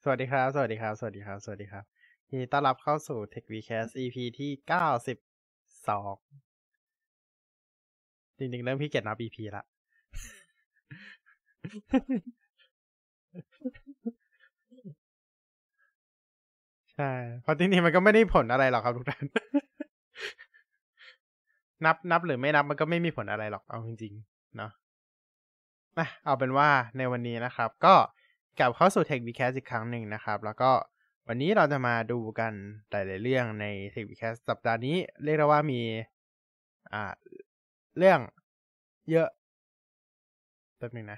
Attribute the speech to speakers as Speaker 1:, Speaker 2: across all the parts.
Speaker 1: สวัสดีครับสวัสดีครับสวัสดีครับสวัสดีครับยินดีต้อนรับเข้าสู่ Tech Vcast EP ที่92จริงๆเริ่มขี้เกียจนับ EP ละใช่เพราะจริงๆมันก็ไม่ได้ผลอะไรหรอกครับทุกท่านนับหรือไม่นับมันก็ไม่มีผลอะไรหรอกเอาจริงๆเนาะเอาเป็นว่าในวันนี้นะครับก็กลับเข้าสู่ Tech Vcast อีกครั้งหนึ่งนะครับแล้วก็วันนี้เราจะมาดูกันหลายๆเรื่องใน Tech Vcast สัปดาห์นี้เรียกได้ว่ามีอ่าเรื่องเยอะแป๊บนึงนะ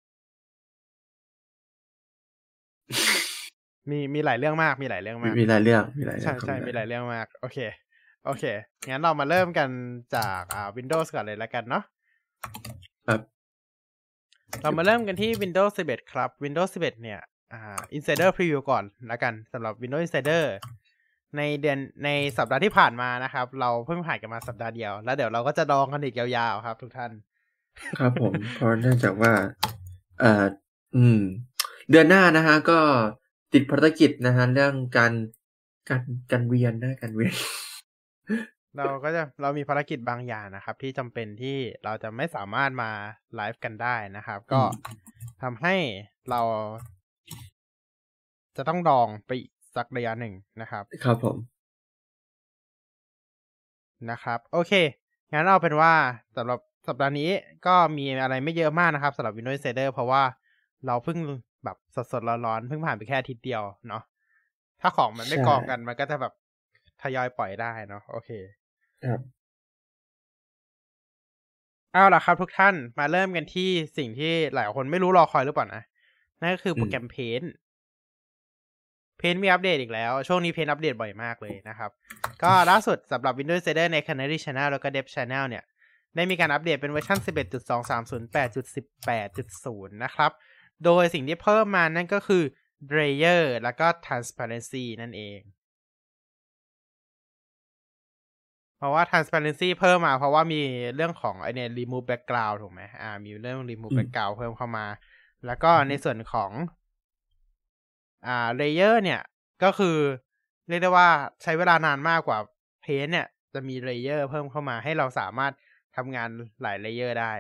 Speaker 1: มีหลายเรื่องมากมีหลายเรื่องมาก
Speaker 2: มีหลายเรื่องมีหลายเรื่
Speaker 1: ใช่
Speaker 2: องครับ
Speaker 1: ใช่มีหลายเรื่องมากโอเคโอเคงั้นเรามาเริ่มกันจากWindows ก่อนเลยแล้วกันเนาะ
Speaker 2: ครับ
Speaker 1: เรามาเริ่มกันที่ Windows 11 ครับ Windows 11เนี่ยInsider Preview ก่อนแล้วกันสำหรับ Windows Insider ในสัปดาห์ที่ผ่านมานะครับเราเพิ่งผ่านกันมาสัปดาห์เดียวแล้วเดี๋ยวเราก็จะดองกันอีกยาวๆครับทุกท่าน
Speaker 2: ครับผมเพราะเนื่องจากว่าเอ่ออืม เดือนหน้านะฮะก็ติดภารกิจนะฮะเรื่องการเวียนการเวียน
Speaker 1: เรามีภารกิจบางอย่างนะครับที่จำเป็นที่เราจะไม่สามารถมาไลฟ์กันได้นะครับก็ทำให้เราจะต้องดองไปอีกสักระยะหนึ่งนะครับ
Speaker 2: ครับผม
Speaker 1: โอเคงั้นเอาเป็นว่าสำหรับสัปดาห์นี้ก็มีอะไรไม่เยอะมากนะครับสำหรับ Windows Insider เพราะว่าเราเพิ่งแบบสดๆร้อนๆเพิ่งผ่านไปแค่อาทิตย์เดียวเนาะถ้าของมันไม่
Speaker 2: ใช่
Speaker 1: กองกันมันก็จะแบบทยอยปล่อยได้เนาะโอเค
Speaker 2: ครับ
Speaker 1: เอาล่ะครับทุกท่านมาเริ่มกันที่สิ่งที่หลายคนไม่รู้รอคอยหรือเปล่านะนั่นก็คือโปรแกรม Paint มีอัปเดตอีกแล้วช่วงนี้ Paint อัปเดตบ่อยมากเลยนะครับก็ล่าสุดสำหรับ Windows Insider ใน Canary Channel แล้วก็ Dev Channel เนี่ยได้มีการอัปเดตเป็นเวอร์ชัน 11.2308.18.0 นะครับโดยสิ่งที่เพิ่มมานั่นก็คือ Layer แล้วก็ Transparency นั่นเองเพราะว่า transparency เพิ่มมาเพราะว่ามีเรื่องของไอเนี่ย remove background ถูกไหมมีเรื่อง remove background เพิ่มเข้ามาแล้วก็ในส่วนของlayer เนี่ยก็คือเรียกได้ว่าใช้เวลานานมากกว่า paint เนี่ยจะมี layer เพิ่มเข้ามาให้เราสามารถทำงานหลาย layer ได้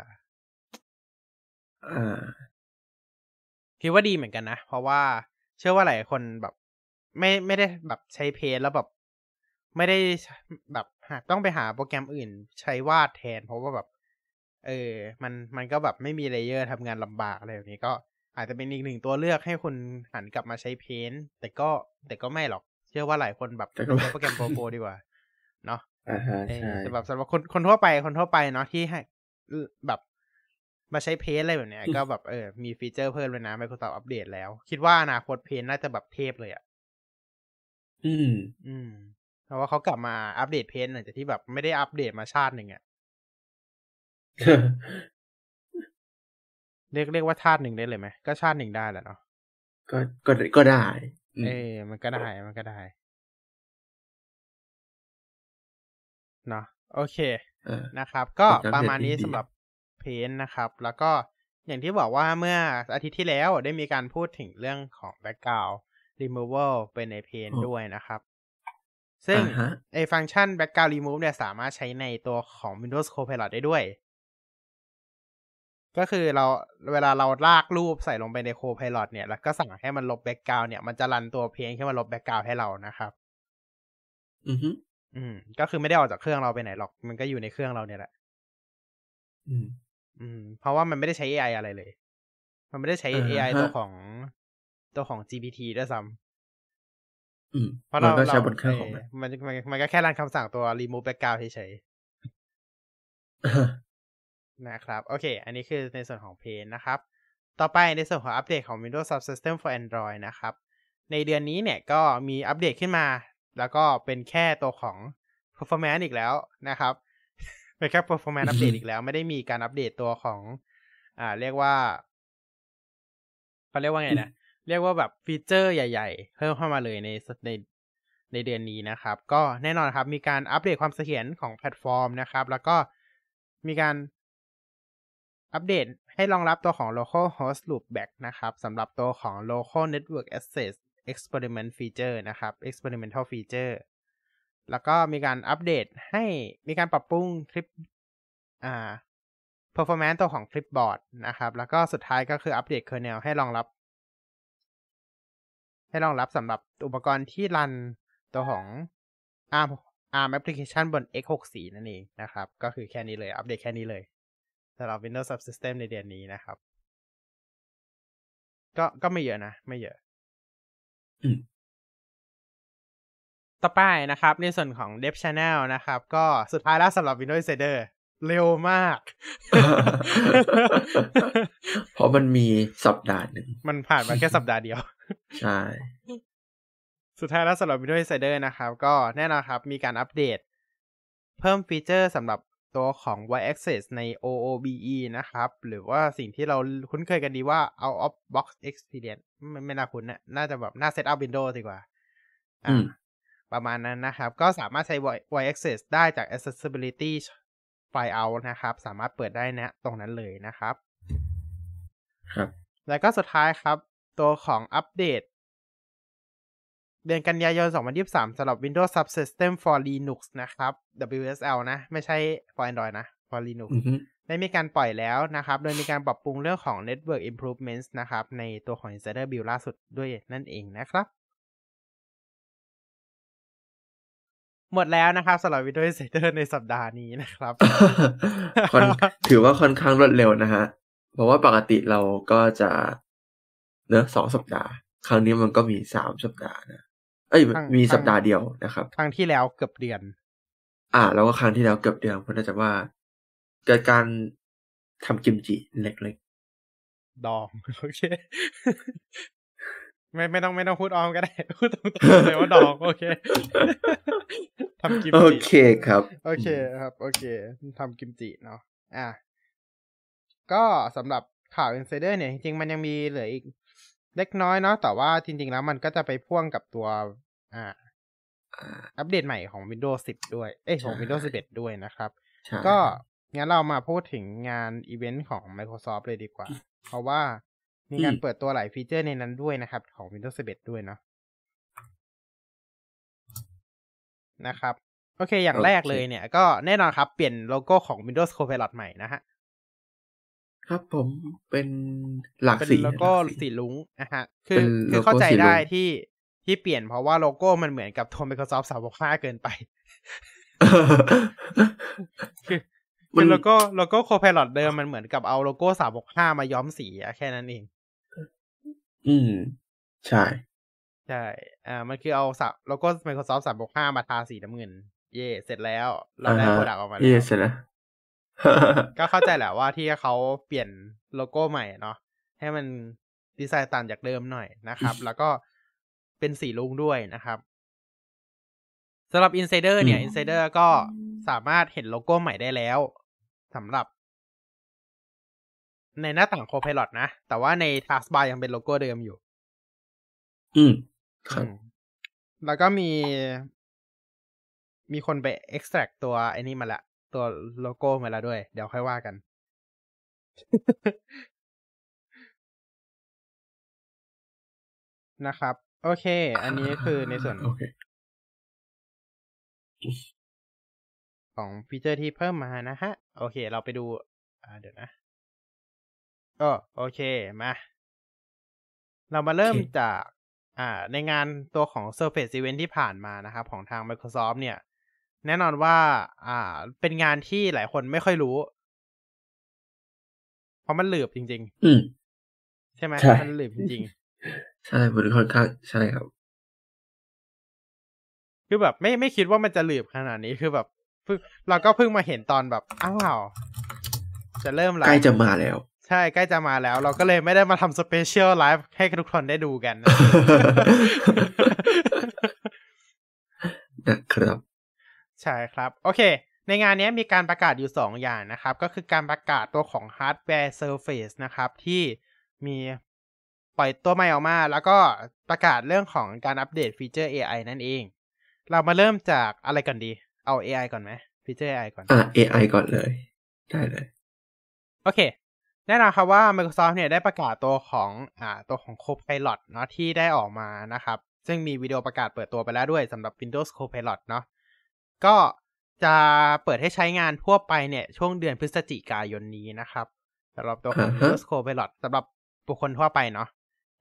Speaker 1: คิดว่าดีเหมือนกันนะเพราะว่าเชื่อว่าหลายคนแบบไม่ได้แบบใช้ paint แล้วแบบไม่ได้แบบต้องไปหาโปรแกรมอื่นใช้วาดแทนเพราะว่าแบบมันก็แบบไม่มีเลเยอร์ทำงานลำบากอะไรแบบนี้ก็อาจจะเป็นอีกหนึ่งตัวเลือกให้คุณหันกลับมาใช้ Paint แต่ก็ไม่หรอกเชื่อว่าหลายคนแบบ
Speaker 2: แต่
Speaker 1: ไป
Speaker 2: ก็
Speaker 1: ใช้โปรแกรมโปรดีกว่าเนาะ
Speaker 2: ใช่
Speaker 1: แต่แบบสำหรับคนทั่วไปเนาะที่ให้แบบมาใช้ Paint อะไรแบบเนี้ยก็แบบมีฟีเจอร์เพิ่มเลยนะ Microsoft อัปเดตแล้วคิดว่าอนาคต Paint น่าจะแบบเทพเลย
Speaker 2: อืม
Speaker 1: อืมเพราะว่าเขากลับมาอัปเดต Paint หลังจากที่แบบไม่ได้อัปเดตมาชาติหนึ่งเรียกว่าชาติหนึ่งได้เลยไหมก็ชาติหนึ่งได้แหละเนาะ
Speaker 2: ก็ก็ได้
Speaker 1: มันก็ได้เนาะโอเคนะครับก็
Speaker 2: เป็นการ
Speaker 1: ประ
Speaker 2: เทรด
Speaker 1: มาณนี้
Speaker 2: ดี
Speaker 1: สำหรับเพนนะครับแล้วก็อย่างที่บอกว่าเมื่ออาทิตย์ที่แล้วได้มีการพูดถึงเรื่องของ background removal เป็นในเพนด้วยนะครับซึ่ง
Speaker 2: ฮะ
Speaker 1: ฟังก์ชัน background remove เนี่ยสามารถใช้ในตัวของ Windows Copilot ได้ด้วยก็คือเวลาเราลากรูปใส่ลงไปใน Copilot เนี่ยแล้วก็สั่งให้มันลบ background เนี่ยมันจะรันตัวเพนขึ้นมาลบ background ให้เรานะครับก็คือไม่ได้ออกจากเครื่องเราไปไหนหรอกมันก็อยู่ในเครื่องเราเนี่ยแหละเพราะว่ามันไม่ได้ใช้ AI อะไรเลยมันไม่ได้ใช้ AI ตัวของ GPT ด้วยซ้ำเพราะ
Speaker 2: มันก็
Speaker 1: เรา
Speaker 2: ใช้บนเครื่องของ
Speaker 1: มันก็แค่รันคำสั่งตัว remove background เฉยๆนะครับโอเคอันนี้คือในส่วนของ Paint นะครับต่อไปในส่วนของอัปเดตของ Windows Subsystem for Android นะครับในเดือนนี้เนี่ยก็มีอัปเดตขึ้นมาแล้วก็เป็นแค่ตัวของ performance อีกแล้วนะครับเป็นแค่ performance อัปเดตอีกแล้วไม่ได้มีการอัปเดตตัวของเรียกว่าเขาเรียกว่าไงนะเรียกว่าแบบฟีเจอร์ใหญ่ๆเพิ่มเข้ามาเลยในเดือนนี้นะครับก็แน่นอนครับมีการอัปเดตความเสถียรของแพลตฟอร์มนะครับแล้วก็มีการอัปเดตให้รองรับตัวของ local host loopback นะครับสำหรับตัวของ local network access experiment feature นะครับ experimental feature แล้วก็มีการอัปเดตให้มีการปรับปรุงคลิปperformance ตัวของ clipboard นะครับแล้วก็สุดท้ายก็คืออัปเดต kernel ให้รองรับสำหรับอุปกรณ์ที่รันตัวของ ARM application บน x64 นั่นเองนะครับก็คือแค่นี้เลยอัปเดตแค่นี้เลยสำหรับ Windows Subsystem ในเดือนนี้นะครับก็ไม่เยอะนะไม่เยอะต่อไปนะครับในส่วนของ Dev Channel นะครับก็สุดท้ายแล้วสำหรับ Windows Insider เร็วมาก
Speaker 2: เพราะมันมีสัปดาห์หนึ่ง
Speaker 1: มันผ่านมาแค่สัปดาห์เดียว
Speaker 2: ใช่
Speaker 1: สุดท้ายแล้วสำหรับ Windows Insider นะครับก็แน่นอนครับมีการอัปเดตเพิ่มฟีเจอร์สำหรับตัวของ Wide Access ใน OOBE นะครับหรือว่าสิ่งที่เราคุ้นเคยกันดีว่า Out of Box Experience ไม่น่าคุ้นนะน่าจะแบบน่า Set up Windows ดีกว่าประมาณนั้นนะครับก็สามารถใช้ Wide Access ได้จาก Accessibility File Out นะครับสามารถเปิดได้นะตรงนั้นเลยนะครับ
Speaker 2: ครับ
Speaker 1: แล้วก็สุดท้ายครับตัวของอัปเดตเดือนกันยายน 2023 สำหรับ Windows Subsystem for Linux นะครับ WSL นะไม่ใช่ for Android นะ for Linux ได้มีการปล่อยแล้วนะครับโดยมีการปรับปรุงเรื่องของ Network Improvements นะครับในตัวของ Insider Build ล่าสุดด้วยนั่นเองนะครับหมดแล้วนะครับสำหรับ Windows Insider ในสัปดาห์นี้นะครับ
Speaker 2: ถือว่าค่อนข้างรวดเร็วนะฮะเพราะว่าปกติเราก็จะ2 สัปดาห์ครั้งนี้มันก็มี3 สัปดาห์นะมีสัปดาห์เดียวนะครับ
Speaker 1: ครั้งที่แล้วเกือบเดือน
Speaker 2: แล้วก็ครั้งที่แล้วเกือบเดือนเพราะน่าจะว่าเกิดการทำกิมจิเล็ก
Speaker 1: ๆดองโอเคไม่ต้องพูดออมก็ได้พูดตรงๆเลยว่าดองโอเคทำกิมจิ
Speaker 2: โอเคครับ
Speaker 1: โอเคครับโอเคทำกิมจิเนาะก็สำหรับข่าว Insider เนี่ยจริงๆมันยังมีเหลืออีกเล็กน้อยเนาะแต่ว่าจริงๆแล้วมันก็จะไปพ่วงกับตัวอัปเดตใหม่ของ Windows 10 ด้วยของ Windows 11 ด้วยนะครับก็งั้นเรามาพูดถึงงานอีเวนต์ของ Microsoft เลยดีกว่าเพราะว่ามีการเปิดตัวหลายฟีเจอร์ในนั้นด้วยนะครับของ Windows 11 ด้วยเนาะนะครับโอเคอย่างแรกเลยเนี่ยก็แน่นอนครับเปลี่ยนโลโก้ของ Windows Copilot ใหม่นะฮะ
Speaker 2: ครับผมเป็นหลากสี
Speaker 1: เป็นโลโก้สีลุ้งนะฮะคือเข้าใจได้ที่เปลี่ยนเพราะว่าโลโก้มันเหมือนกับตัว Microsoft 365 เกินไปคือโลโก้ Copilot เดิมมันเหมือนกับเอาโลโก้365 มาย้อมสีแค่นั้นเอง
Speaker 2: ใช่
Speaker 1: มันคือเอาโลโก้ Microsoft 365 มาทาสีน้ำเงินเย่เสร็จแล้วเราได้โปรดักต์ออกมาแล้ว
Speaker 2: เสร็จแล้ว
Speaker 1: ก็เข้าใจแหละว่าที่เขาเปลี่ยนโลโก้ใหม่เนาะให้มันดีไซน์ต่างจากเดิมหน่อยนะครับแล้วก็เป็นสีลุ้งด้วยนะครับสำหรับ Insider เนี่ย Insider ก็สามารถเห็นโลโก้ใหม่ได้แล้วสำหรับในหน้าต่าง Copilot นะแต่ว่าใน Taskbar ยังเป็นโลโก้เดิมอยู่
Speaker 2: ครับ
Speaker 1: แล้วก็มีคนไป extract ตัวไอ้นี่มาละตัวโลโก้มาแล้วด้วยเดี๋ยวค่อยว่ากันนะครับโอเคอันนี้คือในส่วนของฟีเจอร์ที่เพิ่มมานะฮะโอเคเราไปดูเดี๋ยวนะโอเคมาเรามาเริ่มจากในงานตัวของ Surface Event ที่ผ่านมานะครับของทาง Microsoft เนี่ยแน่นอนว่าเป็นงานที่หลายคนไม่ค่อยรู้เพราะมันหลืบจริงๆใช่ไหมมันหลืบจริง
Speaker 2: ๆใช่มันค่อนข้างใช่ครับ
Speaker 1: คือแบบไม่คิดว่ามันจะหลืบขนาดนี้คือแบบเราก็เพิ่งมาเห็นตอนแบบอ้าวจะเริ่มแล้ว
Speaker 2: ใกล้จะมาแล้ว
Speaker 1: ใช่ใกล้จะมาแล้วเราก็เลยไม่ได้มาทำสเปเชียลไลฟ์ให้ทุกคนได้ดูกัน
Speaker 2: นะครับ
Speaker 1: ใช่ครับโอเคในงานนี้มีการประกาศอยู่2อย่างนะครับก็คือการประกาศตัวของ Hardware Surface นะครับที่มีปล่อยตัวใหม่ออกมาแล้วก็ประกาศเรื่องของการอัปเดตฟีเจอร์ AI นั่นเองเรามาเริ่มจากอะไรก่อนดีเอา AI ก่อนไหมฟีเจอร์ AI ก่อน
Speaker 2: AI ก่อนเลยได้เลย
Speaker 1: โอเคแน่นอนครับว่า Microsoft เนี่ยได้ประกาศตัวของCopilot เนาะที่ได้ออกมานะครับซึ่งมีวิดีโอประกาศเปิดตัวไปแล้วด้วยสำหรับ Windows Copilot เนาะก็จะเปิดให้ใช้งานทั่วไปเนี่ยช่วงเดือนพฤศจิกายนนี้นะครับสำหรับตัวของ Windows Copilot สำหรับบุคคลทั่วไปเนาะ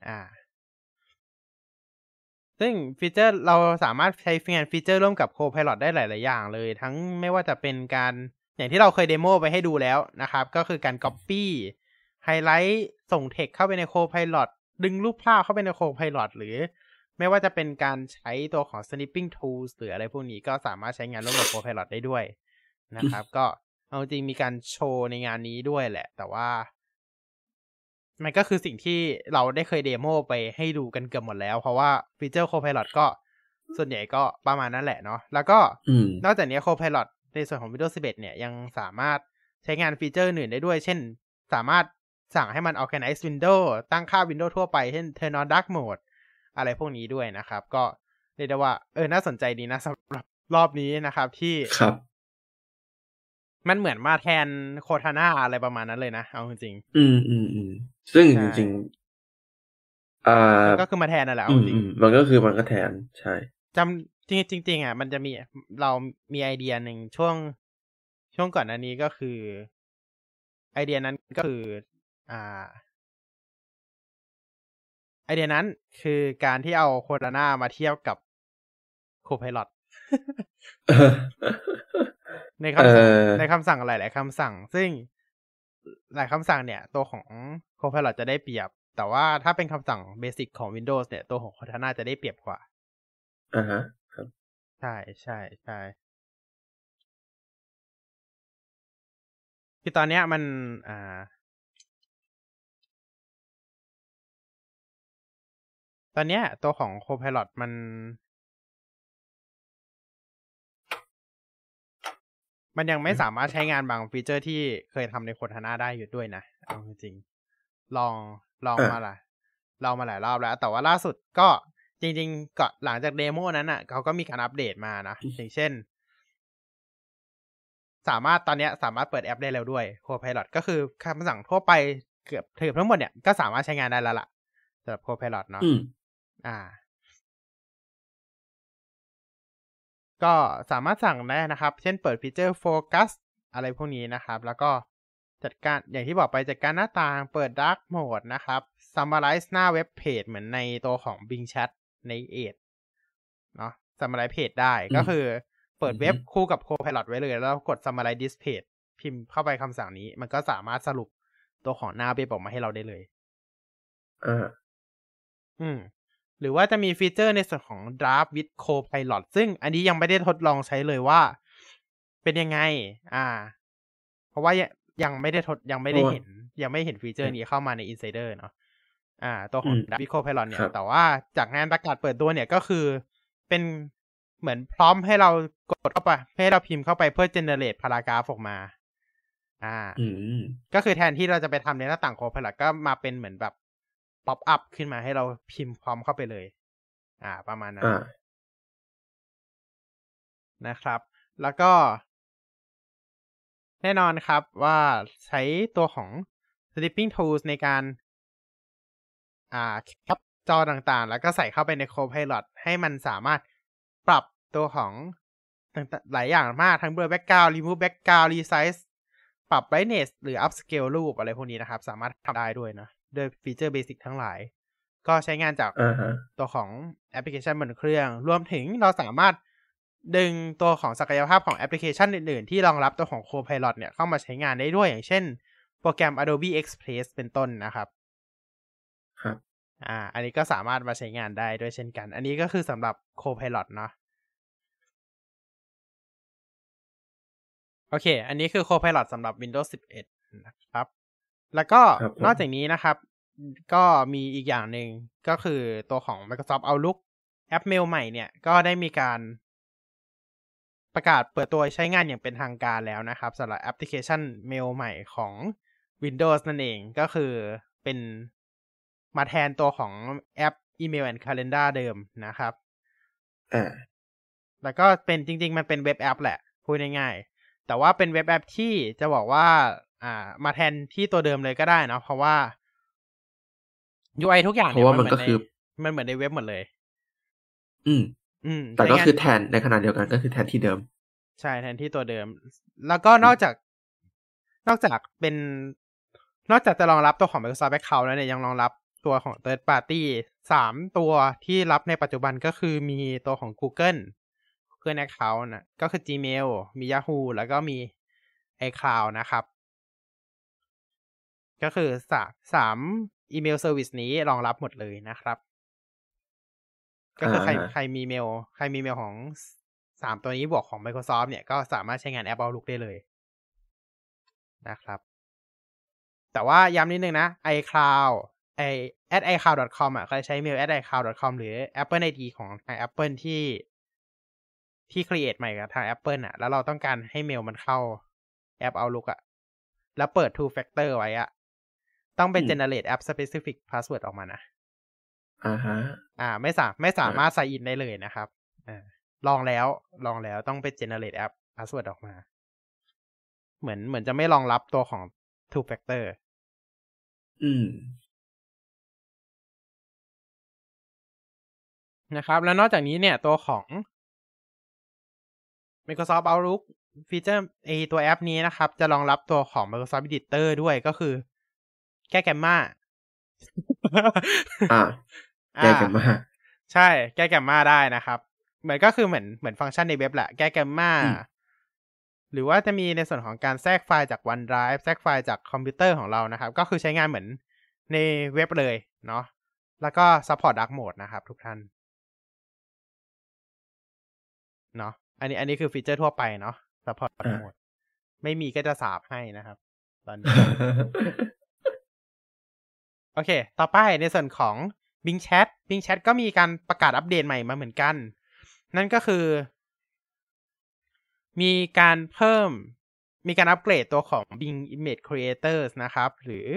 Speaker 1: ซึ่งฟีเจอร์เราสามารถใช้งานฟีเจอร์ร่วมกับ Copilot ได้หลายๆอย่างเลยทั้งไม่ว่าจะเป็นการอย่างที่เราเคยเดโมไปให้ดูแล้วนะครับก็คือการ Copy ไฮไลท์ส่ง text เข้าไปใน Copilot ดึงรูปภาพเข้าไปใน Copilot หรือไม่ว่าจะเป็นการใช้ตัวของ Snipping Tools หรืออะไรพวกนี้ก็สามารถใช้งานร่วมกับ Copilot ได้ด้วยนะครับก็เอาจริงมีการโชว์ในงานนี้ด้วยแหละแต่ว่ามันก็คือสิ่งที่เราได้เคยเดโมไปให้ดูกันเกือบหมดแล้วเพราะว่าฟีเจอร์ Copilot ก็ส่วนใหญ่ก็ประมาณนั้นแหละเนาะแล้วก็นอกจากนี้ Copilot ในส่วนของ Windows 11 เนี่ยยังสามารถใช้งานฟีเจอร์อื่นได้ด้วยเช่นสามารถสั่งให้มัน organize window ตั้งค่า window ทั่วไปเช่น turn on dark mode อะไรพวกนี้ด้วยนะครับก็เรียกได้ว่าน่าสนใจดีนะสำหรับรอบนี้นะครับที่
Speaker 2: ครับ
Speaker 1: มันเหมือนมาแทนโคทาน่าอะไรประมาณนั้นเลยนะเอาจริง
Speaker 2: ๆซึ่งจริง
Speaker 1: ๆก็คือมาแทนนั่นแหละเอาจริง
Speaker 2: มันก็คือมันก็แทนใช่
Speaker 1: จำจริงมันจะมีเรามีไอเดียหนึ่งช่วงก่อนหน้านี้ก็คือไอเดียนั้นก็คือไอเดียนั้นคือการที่เอาโคทาน่ามาเทียบกับโคไพลอตในคำสั่งหลายๆคำสั่งซึ่งหลายคำสั่งเนี่ยตัวของ Copilot จะได้เปรียบแต่ว่าถ้าเป็นคำสั่งเบสิกของ Windows เนี่ยตัวของ Cortana จะได้เปรียบกว่า
Speaker 2: ครับ
Speaker 1: ใช่ใช่ใช่คือตอนเนี้ยมันตอนเนี้ยตัวของ Copilot มันยังไม่สามารถใช้งานบางฟีเจอร์ที่เคยทำใน Cortana ได้อยู่ด้วยนะเอาจริงๆลองมาหลายรอบแล้วแต่ว่าล่าสุดก็จริงๆก็หลังจากเดโมนั้นอ่ะเขาก็มีการอัปเดตมานะอย่างเช่นตอนนี้สามารถเปิดแอปได้แล้วด้วย Copilot ก็คือคำสั่งทั่วไปเกือบทั้งหมดเนี่ยก็สามารถใช้งานได้แล้วล่ะสำหรับ Copilot เนาะก็สามารถสั่งได้นะครับเช่นเปิดฟีเจอร์โฟกัสอะไรพวกนี้นะครับแล้วก็จัดการอย่างที่บอกไปจัดการหน้าต่างเปิด Dark Mode นะครับ Summarize หน้าเว็บเพจเหมือนในตัวของ Bing Chat ใน Edge เนาะ Summarize Page ได้ก็คือเปิดเว็บคู่กับ Copilot ไว้เลยแล้วกด Summarize This Page พิมพ์เข้าไปคำสั่งนี้มันก็สามารถสรุปตัวของหน้าเว็บออกมาให้เราได้เลยหรือว่าจะมีฟีเจอร์ในส่วนของ Draft with Copilot ซึ่งอันนี้ยังไม่ได้ทดลองใช้เลยว่าเป็นยังไงเพราะว่ายังไม่เห็นฟีเจอร์นี้เข้ามาใน Insider เนาะตัวของ Draft with Copilot เนี่ยแต่ว่าจากงานประกาศเปิดตัวเนี่ยก็คือเป็นเหมือนพร้อมให้เรากดเข้าไปให้เราพิมพ์เข้าไปเพื่อ generate paragraph ออกมาก็คือแทนที่เราจะไปทำในหน้าต่าง Copilot ก็มาเป็นเหมือนแบบป๊อปอัพขึ้นมาให้เราพิมพ์พร้อมเข้าไปเลยประมาณนั้นนะครับแล้วก็แน่นอนครับว่าใช้ตัวของ Snipping Tools ในการแคปจอต่างๆแล้วก็ใส่เข้าไปใน Copilot ให้มันสามารถปรับตัวของหลายอย่างมากทั้ง blur background remove background resize ปรับ brightness หรือ upscale รูปอะไรพวกนี้นะครับสามารถทำได้ด้วยนะโดยฟีเจอร์เบสิกทั้งหลายก็ใช้งานจากตัวของแอปพลิเคชันบนเครื่องรวมถึงเราสามารถดึงตัวของศักยภาพของแอปพลิเคชันอื่นๆที่รองรับตัวของ Copilot เนี่ยเข้ามาใช้งานได้ด้วยอย่างเช่นโปรแกรม Adobe Express เป็นต้นนะครับอันนี้ก็สามารถมาใช้งานได้ด้วยเช่นกันอันนี้ก็คือสำหรับ Copilot เนาะโอเคอันนี้คือ Copilot สำหรับ Windows 11 นะครับแล้วก็นอกจากนี้นะครับก็มีอีกอย่างหนึ่งก็คือตัวของ Microsoft Outlook แอปเมลใหม่เนี่ยก็ได้มีการประกาศเปิดตัวใช้งานอย่างเป็นทางการแล้วนะครับสำหรับแอปพลิเคชันเมลใหม่ของ Windows นั่นเองก็คือเป็นมาแทนตัวของแอป Email and Calendar เดิมนะครับแล้วก็เป็นจริงๆมันเป็นเว็บแอปแหละพูดง่ายๆแต่ว่าเป็นเว็บแอปที่จะบอกว่ามาแทนที่ตัวเดิมเลยก็ได้เนาะเพราะว่า UI ทุกอย่าง
Speaker 2: เพ
Speaker 1: เนี่ย
Speaker 2: ราะว่า
Speaker 1: มัน
Speaker 2: มัน
Speaker 1: เหมือ
Speaker 2: ก็
Speaker 1: นใน
Speaker 2: คือ
Speaker 1: มันเหมือนในเว็บหมดเลย
Speaker 2: แต่
Speaker 1: ใช้
Speaker 2: ก็
Speaker 1: งาน
Speaker 2: คือแทนในขณะเดียวกันก็คือแทนที่เดิม
Speaker 1: ใช่แทนที่ตัวเดิม แล้วก็นอกจากจะรองรับตัวของ Microsoft Account แล้วเนี่ยยังรองรับตัวของ Third Party 3 ตัวที่รับในปัจจุบันก็คือมีตัวของ Google Account นะก็คือ Gmail มี Yahoo แล้วก็มี iCloud นะครับ ก็คือ3อีเมลเซอร์วิสนี้รองรับหมดเลยนะครับ ก็คือใครมีเมลของ3ตัวนี้บวกของ Microsoft เนี่ยก็สามารถใช้งานแอป Outlook ได้เลยนะครับแต่ว่าย้ำนิดนึงนะ iCloud @icloud.com ใครใช้เมล @icloud.com หรือ Apple ID ของทาง Apple ที่ create ใหม่กับทาง Apple แล้วเราต้องการให้เมลมันเข้าแอป Outlook แล้วเปิด two factor ไว้ต้องเป็น generate app specific password ออกมานะไม่สามารถ sign in ได้เลยนะครับลองแล้วต้องไป generate app password ออกมาเหมือนจะไม่รองรับตัวของ two factor นะครับแล้วนอกจากนี้เนี่ยตัวของ Microsoft Outlook ฟีเจอร์ตัวแอปนี้นะครับจะรองรับตัวของ Microsoft Editor ด้วยก็คือแก้แกมมา
Speaker 2: แก้แกมมา
Speaker 1: ใช่แก้แกมมาได้นะครับเหมือนฟังก์ชันในเว็บแหละแก้แกมมาหรือว่าจะมีในส่วนของการแทรกไฟล์จาก OneDrive แทรกไฟล์จากคอมพิวเตอร์ของเรานะครับก็คือใช้งานเหมือนในเว็บเลยเนาะแล้วก็ support dark mode นะครับทุกท่านเนาะอันนี้คือฟีเจอร์ทั่วไปเนาะ support dark mode ไม่มีก็จะสาบให้นะครับตอนนี้ โอเคต่อไปในส่วนของ Bing Chat ก็มีการประกาศอัปเดตใหม่มาเหมือนกันนั่นก็คือมีการอัปเกรดตัวของ Bing Image Creators นะครับหรือ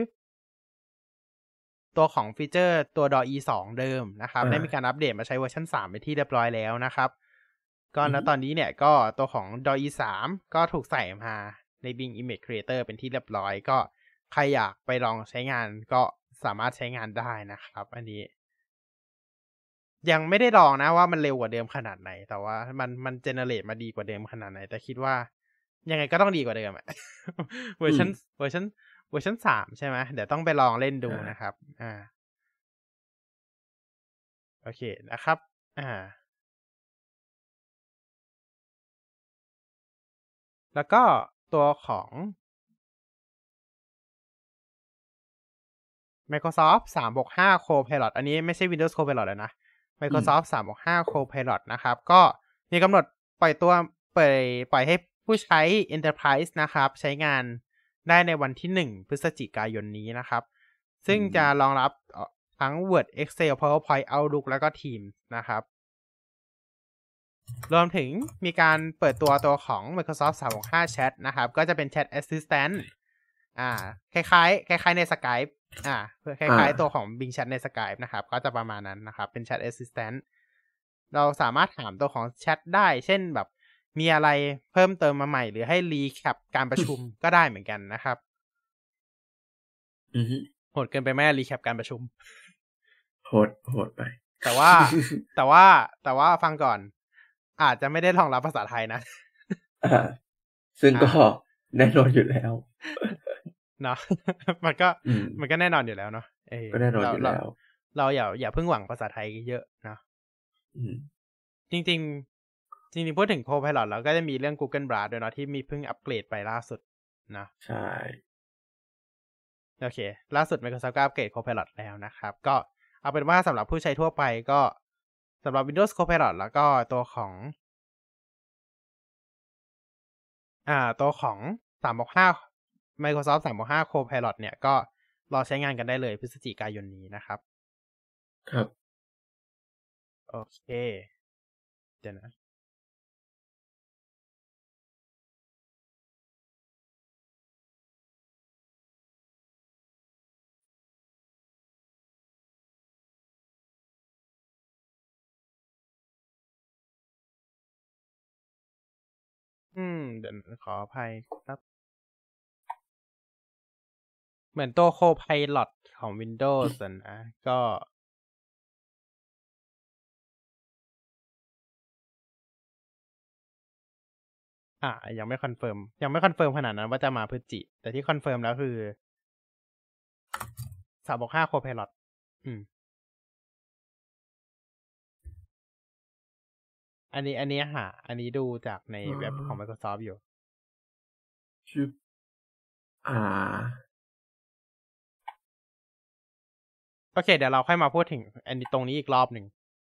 Speaker 1: ตัวของฟีเจอร์ตัว DALL-E 2 เดิมนะครับได้มีการอัปเดตมาใช้เวอร์ชัน3ไปที่เรียบร้อยแล้วนะครับก็ณตอนนี้เนี่ยก็ตัวของ DALL-E 3ก็ถูกใส่มาใน Bing Image Creator เป็นที่เรียบร้อยก็ใครอยากไปลองใช้งานก็สามารถใช้งานได้นะครับอันนี้ยังไม่ได้ลองนะว่ามันเร็วกว่าเดิมขนาดไหนแต่ว่ามันเจเนเรตมาดีกว่าเดิมขนาดไหนแต่คิดว่ายังไงก็ต้องดีกว่าเดิมเวอร์ชัน3ใช่ไหมเดี๋ยวต้องไปลองเล่นดูนะครับโอเคนะครับแล้วก็ตัวของ Microsoft 365 Copilot อันนี้ไม่ใช่ Windows Copilot เลยนะ Microsoft 365 Copilot นะครับก็มีกำหนดปล่อยให้ผู้ใช้ Enterprise นะครับใช้งานได้ในวันที่1 พฤศจิกายนนี้นะครับซึ่งจะรองรับทั้ง Word Excel PowerPoint Outlook แล้วก็ Teams นะครับรวมถึงมีการเปิดตัวของ Microsoft 365 Chat นะครับก็จะเป็น Chat Assistant คล้ายๆใน Skype คล้ายๆตัวของ Bing Chat ใน Skype นะครับก็จะประมาณนั้นนะครับเป็น Chat Assistant เราสามารถถามตัวของแชทได้เช่นแบบมีอะไรเพิ่มเติมมาใหม่หรือให้รีแคปการประชุม ก็ได้เหมือนกันนะครับโหดเกินไปไหมรีแคปการประชุม
Speaker 2: โหดไป
Speaker 1: แต่ว่าฟังก่อนอาจจะไม่ได้รองรับภาษาไทยนะ
Speaker 2: ซึ่งก็แน่นอนอยู่แล้ว
Speaker 1: เนาะมันก็แน่นอนอยู่แล้วเนาะ
Speaker 2: ก็แน่นอนอยู่แล้ว
Speaker 1: เราอย่าเพิ่งหวังภาษาไทยเยอะเนาะจริงพูดถึง Copilot แล้วก็จะมีเรื่อง Google Bard ด้วยเนาะที่มีเพิ่งอัปเกรดไปล่าสุดนะ
Speaker 2: ใช่
Speaker 1: โอเคล่าสุด Microsoft ก็อัปเกรด Copilot แล้วนะครับก็เอาเป็นว่าสำหรับผู้ใช้ทั่วไปก็สำหรับ Windows Copilot แล้วก็ตัวของ365 Microsoft 365 Copilot เนี่ยก็รอใช้งานกันได้เลยพฤศจิกายนนี้นะครับ
Speaker 2: ครับ
Speaker 1: โอเคเดี๋ยวนะเดี๋ยวขออภัยครับเหมือนตัว Copilot ของ Windows นะก็ยังไม่คอนเฟิร์มขนาดนั้นว่าจะมาพฤศจิแต่ที่คอนเฟิร์มแล้วคือ365 Copilot อันนี้ดูจากในเว็บของ Microsoft อยู่โอเคเดี๋ยวเราค่อยมาพูดถึงอันนี้ตรงนี้อีกรอบหนึ่ง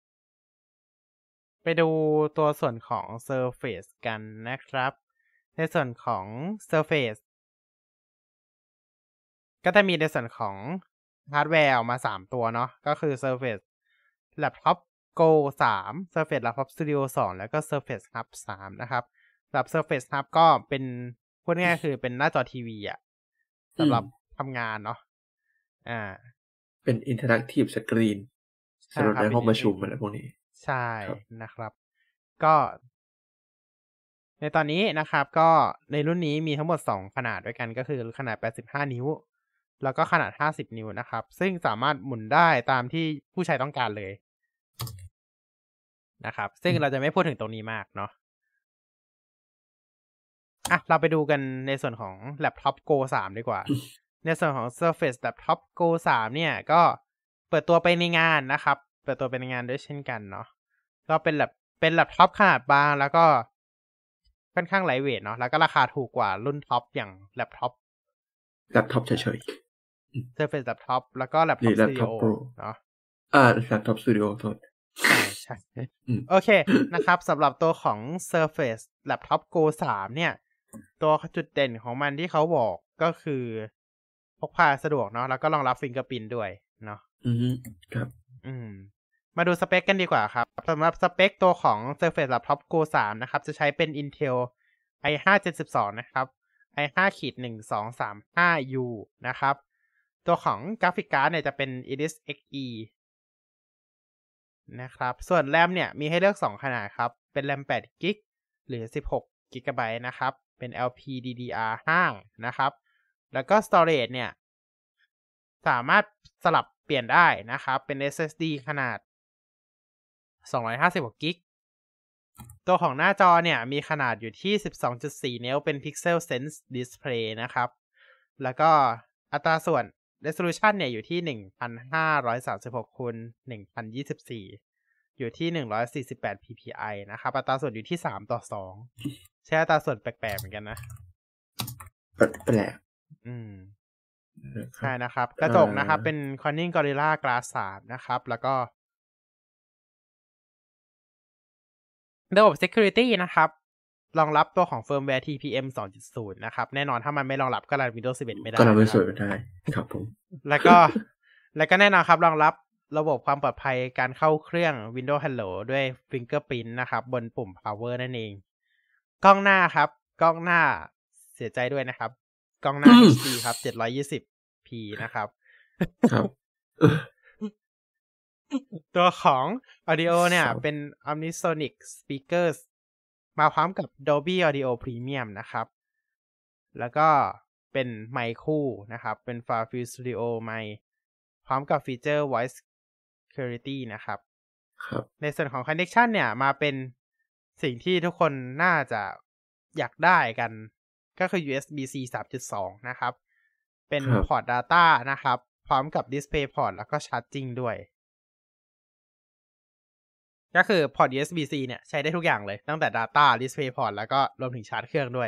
Speaker 1: ไปดูตัวส่วนของ Surface กันนะครับในส่วนของ Surface ก็จะมีในส่วนของฮาร์ดแวร์ออกมา3ตัวเนาะก็คือ Surface Laptop Go 3 Surface Laptop Studio 2 แล้วก็ Surface Hub 3 นะครับสำหรับ Surface Hub ก็เป็นพูดง่ายๆคือเป็นหน้าจอทีวีอ่ะสำหรับทำงานเนาะ
Speaker 2: เป็น Interactive Screen สำหรับในห้องประชุมอะไรพวกนี้
Speaker 1: ใช่นะครับก็ในตอนนี้นะครับก็ในรุ่นนี้มีทั้งหมด2ขนาดด้วยกันก็คือขนาด85นิ้วแล้วก็ขนาด50นิ้วนะครับซึ่งสามารถหมุนได้ตามที่ผู้ใช้ต้องการเลยนะครับซึ่งเราจะไม่พูดถึงตรงนี้มากเนาะเราไปดูกันในส่วนของ Laptop Go 3ดีกว่าในส่วนของ Surface Laptop Go 3เนี่ยก็เปิดตัวไปในงานนะครับเปิดตัวไปในงานด้วยเช่นกันเนาะก็เป็นแล็ปท็อปขนาดบางแล้วก็ค่อนข้างไลท์เวทเนาะแล้วก็ราคาถูกกว่ารุ่นท็อปอย่างแล็ปท็อป
Speaker 2: เฉย
Speaker 1: ๆ Surface Laptop แล้วก็ Laptop Studio เนาะ
Speaker 2: Laptop Studio โทษ
Speaker 1: ใช่โอเคนะครับสำหรับตัวของ Surface Laptop Go 3เนี่ยตัวจุดเด่นของมันที่เขาบอกก็คือพกพาสะดวกเนาะแล้วก็รองรับฟิงเกอร์พรินท์ด้วยเนาะ
Speaker 2: ครับ
Speaker 1: มาดูสเปคกันดีกว่าครับสำหรับสเปคตัวของ Surface Laptop Go 3นะครับจะใช้เป็น Intel i5 Gen 12นะครับ i5-1235U นะครับตัวของกราฟิกการ์ดเนี่ยจะเป็น Iris Xe นะครับส่วนแรมเนี่ยมีให้เลือก2ขนาดครับเป็นแรม8 GB หรือ16 GB นะครับเป็น LPDDR5 นะครับแล้วก็ Storage เนี่ยสามารถสลับเปลี่ยนได้นะครับเป็น SSD ขนาด256 GB ตัวของหน้าจอเนี่ยมีขนาดอยู่ที่ 12.4 นิ้วเป็น Pixel Sense Display นะครับแล้วก็อัตราส่วน Resolution เนี่ยอยู่ที่ 1536 คูณ 1024 อยู่ที่148 ppi นะครับอัตราส่วนอยู่ที่3:2ใช้อัตราส่วนแปลกๆเหมือนกันนะ
Speaker 2: แปลก
Speaker 1: ใช่นะครับกระจกนะครับเป็น Corning Gorilla Glass 3 นะครับแล้วก็ระบบ Security นะครับรองรับตัวของ Firmware TPM 2.0 นะครับแน่นอนถ้ามันไม่รองรับก็รัน Windows 11 ไม่ได้
Speaker 2: ก็รัน Windows ไม่ได้ครับผม
Speaker 1: แล้วก็แน่นอนครับรองรับระบบความปลอดภัยการเข้าเครื่อง Windows Hello ด้วย Fingerprint นะครับบนปุ่ม Power นั่นเองกล้องหน้าครับกล้องหน้าเสียใจด้วยนะครับกล้องหน้า HD ครับ 720p นะครับ
Speaker 2: ครับ
Speaker 1: ตัวของ Audio เนี่ยเป็น Omnisonic Speakers มาพร้อมกับ Dolby Audio Premium นะครับแล้วก็เป็นไมค์คู่นะครับเป็น Far-Field Studio ไมค์พร้อมกับฟีเจอร์ Voice Clarity นะครับในส่วนของ Connection เนี่ยมาเป็นสิ่งที่ทุกคนน่าจะอยากได้กันก็คือ USB-C 3.2 นะครับเป็นพอร์ต Data นะครับพร้อมกับ Display Port แล้วก็ Charging ด้วยก็คือพอร์ต USB-C เนี่ยใช้ได้ทุกอย่างเลยตั้งแต่ Data Display Port แล้วก็รวมถึงชาร์จเครื่องด้วย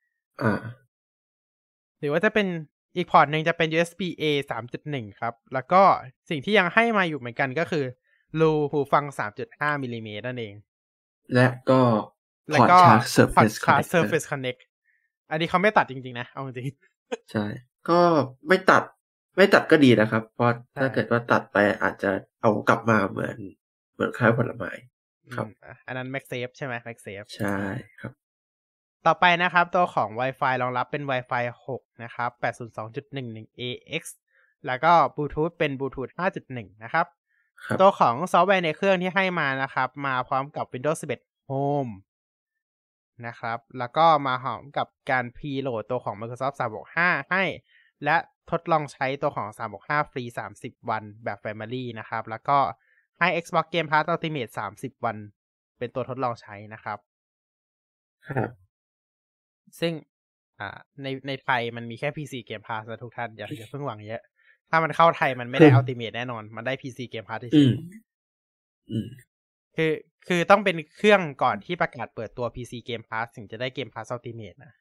Speaker 1: หรือว่าจะเป็นอีกพอร์ตหนึ่งจะเป็น USB-A 3.1 ครับแล้วก็สิ่งที่ยังให้มาอยู่เหมือนกันก็คือรูหูฟัง 3.5 มิลลิเมตรนั่นเอง
Speaker 2: และก็พอร์ตชาร์จ
Speaker 1: Surface Connect อันนี้เขาไม่ตัดจริงๆนะเอาจริง
Speaker 2: ใช่ก็ไม่ตัดก็ดีนะครับเพราะถ้าเกิดว่าตัดไปอาจจะเอากลับมาเหมือนคล้ายผลไม้ครับ
Speaker 1: อันนั้น MagSafe ใช่ไหม MagSafe
Speaker 2: ใช่ครับ
Speaker 1: ต่อไปนะครับตัวของ Wi-Fi รองรับเป็น Wi-Fi 6 นะครับ 802.11ax แล้วก็ Bluetooth เป็น Bluetooth 5.1 นะครับตัวของซอฟต์แวร์ในเครื่องที่ให้มานะครับมาพร้อมกับ Windows 11 Home นะครับแล้วก็มาพร้อมกับการ preload ตัวของ Microsoft 365 ให้และทดลองใช้ตัวของ365ฟรี30วันแบบ Family นะครับแล้วก็ให้ Xbox Game Pass Ultimate 30วันเป็นตัวทดลองใช้นะครับ
Speaker 2: ครับ
Speaker 1: ซึ่งในไทยมันมีแค่ PC Game Pass นะทุกท่านอย่าเพิ่งหวังเยอะถ้ามันเข้าไทยมันไม่ได้ Ultimate แน่นอนมันได้ PC Game Pass เฉยคือต้องเป็นเครื่องก่อนที่ประกาศเปิดตัว PC Game Pass ถึงจะได้ Game Pass Ultimate นะ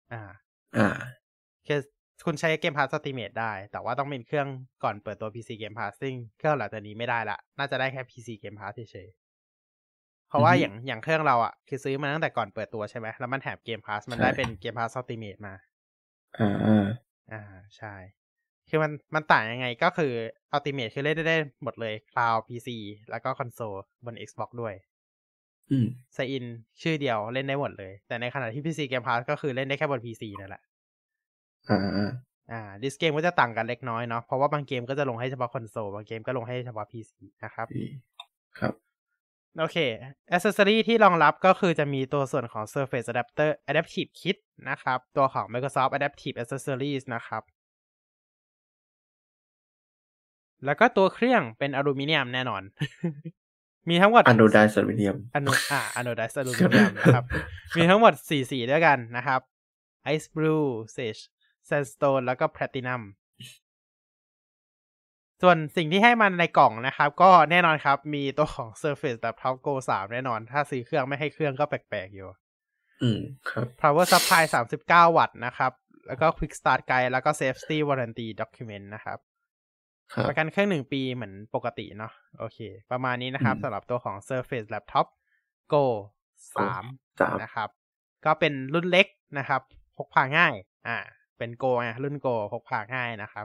Speaker 1: คือคุณใช้ Game Pass Ultimate ได้แต่ว่าต้องเป็นเครื่องก่อนเปิดตัว PC Game Pass ซึ่งเครื่องหลังจากนี้ไม่ได้ละน่าจะได้แค่ PC Game Pass เฉยๆเพราะว่าอย่างเครื่องเราอ่ะคือซื้อมาตั้งแต่ก่อนเปิดตัวใช่ไหมแล้วมันแถม Game Pass มันได้เป็น Game Pass Ultimate มาใช่คือมันต่างยังไงก็คือ Ultimate คือเล่นได้หมดเลย Cloud PC แล้วก็คอนโซลบน Xbox ด้วยไซอินชื่อเดียวเล่นได้หมดเลยแต่ในขณะที่ PC Game Pass ก็คือเล่นได้แค่บน PC นั่นแหละดิสเกมก็จะต่างกันเล็กน้อยเนาะเพราะว่าบางเกมก็จะลงให้เฉพาะคอนโซลบางเกมก็ลงให้เฉพาะ PC นะครับ
Speaker 2: ครับ
Speaker 1: โอเค accessory ที่รองรับก็คือจะมีตัวส่วนของ Surface Adapter Adaptive Kit นะครับตัวของ Microsoft Adaptive Accessories นะครับแล้วก็ตัวเครื่องเป็นอลูมิเนียมแน่นอน มีทั้งหมด
Speaker 2: Anodized Aluminum
Speaker 1: Anodized Aluminum นะครับมีทั้งหมด4สีด้วยกันนะครับ Ice Blue Sage Sandstone แล้วก็ Platinum ส่วนสิ่งที่ให้มันในกล่องนะครับก็แน่นอนครับมีตัวของ Surface Laptop Go 3 แน่นอนถ้าซื้อเครื่องไม่ให้เครื่องก็แปลกๆอยู่
Speaker 2: ครับ
Speaker 1: Power Supply 39 วัตต์นะครับแล้วก็ Quick Start Guide แล้วก็ Safety Warranty Document นะครับประกันเครื่อง1ปีเหมือนปกติเนาะโอเคประมาณนี้นะครับสำหรับตัวของ Surface Laptop Go 3นะครับก็เป็นรุ่นเล็กนะครับพกพาง่ายเป็น Go รุ่น Go พกพาง่ายนะครับ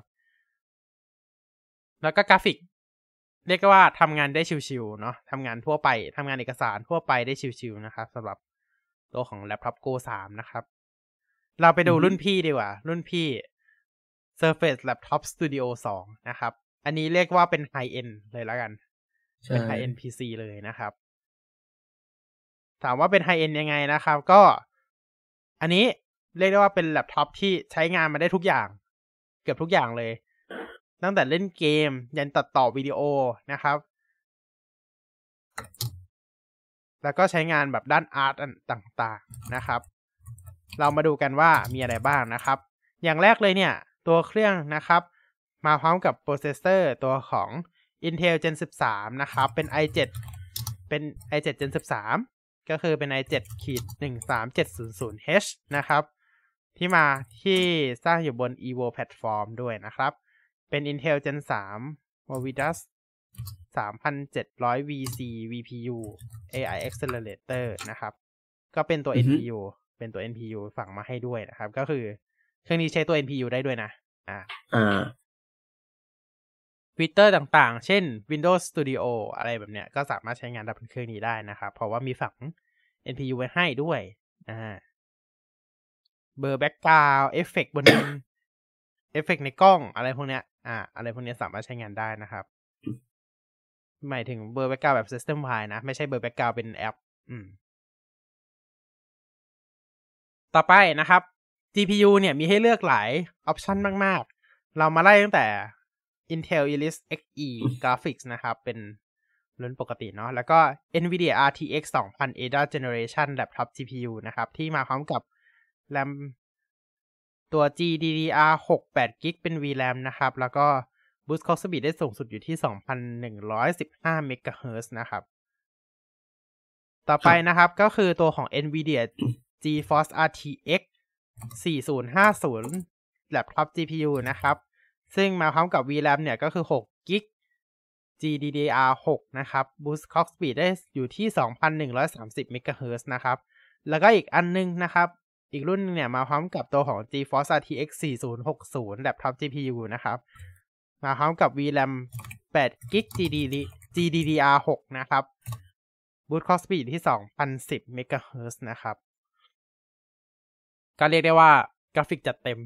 Speaker 1: แล้วก็กราฟิกเรียกว่าทำงานได้ชิวๆเนาะทำงานทั่วไปทำงานเอกสารทั่วไปได้ชิวๆนะครับสำหรับตัวของ Laptop Go 3นะครับเราไปดูรุ่นพี่ดีกว่ารุ่นพี่ Surface Laptop Studio 2นะครับอันนี้เรียกว่าเป็น High End เลยแล้วกันเป็น High End PC เลยนะครับถามว่าเป็น High End ยังไงนะครับก็อันนี้เรียกได้ว่าเป็นแล็ปท็อปที่ใช้งานมาได้ทุกอย่างเกือบทุกอย่างเลยตั้งแต่เล่นเกมยันตัดต่อวิดีโอนะครับแล้วก็ใช้งานแบบด้านอาร์ตต่างๆนะครับเรามาดูกันว่ามีอะไรบ้างนะครับอย่างแรกเลยเนี่ยตัวเครื่องนะครับมาพร้อมกับโปรเซสเซอร์ตัวของ Intel Gen 13นะครับเป็น i7 Gen 13ก็คือเป็น i7-13700H นะครับที่สร้างอยู่บน Evo Platform ด้วยนะครับเป็น Intel Gen 3 Movidas 3700VC VPU AI Accelerator นะครับก็เป็นตัว NPU เป็นตัว NPU ฝังมาให้ด้วยนะครับก็คือเครื่องนี้ใช้ตัว NPU ได้ด้วยนะฟีเจอร์ต่างๆเช่น Windows Studio อะไรแบบเนี้ยก็สามารถใช้งานได้บนเครื่องนี้ได้นะครับเพราะว่ามีฝัง NPU ไว้ให้ด้วยเบอร์แบ็คกราวด์เอฟเฟกต์บนเอฟเฟกต์ในกล้องอะไรพวกเนี้ยอะไรพวกเนี้ยสามารถใช้งานได้นะครับหมายถึงเบอร์แบ็คกราวด์แบบ System Wide นะไม่ใช่เบอร์แบ็คกราวด์เป็นแอปต่อไปนะครับ GPU เนี่ยมีให้เลือกหลายออปชันมากๆเรามาไล่ตั้งแต่ Intel Iris Xe Graphics นะครับเป็นรุ่นปกติเนาะแล้วก็ Nvidia RTX 2000 Ada Generation Laptop GPU นะครับที่มาพร้อมกับ RAM ตัว GDDR6 8GB เป็น VRAM นะครับแล้วก็ Boost Clock Speed ได้สูงสุดอยู่ที่ 2,115 MHz นะครับต่อไปนะครับก็คือตัวของ Nvidia GeForce RTX 4050 Laptop GPU นะครับซึ่งมาพร้อมกับ VRAM เนี่ยก็คือ 6GB GDDR6 นะครับ Boost Clock Speed ได้อยู่ที่ 2,130 MHz นะครับแล้วก็อีกอันนึงนะครับอีกรุ่นนึงเนี่ยมาพร้อมกับตัวของ GeForce RTX 4060 Laptop GPU นะครับมาพร้อมกับ VRAM 8GB GDDR6 นะครับ Boost Clock Speed ที่ 2,010 MHz นะครับก็เรียกได้ว่ากราฟิกจัดเต็ม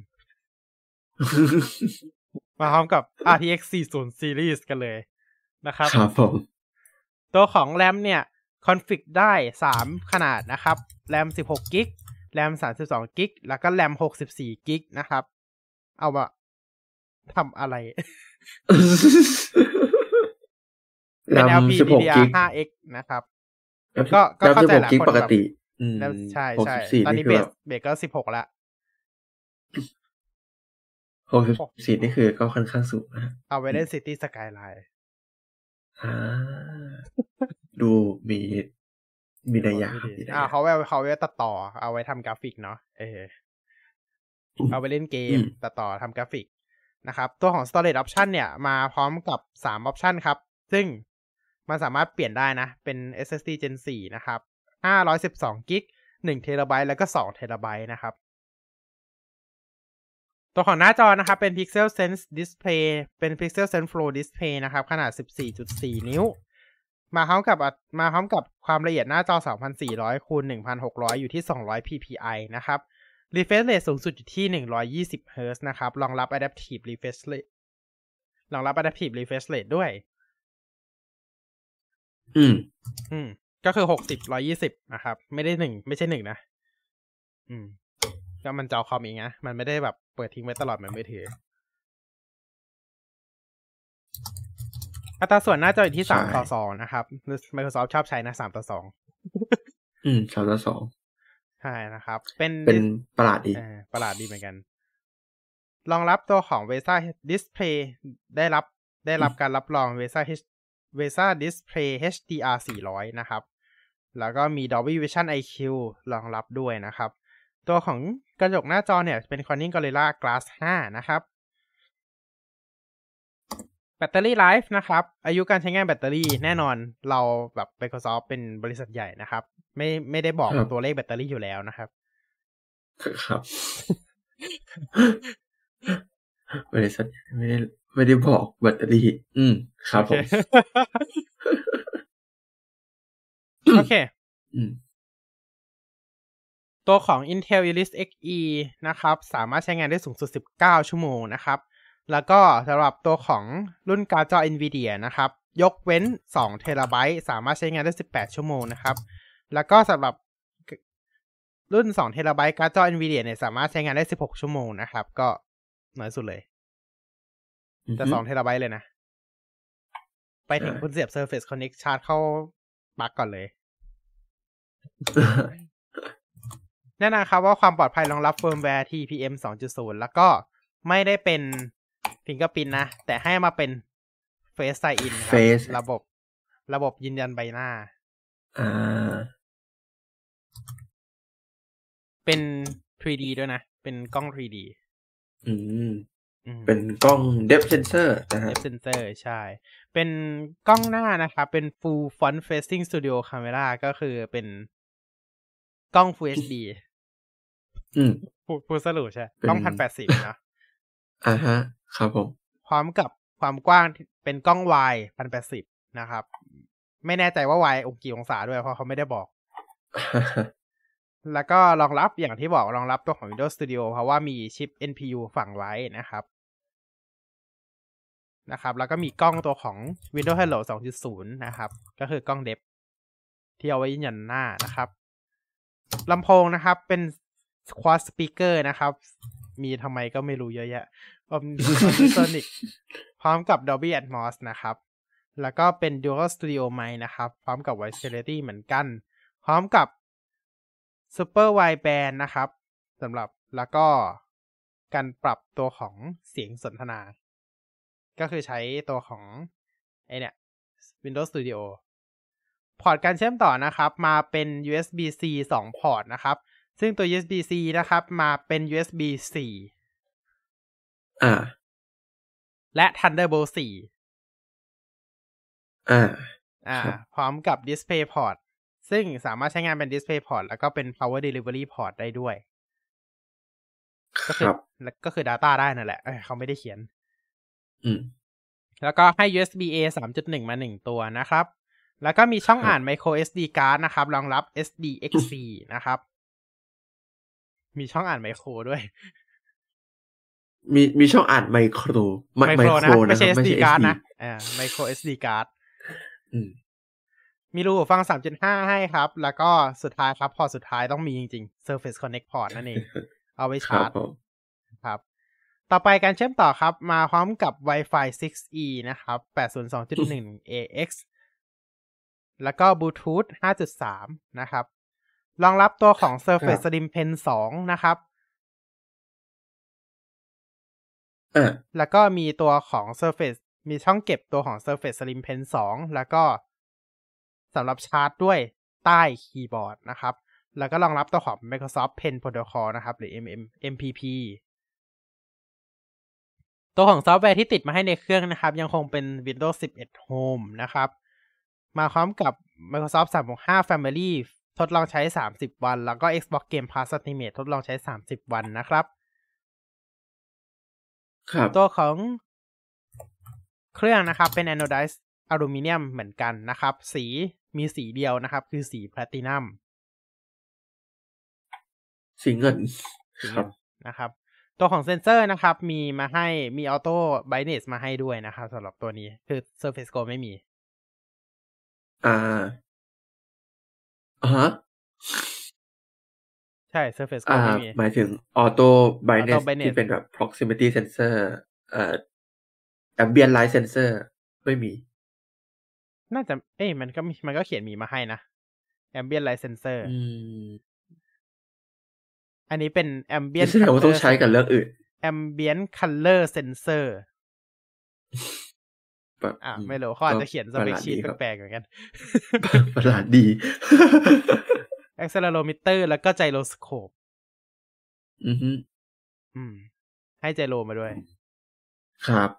Speaker 1: มาพร้อมกับ RTX 40 Series กันเลยนะครับ
Speaker 2: ครับผม
Speaker 1: ตัวของ RAM เนี่ยคอนฟิกได้3ขนาดนะครับ RAM 16GB RAM 32GB แล้วก็ RAM 64GB นะครับเอาว่าทำอะไร
Speaker 2: แร
Speaker 1: เป็น
Speaker 2: ม16 กิก
Speaker 1: LPDDR5X นะครับก็เข้าใจแหละ
Speaker 2: กิก
Speaker 1: คน
Speaker 2: ปก
Speaker 1: แบบ
Speaker 2: ติ
Speaker 1: แล้วใช่
Speaker 2: 64
Speaker 1: ตอน
Speaker 2: นี่
Speaker 1: นี้
Speaker 2: คือแบบ
Speaker 1: เบสก็16แล้ว
Speaker 2: 64นี่คือก็ค่อนข้างสูงนะ
Speaker 1: เอาไว้เล่น City Skyline
Speaker 2: ดูมีนัยยะ
Speaker 1: เขาไว้ตัดต่อเอาไว้ทำกราฟิกเนาะเอาไปเล่นเกมตัดต่อทำกราฟิกนะครับตัวของ storage option เนี่ยมาพร้อมกับ3 option ครับซึ่งมันสามารถเปลี่ยนได้นะเป็น SSD Gen 4 นะครับ512 กิก1 TB แล้วก็2 TB นะครับตัวของหน้าจอนะครับเป็น Pixel Sense Display เป็น Pixel Sense Flow Display นะครับขนาด 14.4 นิ้วมาพร้อมกับความละเอียดหน้าจอ 2400 คูณ 1600 อยู่ที่200 ppi นะครับ refresh rate สูงสุดอยู่ที่120 Hz นะครับรองรับ adaptive refresh rate ด้วยก็คือ60 120นะครับไม่ใช่1นะก็มันจอคอมเองนะมันไม่ได้แบบเปิดทิ้งไว้ตลอดเหมือนมือถืออัตราส่วนหน้าจออยู่ที่3:2นะครับ Microsoft ชอบใช้นะ3:2
Speaker 2: 3:2
Speaker 1: ใช่นะครับเป็น
Speaker 2: ประหลาดดี
Speaker 1: เหมือนกันรองรับตัวของ VESA Display ได้รับการรับรอง VESA Display HDR 400นะครับแล้วก็มี Dolby Vision IQ รองรับด้วยนะครับตัวของกระจกหน้าจอเนี่ยเป็น Corning Gorilla Glass 5 นะครับแบตเตอรี่ไลฟ์นะครับอายุการใช้งานแบตเตอรี่แน่นอนเราแบบ Microsoft เป็นบริษัทใหญ่นะครับไม่ได้บอกตัวเลขแบตเตอรี่อยู่แล้วนะครับ
Speaker 2: ครับบริษัทไม่ได้บอกแบตเตอรี่ครับผม
Speaker 1: โอเคตัวของ Intel Iris Xe นะครับสามารถใช้งานได้สูงสุด19 ชั่วโมงนะครับแล้วก็สำหรับตัวของรุ่นการ์ดจอ Nvidia นะครับยกเว้น2 TB สามารถใช้งานได้18 ชั่วโมงนะครับแล้วก็สำหรับรุ่น2 TB การ์ดจอ Nvidia เนี่ยสามารถใช้งานได้16 ชั่วโมงนะครับก็น้อยสุดเลยแต่2 TB เลยนะไปถึงคุณเสียบ Surface Connect ชาร์จเข้าปลั๊กก่อนเลยแน่นอนครับว่าความปลอดภัยรองรับเฟิร์มแวร์ TPM 2.0 แล้วก็ไม่ได้เป็น Fingerprint นะแต่ให้มาเป็น Face Sign In ครับระบบยืนยันใบหน้าเป็น 3D ด้วยนะเป็นกล้อง 3D
Speaker 2: เป็นกล้อง Depth Sensor นะฮะ
Speaker 1: Depth Sensor ใช่เป็นกล้องหน้านะครับเป็น Full Front Facing Studio Camera ก็คือเป็นกล้อง Full HDพูดสรุปใช่กล้อง 1080 นะ
Speaker 2: ฮะครับผม
Speaker 1: พร้อมกับความกว้างเป็นกล้อง wide 1080 นะครับไม่แน่ใจว่า wide กี่องศาด้วยเพราะเขาไม่ได้บอก แล้วก็รองรับอย่างที่บอกรองรับตัวของ Windows Studio เพราะว่ามีชิป NPU ฝังไว้นะครับแล้วก็มีกล้องตัวของ Windows Hello 2.0 นะครับก็คือกล้อง Depth ที่เอาไว้ยืนยันหน้านะครับลำโพงนะครับเป็น Quad Speaker นะครับมีทำไมก็ไม่รู้เยอะแยะOmnisonic พร้อมกับ Dolby Atmos นะครับแล้วก็เป็น Dual Studio Mic นะครับพร้อมกับ Voice Quality เหมือนกันพร้อมกับ Super Wideband นะครับสำหรับแล้วก็การปรับตัวของเสียงสนทนาก็คือใช้ตัวของเนี่ย Windows Studio พอร์ตการเชื่อมต่อนะครับมาเป็น USB-C 2 พอร์ตนะครับซึ่งตัว USB-C นะครับมาเป็น USB 4และ Thunderbolt 4พร้อมกับ Display Port ซึ่งสามารถใช้งานเป็น Display Port แล้วก็เป็น Power Delivery Port ได้ด้วยก็คือ Data ได้นั่นแหละเขาไม่ได้เขียนแล้วก็ให้ USB-A 3.1 มา1ตัวนะครับแล้วก็มีช่องอ่าน Micro SD card นะครับรองรับ SDXC นะครับมีช่องอ่านไมโครด้วย
Speaker 2: มีช่องอ่านไมโครนะ
Speaker 1: ไม่ใช่ SD card นะMicro SD card มีรูหูฟัง 3.5 ให้ครับแล้วก็สุดท้ายครับพอสุดท้ายต้องมีจริงๆ Surface Connect Port นั่นเองเอาไว้ชาร์จครับต่อไปการเชื่อมต่อครับมาพร้อมกับ Wi-Fi 6E นะครับ 802.1ax แล้วก็ Bluetooth 5.3 นะครับรองรับตัวของ Surface Slim Pen 2 นะครับแล้วก็มีตัวของ Surface มีช่องเก็บตัวของ Surface Slim Pen 2 แล้วก็สำหรับชาร์จด้วยใต้คีย์บอร์ดนะครับแล้วก็รองรับตัวของ Microsoft Pen Protocol นะครับหรือ MPP ตัวของซอฟต์แวร์ที่ติดมาให้ในเครื่องนะครับยังคงเป็น Windows 11 Home นะครับมาพร้อมกับ Microsoft 365 Family ทดลองใช้30วันแล้วก็ Xbox Game Pass Ultimate ทดลองใช้30วันนะครับตัวของเครื่องนะครับเป็น Anodized Aluminum เหมือนกันนะครับสีมีสีเดียวนะครับคือสี Platinum
Speaker 2: สีเงินครับ
Speaker 1: นะครับตัวของเซนเซอร์นะครับมีมาให้มี Auto Brightness มาให้ด้วยนะครับสำหรับตัวนี้คือ Surface Go ไม่มี
Speaker 2: ฮะ
Speaker 1: ใช่ Surface Go ไม่มี
Speaker 2: หมายถึง Auto Brightness ที่เป็นแบบ Proximity Sensor Ambient Light Sensor ไม่มี
Speaker 1: น่าจะมันก็เขียนมีมาให้นะ Ambient Light Sensor อันนี้เป็น Ambient
Speaker 2: แสดงว่าต้องใช้กับเรื่องอื่น
Speaker 1: Ambient Color Sensor ไม่รู้เขาอาจจะเขียนสเปคชีทแปลกๆเหมือนกัน
Speaker 2: ประหลาดดี
Speaker 1: Accelerometer แล้วก็ Gyroscope ให้ไจโรมาด้วย
Speaker 2: ครับ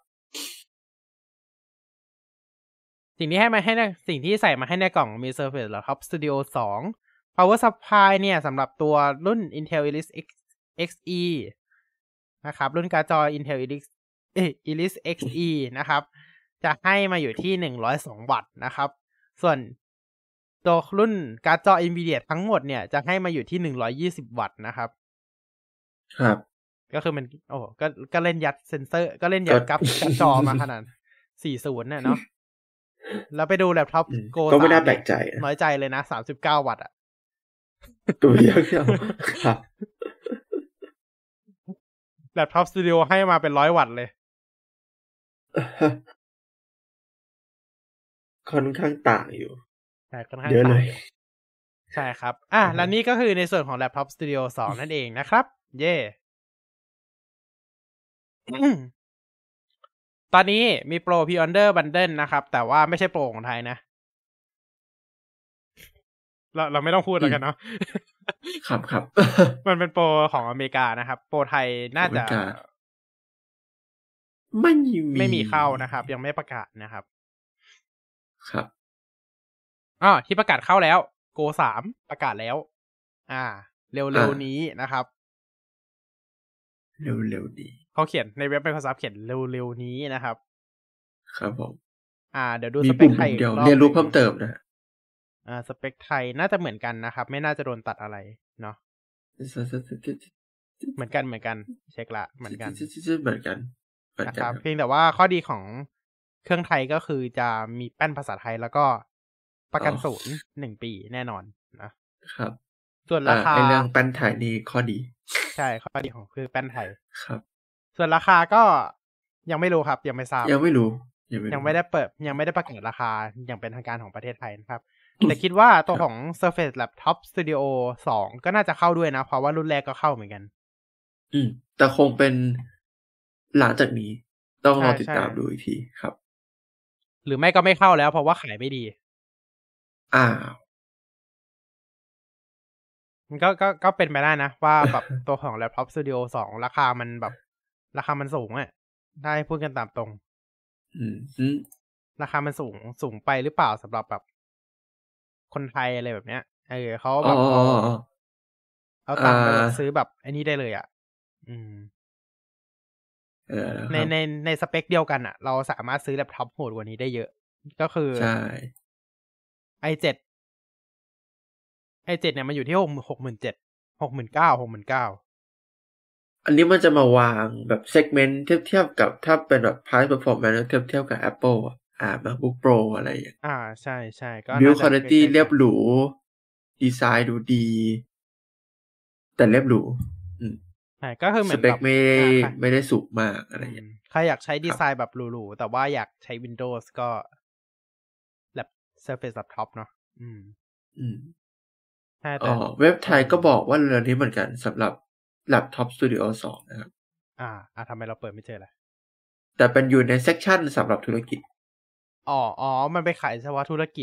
Speaker 1: สิ่งที่ใส่มาให้ในกล่องมี Surface Laptop Studio 2 Power Supply เนี่ยสำหรับตัวรุ่น Intel Iris Xe นะครับรุ่นการ์ดจอ Intel Iris Xe นะครับจะให้มาอยู่ที่102วัตต์นะครับส่วนตัวรุ่นการ์ดจอ Nvidia ทั้งหมดเนี่ยจะให้มาอยู่ที่120วัตต์นะครับ
Speaker 2: ครับ
Speaker 1: ก็คือมันก็เล่นยัดเซนเซอร์ก็เล่นยัดการ์ดจอมาขนาด40เนี่ยเนาะแล้วไปดูแล็ปท็อปโก
Speaker 2: ก็ไม่น่าแปลกใจ
Speaker 1: น้อยใจเลยนะ39วัตต์อะ
Speaker 2: ตัวเดียวครับ
Speaker 1: แล็ปท็อปสตูดิโอให้มาเป็น100วัตต์เลย
Speaker 2: ค่อนข้างต่างอยู่
Speaker 1: ใช่ค่อนข้างต่างใช่ครับและนี่ก็คือในส่วนของ Laptop Studio 2 นั่นเองนะครับเย่ตอนนี้มีโปร Pre-order Bundle นะครับแต่ว่าไม่ใช่โปรของไทยนะเราไม่ต้องพูดแล้วกันเนาะ
Speaker 2: ครับ
Speaker 1: มันเป็นโปรของอเมริกานะครับโปรไทยน่าจะไม่มีเข้านะครับยังไม่ประกาศนะครับ
Speaker 2: ครับ
Speaker 1: ที่ประกาศเข้าแล้ว Go 3 ประกาศแล้วเร็วๆนี้นะครับ
Speaker 2: เร็วๆนี้
Speaker 1: เขาเขียนในเว็บ Microsoft เขียนเร็วๆนี้นะครับ
Speaker 2: ครับผม
Speaker 1: เดี๋ยวดูสเปคไทย
Speaker 2: เดี๋ยวเรียนรู้เพิ่มเติมนะ
Speaker 1: สเปคไทยน่าจะเหมือนกันนะครับไม่น่าจะโดนตัดอะไรเนาะเหมือนกันเช็คละเหมือนกันนะครับเพียงแต่ว่าข้อดีของเครื่องไทยก็คือจะมีแป้นภาษาไทยแล้วก็ประกันศูนย์1 ปีแน่นอนนะครับส่วนราคา
Speaker 2: เรื่องแป้นไทยนี่ข้อดี
Speaker 1: ใช่ข้อดีของคือแป้นไทย
Speaker 2: ครับ
Speaker 1: ส่วนราคาก็ยังไม่รู้ครับยังไม่ทราบ
Speaker 2: ยังไม่รู้
Speaker 1: ยังไม่ได้ประกาศราคาอย่างเป็นทางการของประเทศไทยนะครับแต่คิดว่าตัวของ Surface Laptop Studio 2 ก็น่าจะเข้าด้วยนะเพราะว่ารุ่นแรกก็เข้าเหมือนกัน
Speaker 2: แต่คงเป็นหลังจากนี้ต้องรอติดตามดูอีกทีครับ
Speaker 1: หรือไม่ก็ไม่เข้าแล้วเพราะว่าขายไม่ดีมันก็เป็นไปได้นะว่าแบบตัวของ Laptop Studio 2 ราคามันสูงได้พูดกันตามตรงราคามันสูงไปหรือเปล่าสำหรับแบบคนไทยอะไรแบบเนี้ยเขาแบบเอาตังค์ไปแบบซื้อแบบไอ้นี่ได้เลยในสเปคเดียวกันเราสามารถซื้อแล็ปท็อปโหดกว่านี้ได้เยอะก็คือ
Speaker 2: ใช่
Speaker 1: i7 เนี่ยมันอยู่ที่67,000
Speaker 2: อันนี้มันจะมาวางแบบเซกเมนต์เทียบกับถ้าเป็นแบบ price performance เทียบกับ Apple MacBook Pro อะไรอย่าง
Speaker 1: ใช่ๆก็
Speaker 2: build quality เรียบหรูดีไซน์ดูดีแต่เรียบหรู
Speaker 1: ใช่ก็คือเห
Speaker 2: ส
Speaker 1: มือน
Speaker 2: เป
Speaker 1: แบ
Speaker 2: ค
Speaker 1: บ
Speaker 2: ไม่ได้สูงมากอะไรอย่างเงี้ย
Speaker 1: ใครอยากใช้
Speaker 2: ครับ
Speaker 1: ดีไซน์แบบหรูๆแต่ว่าอยากใช้ Windows ก็แบบ Surface Laptop เนาะใช่
Speaker 2: อ๋
Speaker 1: แต่
Speaker 2: อเว็บไทยก็บอกว่าเร็วนี้เหมือนกันสำหรับ Laptop Studio 2 นะครับ
Speaker 1: ทำไมเราเปิดไม่เจอล่ะ
Speaker 2: แต่เป็นอยู่ในเซกชันสำหรับธุรกิจ
Speaker 1: อ๋อมันไปขายเฉพาะธุรกิจ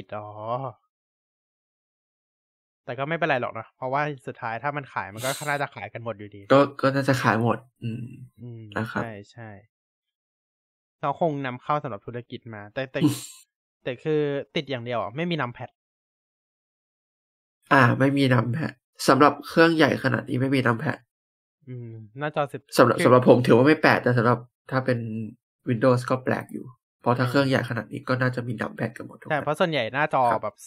Speaker 1: แต่ก็ไม่เป็นไรหรอกเนาะเพราะว่าสุดท้ายถ้ามันขายมันก็น่าจะขายกันหมดอยู่ดี
Speaker 2: ก็น่าจะขายหมด นะครับ
Speaker 1: ใช่เขาคงนำเข้าสำหรับธุรกิจมา แต่คือติดอย่างเดียวไม่มีนัมแพด
Speaker 2: ไม่มีนัมแพดสำหรับเครื่องใหญ่ขนาดนี้ไม่มีนัมแพด
Speaker 1: หน้าจอ10
Speaker 2: สำหรับผมถือว่าไม่แปลกแต่สำหรับถ้าเป็น Windows ก็แปลกอยู่เพราะถ้าเครื่องใหญ่ขนาดนี้ก็น่าจะมีนัมแพดกันหมดทุก
Speaker 1: แต่เพราะส่วนใหญ่หน้าจอ
Speaker 2: ครับ
Speaker 1: แบบ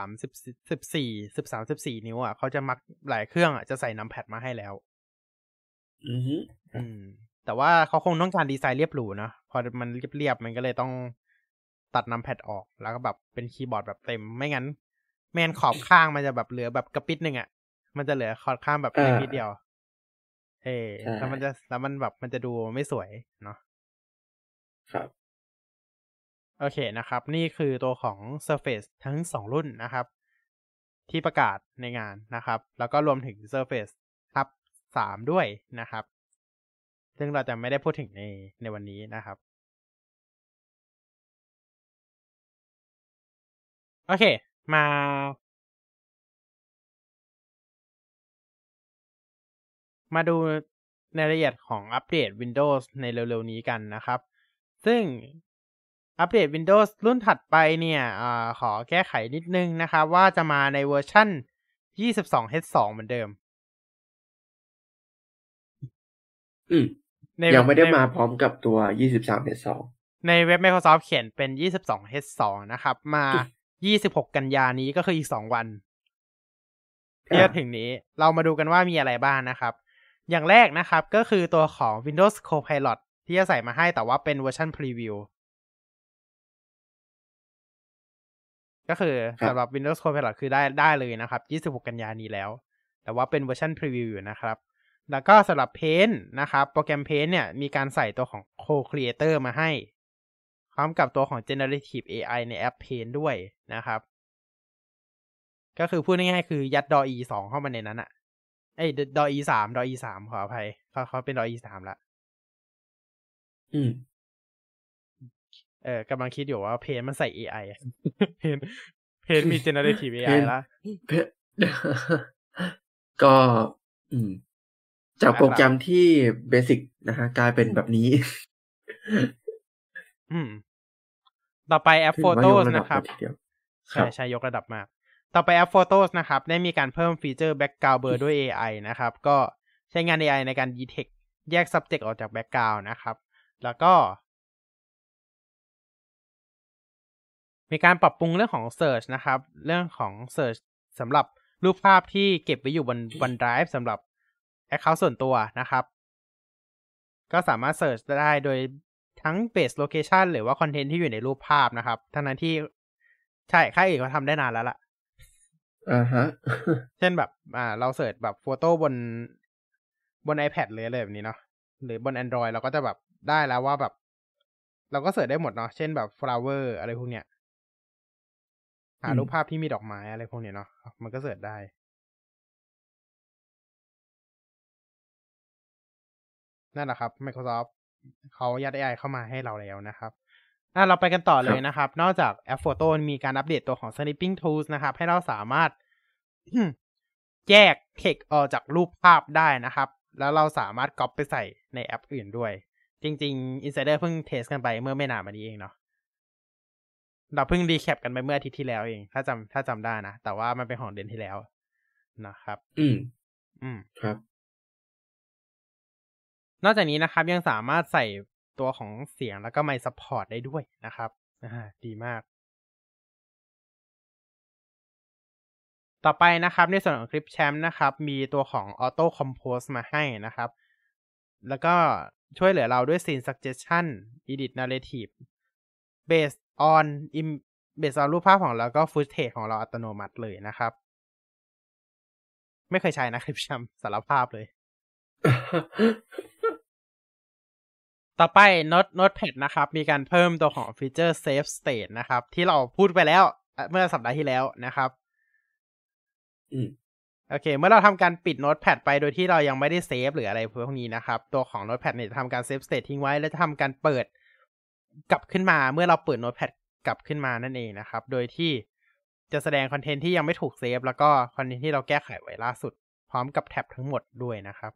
Speaker 1: 13 14 นิ้วเขาจะมักหลายเครื่องจะใส่นัมแพดมาให้แล้วแต่ว่าเขาคงต้องการดีไซน์เรียบหรูนะพอมันเรียบมันก็เลยต้องตัดนัมแพดออกแล้วก็แบบเป็นคีย์บอร์ดแบบเต็มไม่งั้นแมนขอบข้างมันจะแบบเหลือแบบกระปิดนึงมันจะเหลือขอบข้างแบบเล็กนิดเดียวแล้วมันแบบมันจะดูไม่สวยเนาะ
Speaker 2: ครับ
Speaker 1: โอเคนะครับนี่คือตัวของ Surface ทั้ง2รุ่นนะครับที่ประกาศในงานนะครับแล้วก็รวมถึง Surface ครับ3ด้วยนะครับซึ่งเราจะไม่ได้พูดถึงในวันนี้นะครับโอเคมาดูในรายละเอียดของอัปเดต Windows ในเร็วๆนี้กันนะครับซึ่งอัปเดต Windows รุ่นถัดไปเนี่ยขอแก้ไขนิดนึงนะครับว่าจะมาในเวอร์ชั่น 22H2 เหมือนเดิม
Speaker 2: ยังไม่ได้มาพร้อมกับตัว 23H2
Speaker 1: ในเว็บ Microsoft เขียนเป็น 22H2 นะครับมา26 กันยานี้ก็คืออีก2วันที่จะถึงนี้เรามาดูกันว่ามีอะไรบ้างนะครับอย่างแรกนะครับก็คือตัวของ Windows Copilot ที่จะใส่มาให้แต่ว่าเป็นเวอร์ชันพรีวิวก็คือสำหรับ Windows Copilot คือได้เลยนะครับ26 กันยานี้แล้วแต่ว่าเป็นเวอร์ชันพรีวิวอยู่นะครับแล้วก็สำหรับ Paint นะครับโปรแกรม Paint เนี่ยมีการใส่ตัวของ Co-Creator มาให้พร้อมกับตัวของ Generative AI ในแอป Paint ด้วยนะครับก็คือพูดง่ายๆคือยัด DALL-E 2 เข้ามาในนั้นDALL-E 3 ขออภัยเขาเป็น DALL-E 3ละกำลังคิดอยู่ว่า Paint มันใส่ AI Paint มี Generative AI ละ
Speaker 2: ก็จากโปรแกรมที่เบสิกนะฮะกลายเป็นแบบนี้
Speaker 1: ต่อไปแอป Photos นะครับใช่ยกระดับมากต่อไปแอป Photos นะครับได้มีการเพิ่มฟีเจอร์ Background Blur ด้วย AI นะครับก็ใช้งาน AI ในการ detect แยก subject ออกจาก background นะครับแล้วก็มีการปรับปรุงเรื่องของ search นะครับเรื่องของ search สำหรับรูปภาพที่เก็บไว้อยู่บน OneDrive สำหรับ account ส่วนตัวนะครับก็สามารถ search ได้โดยทั้ง base location หรือว่า content ที่อยู่ในรูปภาพนะครับทั้งนั้นที่ใช่ค่ายอื่นเขาทำได้นานแล้วล่ะเช่นแบบเราเสิร์ชแบบโฟโต้บน iPad เลยอะไรแบบนี้เนาะหรือบน Android เราก็จะแบบได้แล้วว่าแบบเราก็เสิร์ชได้หมดเนาะเช่นแบบ flower อะไรพวกเนี้ยหารูปภาพที่มีดอกไม้อะไรพวกเนี้ยเนาะมันก็เสิร์ชได้นั่นแหละครับ Microsoft เขายัด AI เข้ามาให้เราแล้วนะครับเราไปกันต่อเลยนะครับนอกจากแอปโฟโต้มีการอัปเดตตัวของ Snipping Tools นะครับให้เราสามารถแยก text ออกจากรูปภาพได้นะครับแล้วเราสามารถก๊อปไปใส่ในแอปอื่นด้วยจริงๆ Insider เพิ่งเทสกันไปเมื่อไม่นานมานี้เองเนาะเราเพิ่งรีแคปกันไปเมื่ออาทิตย์ที่แล้วเองถ้าจำได้นะแต่ว่ามันเป็นของเดือนที่แล้วนะครับ
Speaker 2: ครับ
Speaker 1: นอกจากนี้นะครับยังสามารถใส่ตัวของเสียงแล้วก็ไมค์ซัพพอร์ตได้ด้วยนะครับดีมากต่อไปนะครับในส่วนของ Clipchamp นะครับมีตัวของ Auto Compose มาให้นะครับแล้วก็ช่วยเหลือเราด้วย Scene Suggestion Edit Narrative based on รูปภาพของเราก็ Footage ของเราอัตโนมัติเลยนะครับไม่เคยใช้นะ Clipchamp สารภาพเลยต่อไป Notepad นะครับมีการเพิ่มตัวของฟีเจอร์ Save State นะครับที่เราพูดไปแล้วเมื่อสัปดาห์ที่แล้วนะครับโอเคเมื่อเราทำการปิด Notepad ไปโดยที่เรายังไม่ได้เซฟหรืออะไรพวกนี้นะครับตัวของ Notepad เนี่ยจะทำการ Save State ทิ้งไว้แล้วจะทำการเปิดกลับขึ้นมาเมื่อเราเปิด Notepad กลับขึ้นมานั่นเองนะครับโดยที่จะแสดงคอนเทนต์ที่ยังไม่ถูกเซฟแล้วก็คอนเทนต์ที่เราแก้ไขไว้ล่าสุดพร้อมกับแท็บทั้งหมดด้วยนะครับ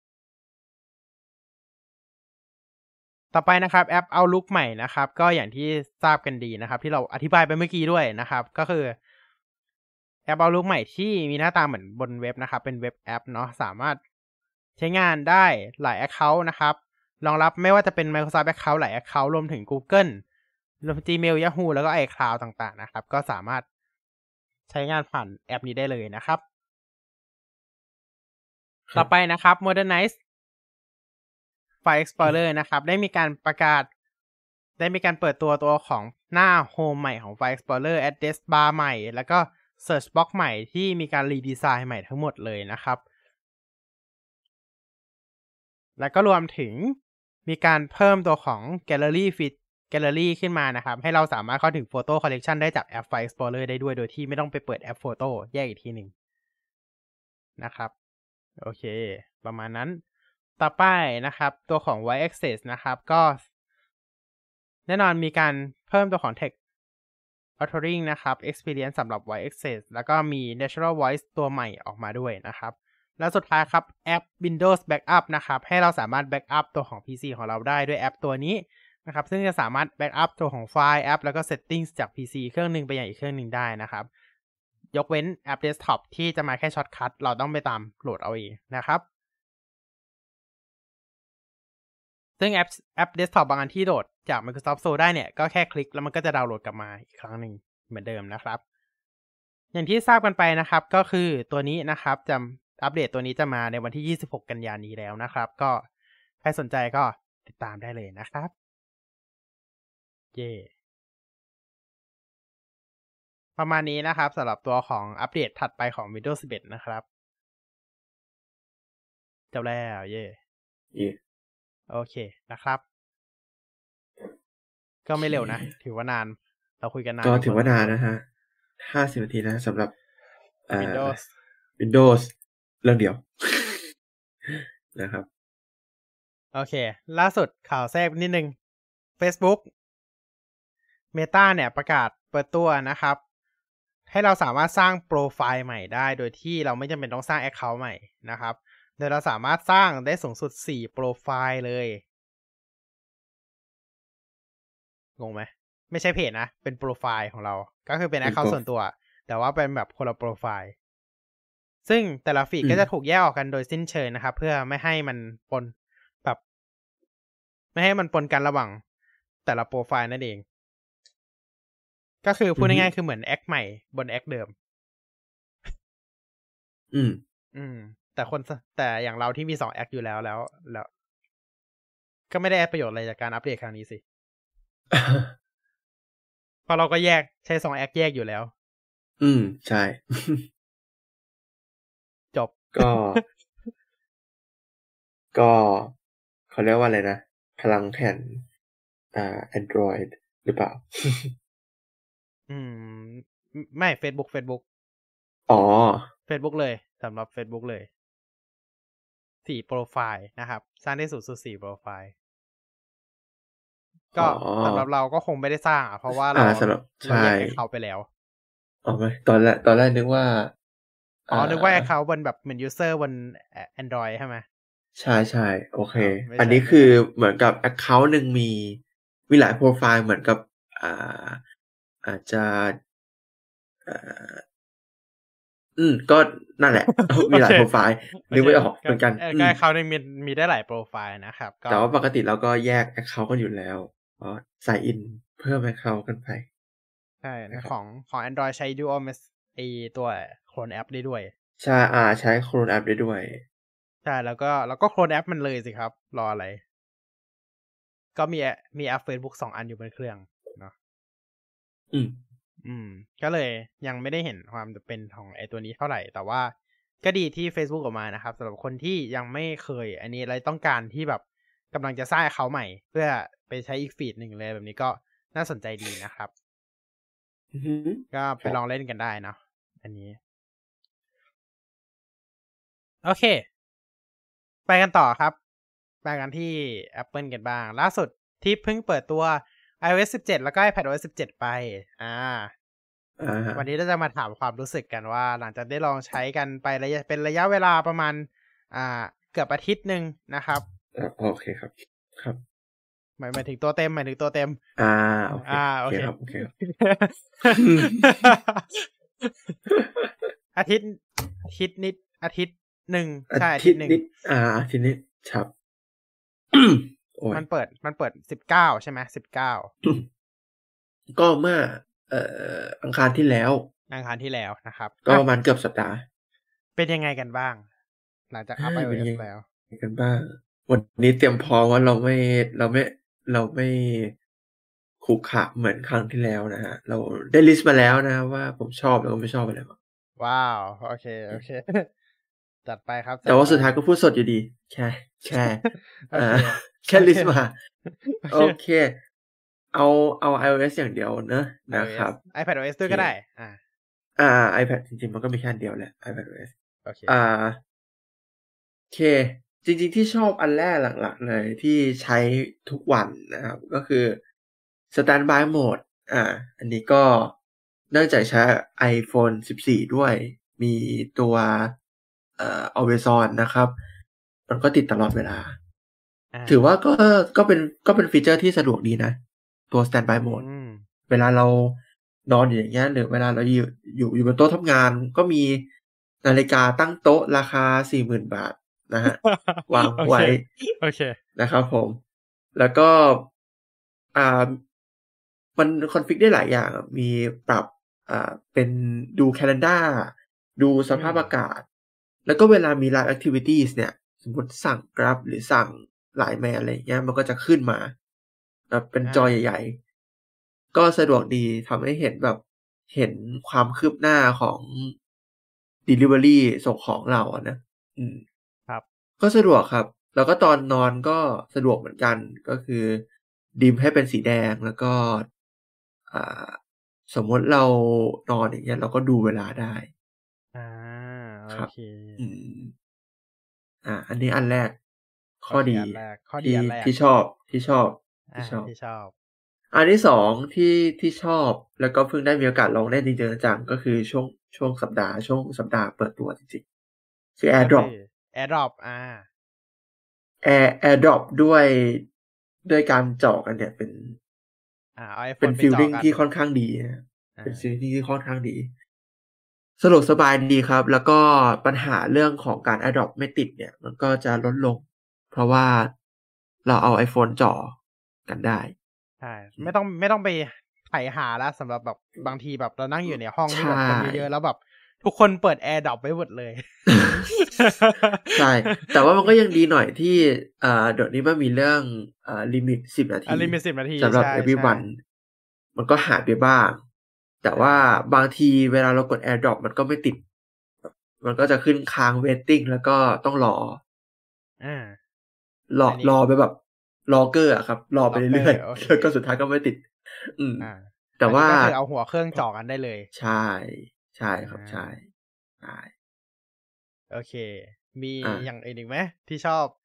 Speaker 1: ต่อไปนะครับแอป Outlook ใหม่นะครับก็อย่างที่ทราบกันดีนะครับที่เราอธิบายไปเมื่อกี้ด้วยนะครับก็คือแอป Outlook ใหม่ที่มีหน้าตาเหมือนบนเว็บนะครับเป็นเว็บแอปเนาะสามารถใช้งานได้หลาย Account นะครับรองรับไม่ว่าจะเป็น Microsoft Account หลาย Account รวมถึง Google รวมถึง Gmail Yahoo แล้วก็ iCloud ต่างๆนะครับก็สามารถใช้งานผ่านแอปนี้ได้เลยนะครับต่อไปนะครับ Modernize File Explorer นะครับได้มีการเปิดตัวของหน้า Home ใหม่ของ File Explorer Address Bar ใหม่แล้วก็ Search Box ใหม่ที่มีการรีดีไซน์ใหม่ทั้งหมดเลยนะครับแล้วก็รวมถึงมีการเพิ่มตัวของ Gallery ขึ้นมานะครับให้เราสามารถเข้าถึง Photo Collection ได้จากแอป File Explorer ได้ด้วยโดยที่ไม่ต้องไปเปิดแอป Photo แยกอีกทีหนึ่งนะครับโอเคประมาณนั้นต่อไปนะครับตัวของ Voice Access นะครับก็แน่นอนมีการเพิ่มตัวของ Text Authoring นะครับ Experience สำหรับ Voice Access แล้วก็มี Natural Voice ตัวใหม่ออกมาด้วยนะครับแล้วสุดท้ายครับแอป Windows Backup นะครับให้เราสามารถ Backup ตัวของ PC ของเราได้ด้วยแอปตัวนี้นะครับซึ่งจะสามารถ Backup ตัวของไฟล์แอปแล้วก็ Settings จาก PC เครื่องนึงไปยังอีกเครื่องนึงได้นะครับยกเว้นแอป Desktop ที่จะมาแค่ช็อตคัทเราต้องไปตามโหลดเอาเองนะครับซึ่งแอป Desktop บางอันที่โหลดจาก Microsoft Store ได้เนี่ยก็แค่คลิกแล้วมันก็จะดาวน์โหลดกลับมาอีกครั้งนึงเหมือนเดิมนะครับอย่างที่ทราบกันไปนะครับก็คือตัวนี้นะครับจะอัปเดตตัวนี้จะมาในวันที่26กันยายนนี้แล้วนะครับก็ใครสนใจก็ติดตามได้เลยนะครับเย่ประมาณนี้นะครับสำหรับตัวของอัปเดตถัดไปของ Windows 11นะครับจบแล้วเย่โอเคนะครับก็ไม่เร็วนะถือว่านานเราคุยกันนาน
Speaker 2: ก็ถือว่านานนะฮะ50 นาทีนะสำหรับ
Speaker 1: Windows
Speaker 2: เรื่องเดียวนะครับ
Speaker 1: โอเคล่าสุดข่าวแทรกนิดนึง Facebook Meta เนี่ยประกาศเปิดตัวนะครับให้เราสามารถสร้างโปรไฟล์ใหม่ได้โดยที่เราไม่จำเป็นต้องสร้าง Account ใหม่นะครับโดยเราสามารถสร้างได้สูงสุด4โปรไฟล์เลยงงไหมไม่ใช่เพจนะเป็นโปรไฟล์ของเราก็คือเป็น Account ส่วนตัวแต่ว่าเป็นแบบคนละโปรไฟล์ซึ่งแต่ละฟีดก็จะถูกแยกออกกันโดยสิ้นเชิงนะครับเพื่อไม่ให้มันปนแบบไม่ให้มันปนกันระหว่างแต่ละโปรไฟล์นั่นเองก็คือพูดง่ายๆคือเหมือนแอคใหม่บนแอคเดิมแต่อย่างเราที่มี2แอคอยู่แล้วก็ไม่ได้ประโยชน์อะไรจากการอัปเดตครั้งนี้สิเพราะเราก็ใช้2แอคแยกอยู่แล้ว
Speaker 2: ใช่
Speaker 1: จบ
Speaker 2: ก็เขาเรียกว่าอะไรนะพลังแผ่นAndroid หรือเปล่า
Speaker 1: ไม่ Facebook
Speaker 2: อ๋อ
Speaker 1: Facebook เลยสำหรับ Facebook เลย4โปรไฟล์นะครับสร้างได้สูงสุด4โปรไฟล์ก็สำหรับเราก็คงไม่ได้สร้างเพราะว่าเราแยกเขาไปแล้ว
Speaker 2: อ๋อไม่ตอนแรกนึกว่า
Speaker 1: นึกว่าเขาบนแบบเหมือน user บน Android ใช่ไหม
Speaker 2: ใช่โอเคอันนี้คือเหมือนกับ account นึงมีหลายโปรไฟล์เหมือนกับอาจจะก็นั่นแหละมีหลายโปรไฟล์นึกไม่ออกเหมือนกัน
Speaker 1: ก็เขานึงมีได้หลายโปรไฟล์นะครับ
Speaker 2: แต่ว่าปกติเราก็แยก account กันอยู่แล้วก็ใส่อินเพิ่ม account กันไป
Speaker 1: ใช่ของ Android ใช้ Dualตัวโคลนแอปได้ด้วย
Speaker 2: ใช่ใช้โคลนแอปได้ด้วย
Speaker 1: ใช่แล้วก็โคลนแอปมันเลยสิครับรออะไรก็มีแอป Facebook 2 อันอยู่บนเครื่องเนาะก็เลยยังไม่ได้เห็นความเป็นของไอตัวนี้เท่าไหร่แต่ว่าก็ดีที่ Facebook ออกมานะครับสำหรับคนที่ยังไม่เคยอันนี้อะไรต้องการที่แบบกำลังจะสร้างเขาใหม่เพื่อไปใช้อีกฟีดหนึ่งเลยแบบนี้ก็น่าสนใจดีนะครับก็ไปลองเล่นกันได้เนาะอันนี้โอเคไปกันต่อครับไปกันที่ Apple กันบ้างล่าสุดที่เพิ่งเปิดตัว iOS 17 แล้วก็ iPadOS 17 ไปวันนี้เราจะมาถามความรู้สึกกันว่าหลังจากได้ลองใช้กันไปเป็นระยะเวลาประมาณเกือบอาทิตย์นึงนะครับ
Speaker 2: โอเคครับครับ
Speaker 1: หมายถึงตัวเต็มโอเคโอเคครับโอเคอาทิตย์นิดอาทิตย์หนึ่งใช่อาทิตย์นึง
Speaker 2: อาทิตย์นิดครับ
Speaker 1: มันเปิด19ใช่ไหม19
Speaker 2: ก็เมื่ออังคารที่แล้ว
Speaker 1: นะครับ
Speaker 2: ก็ประมาณเกือบสัปดาห์
Speaker 1: เป็นยังไงกันบ้างหลังจากอัพ iOS แล้ว
Speaker 2: กันบ้างวันนี้เตรียมพร้อมว่าเราไม่ขู่ขะเหมือนครั้งที่แล้วนะฮะเราได้ลิสต์มาแล้วนะว่าผมชอบแล้วก็ไม่ชอบอะไรบ้าง
Speaker 1: ว้าวโอเคจัดไปครับ
Speaker 2: แต่ว่าสุดท้ายก็พูดสดอยู่ดีแค่แค่ลิสต์มาโอเคเอา iOS อย่างเดียวนะครับ
Speaker 1: iPadOS ด้วยก็ได้
Speaker 2: iPad จริงๆมันก็มีแค่อันเดียวแหละ iPadOS
Speaker 1: โอ
Speaker 2: เคจริงๆที่ชอบอันแรกหลักๆเลยที่ใช้ทุกวันนะครับก็คือ Standby Mode อันนี้ก็เนื่องจากใช้ iPhone 14 ด้วยมีตัวAlways On นะครับมันก็ติดตลอดเวลาถือว่าก็เป็นฟีเจอร์ที่สะดวกดีนะตัว Standby Mode เวลาเรานอนอย่างเงี้ยหรือเวลาเราอยู่บนโต๊ะทำงานก็มีนาฬิกาตั้งโต๊ะราคา 40,000 บาทนะฮะวางไว้
Speaker 1: โอเค
Speaker 2: นะครับผมแล้วก็มันคอนฟิกได้หลายอย่างมีปรับเป็นดู calendar ดูสภาพอากาศแล้วก็เวลามี live activities เนี่ยสมมติสั่ง Grab หรือสั่ง Line อะไรเงี้ยมันก็จะขึ้นมาเป็นจอใหญ่ๆก็สะดวกดีทำให้เห็นความคืบหน้าของ delivery ส่งของเรา
Speaker 1: ครับ
Speaker 2: ก็สะดวกครับแล้วก็ตอนนอนก็สะดวกเหมือนกันก็คือดิมให้เป็นสีแดงแล้วก็สมมติเรานอนอย่างเงี้ยเราก็ดูเวลาได้
Speaker 1: ครับ
Speaker 2: อันนี้อันแรกข้อดีที่ชอบอันที่สองที่ชอบแล้วก็เพิ่งได้มีโอกาสลองเล่นจริงๆจังก็คือช่วงสัปดาห์เปิดตัวจริงๆคือ AirDrop AirDrop ด้วยการเจาะกันเนี่ยเป็นฟีลลิ่งที่ค่อนข้างดีเป็นฟีลลิ่งที่ค่อนข้างดีสะดวกสบายดีครับแล้วก็ปัญหาเรื่องของการ AirDrop ไม่ติดเนี่ยมันก็จะลดลงเพราะว่าเราเอา iPhone จ่อกันได้
Speaker 1: ใช่ไม่ต้องไปไถหาแล้วสำหรับแบบบางทีแบบเรานั่งอยู่ในห้องที่แบบคนเยอะๆแล้วแบบทุกคนเปิด AirDrop ไว้หมดเลย
Speaker 2: ใช่แต่ว่ามันก็ยังดีหน่อยที่เดี๋ยวนี้มันมีเรื่องลิมิต10 นาทีสำหรับ everyone มันก็หายไปบ้างแต่ว่าบางทีเวลาเรากด AirDrop มันก็ไม่ติดมันก็จะขึ้นค้าง waiting แล้วก็ต้องรอไปแบบรอเกอร์ครับรอไปเรื่อยๆแล้วก็สุดท้ายก็ไม่ติดแต่ว่า
Speaker 1: ก็คือเอาหัวเครื่องจ่อกันได้เลย
Speaker 2: ใช่ครับใช่
Speaker 1: โอเคมีอย่างอื่นอีกไหมที่ชอบ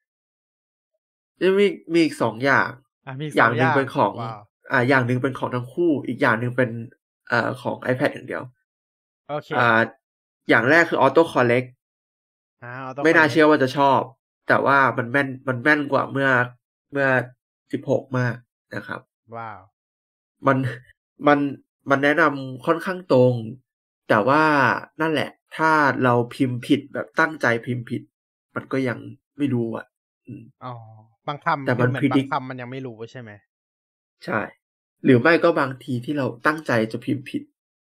Speaker 2: มีอีก2อย่างอย่างนึงเป็นของอย่างนึงเป็นของทั้งคู่อีกอย่างนึงเป็นของ iPad อย่างเดียว
Speaker 1: โอเค
Speaker 2: อย่างแรกคือ Auto Collect ไม่น่าเชื่อว่าจะชอบแต่ว่ามันแม่นกว่าเมื่อ16มากนะครับ
Speaker 1: ว้าว
Speaker 2: มันแนะนำค่อนข้างตรงแต่ว่านั่นแหละถ้าเราพิมพ์ผิดแบบตั้งใจพิมพ์ผิดมันก็ยังไม่รู้
Speaker 1: บางคำแต่มันบางคำมันยังไม่รู้ใช่ไหม
Speaker 2: ใช่หรือไม่ก็บางทีที่เราตั้งใจจะพิมพ์ผิด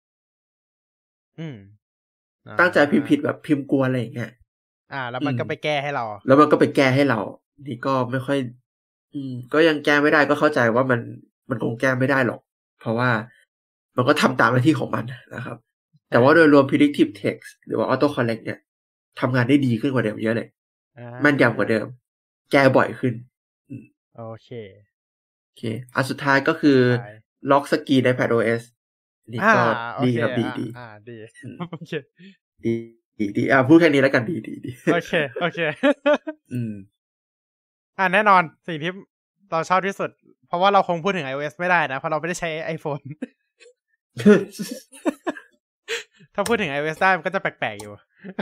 Speaker 2: ตั้งใจพิมพ์ผิดแบบพิมพ์กลัวอะไรอย่างเงี้ย
Speaker 1: แล้วมันก็ไปแก้ให้เรา
Speaker 2: นี่ก็ไม่ค่อยก็ยังแก้ไม่ได้ก็เข้าใจว่ามันคงแก้ไม่ได้หรอกเพราะว่ามันก็ทำตามหน้าที่ของมันนะครับแต่ว่าโดยรวม predictive text หรือว่า auto correct เนี่ยทำงานได้ดีขึ้นกว่าเดิมเยอะเลยแม่นยำกว่าเดิมแก้บ่อยขึ้น
Speaker 1: โอเค
Speaker 2: อันสุดท้ายก็คือล็อกสกรีนใน iPadOS นี่ก็ดีครับดี
Speaker 1: ดีโอเค
Speaker 2: ดีพูดแค่นี้แล้วกันดี
Speaker 1: โอเคแน่นอนสิ่งที่เราชอบที่สุดเพราะว่าเราคงพูดถึง iOS ไม่ได้นะเพราะเราไม่ได้ใช้ iPhone ถ้าพูดถึง iOS ได้มันก็จะแปลกๆอยู่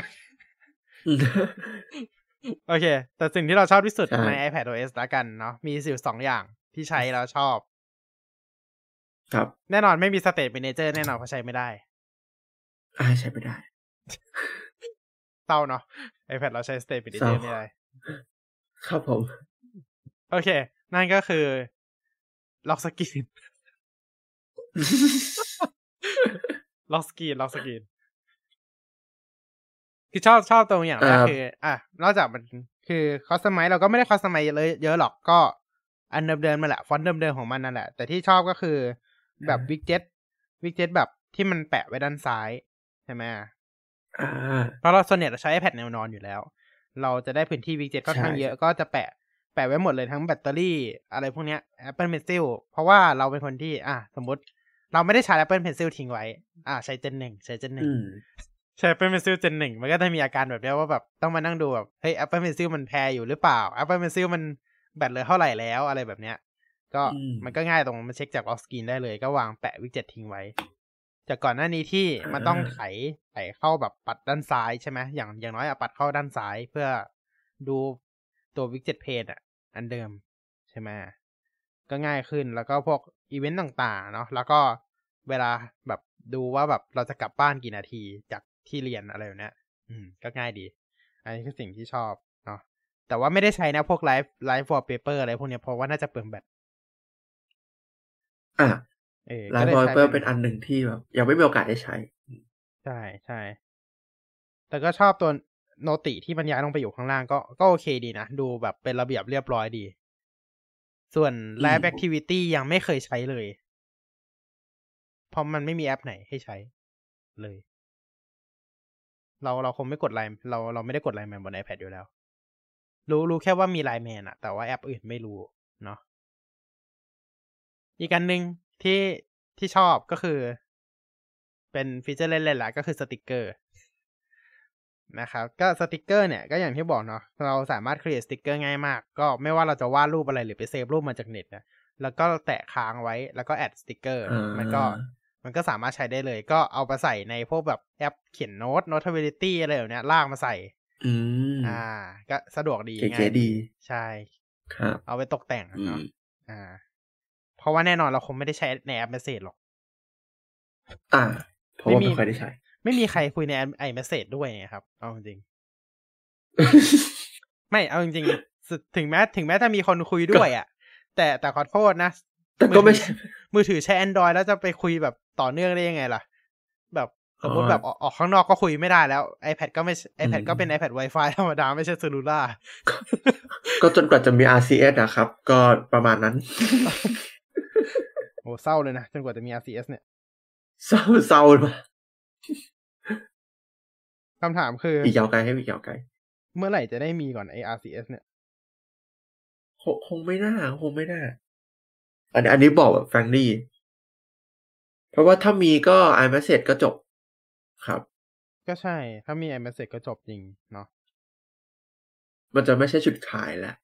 Speaker 1: โอเคแต่สิ่งที่เราชอบที่สุดใน iPadOS ละกันเนาะมีอยู่2อย่างที่ใช้แล้วชอบ
Speaker 2: ครับ
Speaker 1: แน่นอนไม่มี State Manager แน่นอนเพราะใช้ไม่ได้
Speaker 2: ใช้ไม่ได้
Speaker 1: เศร้าเนาะ iPad เราใช้ State Manager ไม่ได้
Speaker 2: ครับผม
Speaker 1: โอเคนั่นก็คือล็อกสกรีนล็อกสกรีนคือชอบตรงอย่างแรกคือนอกจากมันคือคอสตอมไมซ์เราก็ไม่ได้คอสตอมไมซ์เยอะหรอกก็อันเดิมๆมาแหละฟอนต์เดิมๆของมันนั่นแหละแต่ที่ชอบก็คือแบบวิกเจ็ตแบบที่มันแปะไว้ด้านซ้ายใช่ไหมเพราะเราส่วนใหญ่เราใช้ iPad แนวนอนอยู่แล้วเราจะได้พื้นที่วิกเจ็ตค่อนข้างเยอะก็จะแปะไว้หมดเลยทั้งแบตเตอรี่อะไรพวกเนี้ย Apple Pencil เพราะว่าเราเป็นคนที่สมมติเราไม่ได้ใช้ Apple Pencil ทิ้งไว้ใช้Gen 1ใช้ Gen 1ใช้ Apple Pencil Gen 1มันก็จะมีอาการแบบนี้ว่าแบบต้องมานั่งดูแบบเฮ้ย Apple Pencil มันแพรอยู่หรือเปล่า Apple Pencil มันแบตเหลือเท่าไหร่แล้วอะไรแบบเนี้ยก็มันก็ง่ายตรงมาเช็คจากล็อกสกรีนได้เลยก็วางแปะวิดเจ็ตทิ้งไว้จากก่อนหน้านี้ที่มันต้องไถเข้าแบบปัดด้านซ้ายใช่ไหมอย่างน้อยปัดเข้าด้านซ้ายเพื่อดูตัววิดเจ็ตเพจอันเดิมใช่ไหมก็ง่ายขึ้นแล้วก็พวกอีเวนต์ต่างๆเนาะแล้วก็เวลาแบบดูว่าแบบเราจะกลับบ้านกี่นาทีจากที่เรียนอะไรแบบเนี้ยก็ง่ายดีอันนี้คือสิ่งที่ชอบเนาะแต่ว่าไม่ได้ใช้นะพวกไลฟ์วอลเปเปอร์อะไรพวกนี้เพราะว่าน่าจะเปลืองแบต
Speaker 2: ไลฟ์วอลเปเปอร์เป็นอันหนึ่งที่แบบยังไม่มีโอกาสได้ใช้
Speaker 1: ใช่แต่ก็ชอบตัวโนติที่มันย้ายลงไปอยู่ข้างล่างก็โอเคดีนะดูแบบเป็นระเบียบเรียบร้อยดีส่วน Live Activity ยังไม่เคยใช้เลยเพราะมันไม่มีแอปไหนให้ใช้เลยเราคงไม่กดไลน์เราไม่ได้กดไลน์แมนบน iPad อยู่แล้วรู้แค่ว่ามีไลน์แมนแต่ว่าแอปอื่นไม่รู้เนาะอีกอันหนึ่งที่ชอบก็คือเป็นฟีเจอร์เล่นๆแหละก็คือสติกเกอร์นะครับก็สติกเกอร์เนี่ยก็อย่างที่บอกเนาะเราสามารถ create สติกเกอร์ง่ายมากก็ไม่ว่าเราจะวาดรูปอะไรหรือไปเซฟรูปมาจากเน็ตนะแล้วก็แตะค้างไว้แล้วก็แอดสติกเกอร์มันก็สามารถใช้ได้เลยก็เอาไปใส่ในพวกแบบแอปเขียนโน้ต Notability อะไรแบบเนี้ยลากมาใส่ก็สะดวกดีง่ายดีใช่
Speaker 2: ครับ
Speaker 1: เอาไปตกแต่งเนาะเพราะว่าแน่นอนเราคงไม่ได้ใช้ในแอป Message หรอก
Speaker 2: เพราะว่าไม่ค่อยได้ใช้
Speaker 1: ไม่มีใครคุยในiMessage ด้วยไงครับเอาจริงไม่เอาจริงๆถึงแม้จะมีคนคุยด้วยแต่ขอโทษนะ
Speaker 2: แต่ก็ไม่
Speaker 1: มือถือใช้ Android แล้วจะไปคุยแบบต่อเนื่องได้ยังไงล่ะแบบสมมติแบบออกข้างนอกก็คุยไม่ได้แล้ว iPad ก็เป็น iPad Wi-Fi ธรรมดาไม่ใช่เซลลูล่า
Speaker 2: ก็จนกว่าจะมี RCS นะครับก็ประมาณนั้น
Speaker 1: โอ้เศร้าเลยนะจนกว่าจะมี RCS เนี่ย
Speaker 2: เศร้ามา
Speaker 1: คำถามคือ
Speaker 2: อีกยาวไกลให้อีกยาวไกล
Speaker 1: เมื่อไหร่จะได้มีก่อนไอ้ RCS เนี่ย
Speaker 2: คงไม่น่าอันนี้บอกแบบแฟรงลี่เพราะว่าถ้ามีก็ iMessage ก็จบครับ
Speaker 1: ก็ใช่ถ้ามี iMessage ก็จบจริงเนาะ
Speaker 2: มันจะไม่ใช่จุดขายแล้ว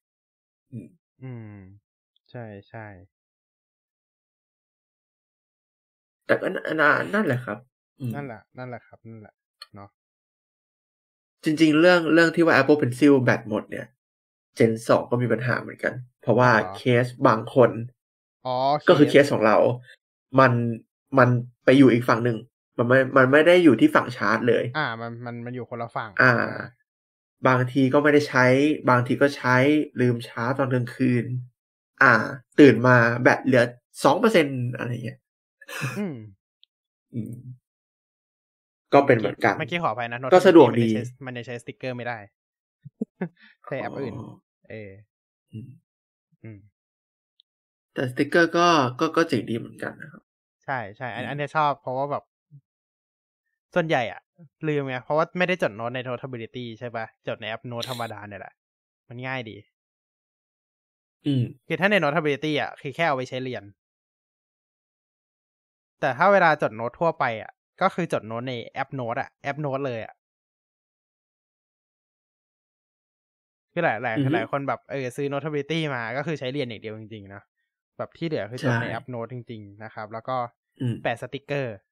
Speaker 1: ใช่
Speaker 2: แต่ก็นั่นแหละครับ
Speaker 1: นั่นแหละครับนั่นแหละเนาะ
Speaker 2: จริงๆเรื่องที่ว่า Apple Pencil แบตหมดเนี่ย Gen 2ก็มีปัญหาเหมือนกันเพราะว่าเคสบางคนก็คือเคสของเรามันไปอยู่อีกฝั่งหนึ่งมันไม่ได้อยู่ที่ฝั่งชาร์จเลย
Speaker 1: มันอยู่คนละฝั่ง
Speaker 2: บางทีก็ไม่ได้ใช้บางทีก็ใช้ลืมชาร์จตอนกลางคืนตื่นมาแบตเหลือ 2% อะไรเงี้ยก็เป็นเหมือนกัน
Speaker 1: เมื่อกี้ขออภัยนะ
Speaker 2: ก็สะดวกดี
Speaker 1: มันจะใช้สติ๊กเกอร์ไม่ได้ใช้แอปอื่น
Speaker 2: แต่สติ๊กเกอร์ก็เจ๋งดีเหมือนกันนะครับ
Speaker 1: ใช่อันนี้ชอบเพราะว่าแบบส่วนใหญ่ลืมไงเพราะว่าไม่ได้จดโน้ตใน Notability ใช่ปะจดในแอปโน้ตธรรมดาเนี่ยแหละมันง่ายดีคือถ้าใน Notability อ่ะคือแค่เอาไว้ใช้เรียนแต่ถ้าเวลาจดโน้ตทั่วไปอ่ะก็คือจดโน้ตในแอปโน้ตอ่ะแอปโน้ตเลยอ่ะคือหลายคนแบบซื้อ Notability มาก็คือใช้เรียนอย่างเดียวจริงๆนะแบบที่เหลือคือจดในแอปโน้ตจริงๆนะครับแล้วก็แปะสติกเกอร์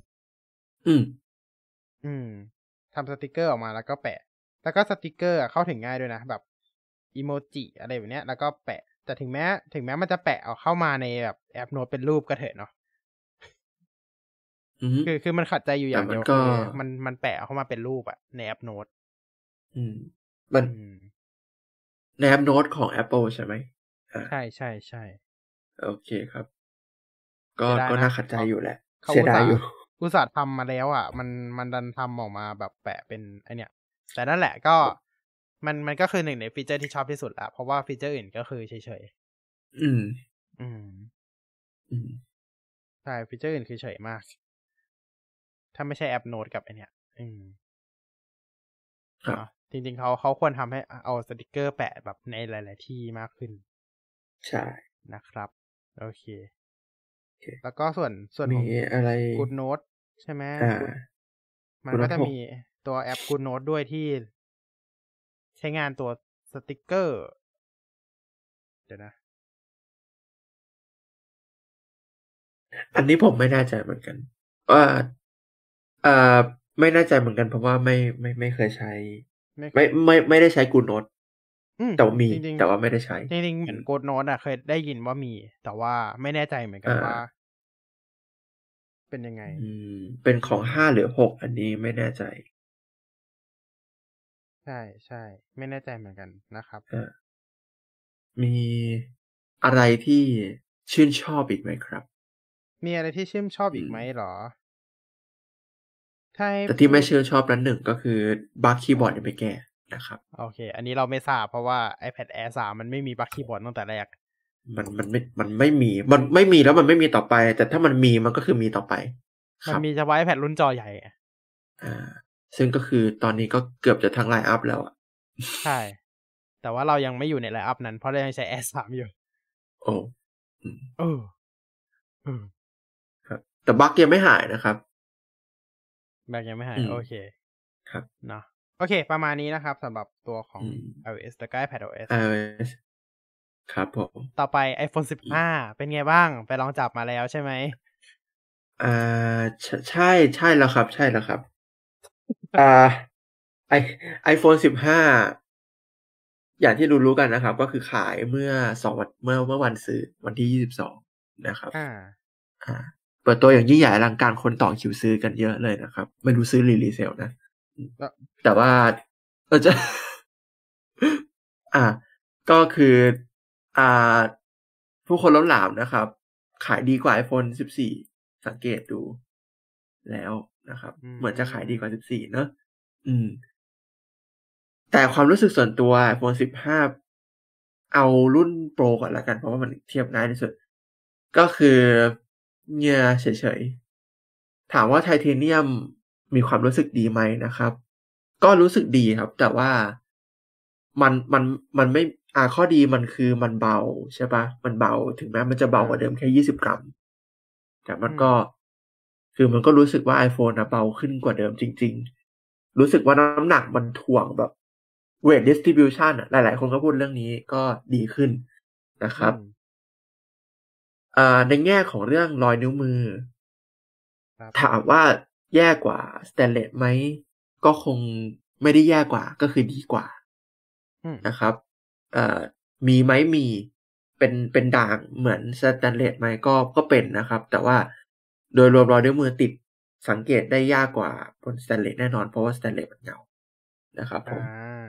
Speaker 1: ทำสติกเกอร์ออกมาแล้วก็แปะแล้วก็สติกเกอร์เข้าถึงง่ายด้วยนะแบบอีโมจิอะไรแบบเนี้ยแล้วก็แปะแต่ถึงแม้มันจะแปะเอาเข้ามาในแบบแอปโน้ตเป็นรูปก็เถอะเนาะคือมันขัดใจอยู่อย่างเดียวคือมันแปะเข้ามาเป็นรูปอะในแอปโน้ต
Speaker 2: มันในแอปโน้ตของ Apple ใช่ไหม
Speaker 1: ใช่
Speaker 2: โอเคครับก็น่าขัดใจอยู่แหละ
Speaker 1: เสียดายอยู่อุตส่าห์ทำมาแล้วอ่ะมันดันทำออกมาแบบแปะเป็นไอเนี้ยแต่นั่นแหละก็มันก็คือหนึ่งในฟีเจอร์ที่ชอบที่สุดละเพราะว่าฟีเจอร์อื่นก็คือเฉยใช่ฟีเจอร์อื่นคือเฉยมากถ้าไม่ใช่แอปโน้ตกับไอเนี้ยจริงๆเขาควรทำให้เอาสติกเกอร์แปะแบบในหลายๆที่มากขึ้น
Speaker 2: ใช่
Speaker 1: นะครับโอเคแล้วก็ส่วนของ Good Note ใช่ไหมมันก็จะมีตัวแอป Good Note ด้วยที่ใช้งานตัวสติกเกอร์เดี๋ยวนะ
Speaker 2: อันนี้ผมไม่แน่ใจเหมือนกันว่าไม่แน่ใจเหมือนกันเพราะว่าไม่เคยใช้ไม่ได้ใช้ Good Note แต่มีแต่ว่าไม่ได้ใช้
Speaker 1: จริงๆเหมือน Good Note เคยได้ยินว่ามีแต่ว่าไม่แน่ใจเหมือนกันว่าเป็นยังไง
Speaker 2: เป็นของ5หรือ6อันนี้ไม่แน่ใจ
Speaker 1: ใช่ไม่แน่ใจเหมือนกันนะครับ
Speaker 2: มีอะไรที่ชื่นชอบอีกไหมครับ
Speaker 1: มีอะไรที่ชื่นชอบอีกไหมหรอ
Speaker 2: แต่ที่ไม่ชื่นชอบนั้นหนึ่งก็คือบั๊กคีย์บอร์ดยังไม่แก้นะครับ
Speaker 1: โอเคอันนี้เราไม่ทราบเพราะว่า iPad Air 3มันไม่มีบั๊กคีย์บอร์ดตั้งแต่แรก
Speaker 2: มันไม่มีแล้วมันไม่มีต่อไปแต่ถ้ามันมีมันก็คือมีต่อไป
Speaker 1: มันมีเฉพาะ iPad รุ่นจอใหญ่
Speaker 2: ซึ่งก็คือตอนนี้ก็เกือบจะทั้งไลน์อัพแล้วอ่ะ
Speaker 1: ใช่แต่ว่าเรายังไม่อยู่ในไลน์อัพนั้นเพราะเรายังใช้ Air 3อยู่
Speaker 2: ครับแต่บั๊กยังไม่หายนะครับ
Speaker 1: บั๊กยังไม่หายโอเค
Speaker 2: ครับ
Speaker 1: เนาะโอเคประมาณนี้นะครับสำหรับตัวของ iOS และก็ iPadOS
Speaker 2: ครับผม
Speaker 1: ต่อไป iPhone 15เป็นไงบ้างไปลองจับมาแล้วใช่ไหม
Speaker 2: ใช่แล้วครับใช่แล้วครับiPhone 15อย่างที่รู้กันนะครับก็คือขายเมื่อ2 วันเมื่อวันซื้อวันที่22นะครับเปิดตัวอย่างยิ่งใหญ่อลังการคนต่อคิวซื้อกันเยอะเลยนะครับไม่รู้ซื้อรีเซลนะแต่ว่าจะก็คือผู้คนล้นหลามนะครับขายดีกว่า iPhone 14สังเกตดูแล้วนะครับเหมือนจะขายดีกว่า14เนอะแต่ความรู้สึกส่วนตัว iPhone 15เอารุ่นโปรก่อนละกันเพราะว่ามันเทียบง่ายที่สุดก็คือเนี่ยเฉยๆถามว่าไทเทเนียมมีความรู้สึกดีไหมนะครับก็รู้สึกดีครับแต่ว่ามันไม่ข้อดีมันคือมันเบาใช่ปะมันเบาถึงแม้มันจะเบากว่าเดิมแค่20 กรัมแต่มันก็คือมันก็รู้สึกว่า iPhone เบาขึ้นกว่าเดิมจริงๆรู้สึกว่าน้ำหนักมันถ่วงแบบweight distribution หลายๆคนก็พูดเรื่องนี้ก็ดีขึ้นนะครับในแง่ของเรื่องรอยนิ้วมือถามว่าแย่กว่าสแตนเลสไหมก็คงไม่ได้แย่กว่าก็คือดีกว่านะครับมีไหมมีเป็นด่างเหมือนสแตนเลสไหมก็เป็นนะครับแต่ว่าโดยรวมรอยนิ้วมือติดสังเกตได้ยากกว่าบนสแตนเลสแน่นอนเพราะว่าสแตนเลสมันเงานะครับผม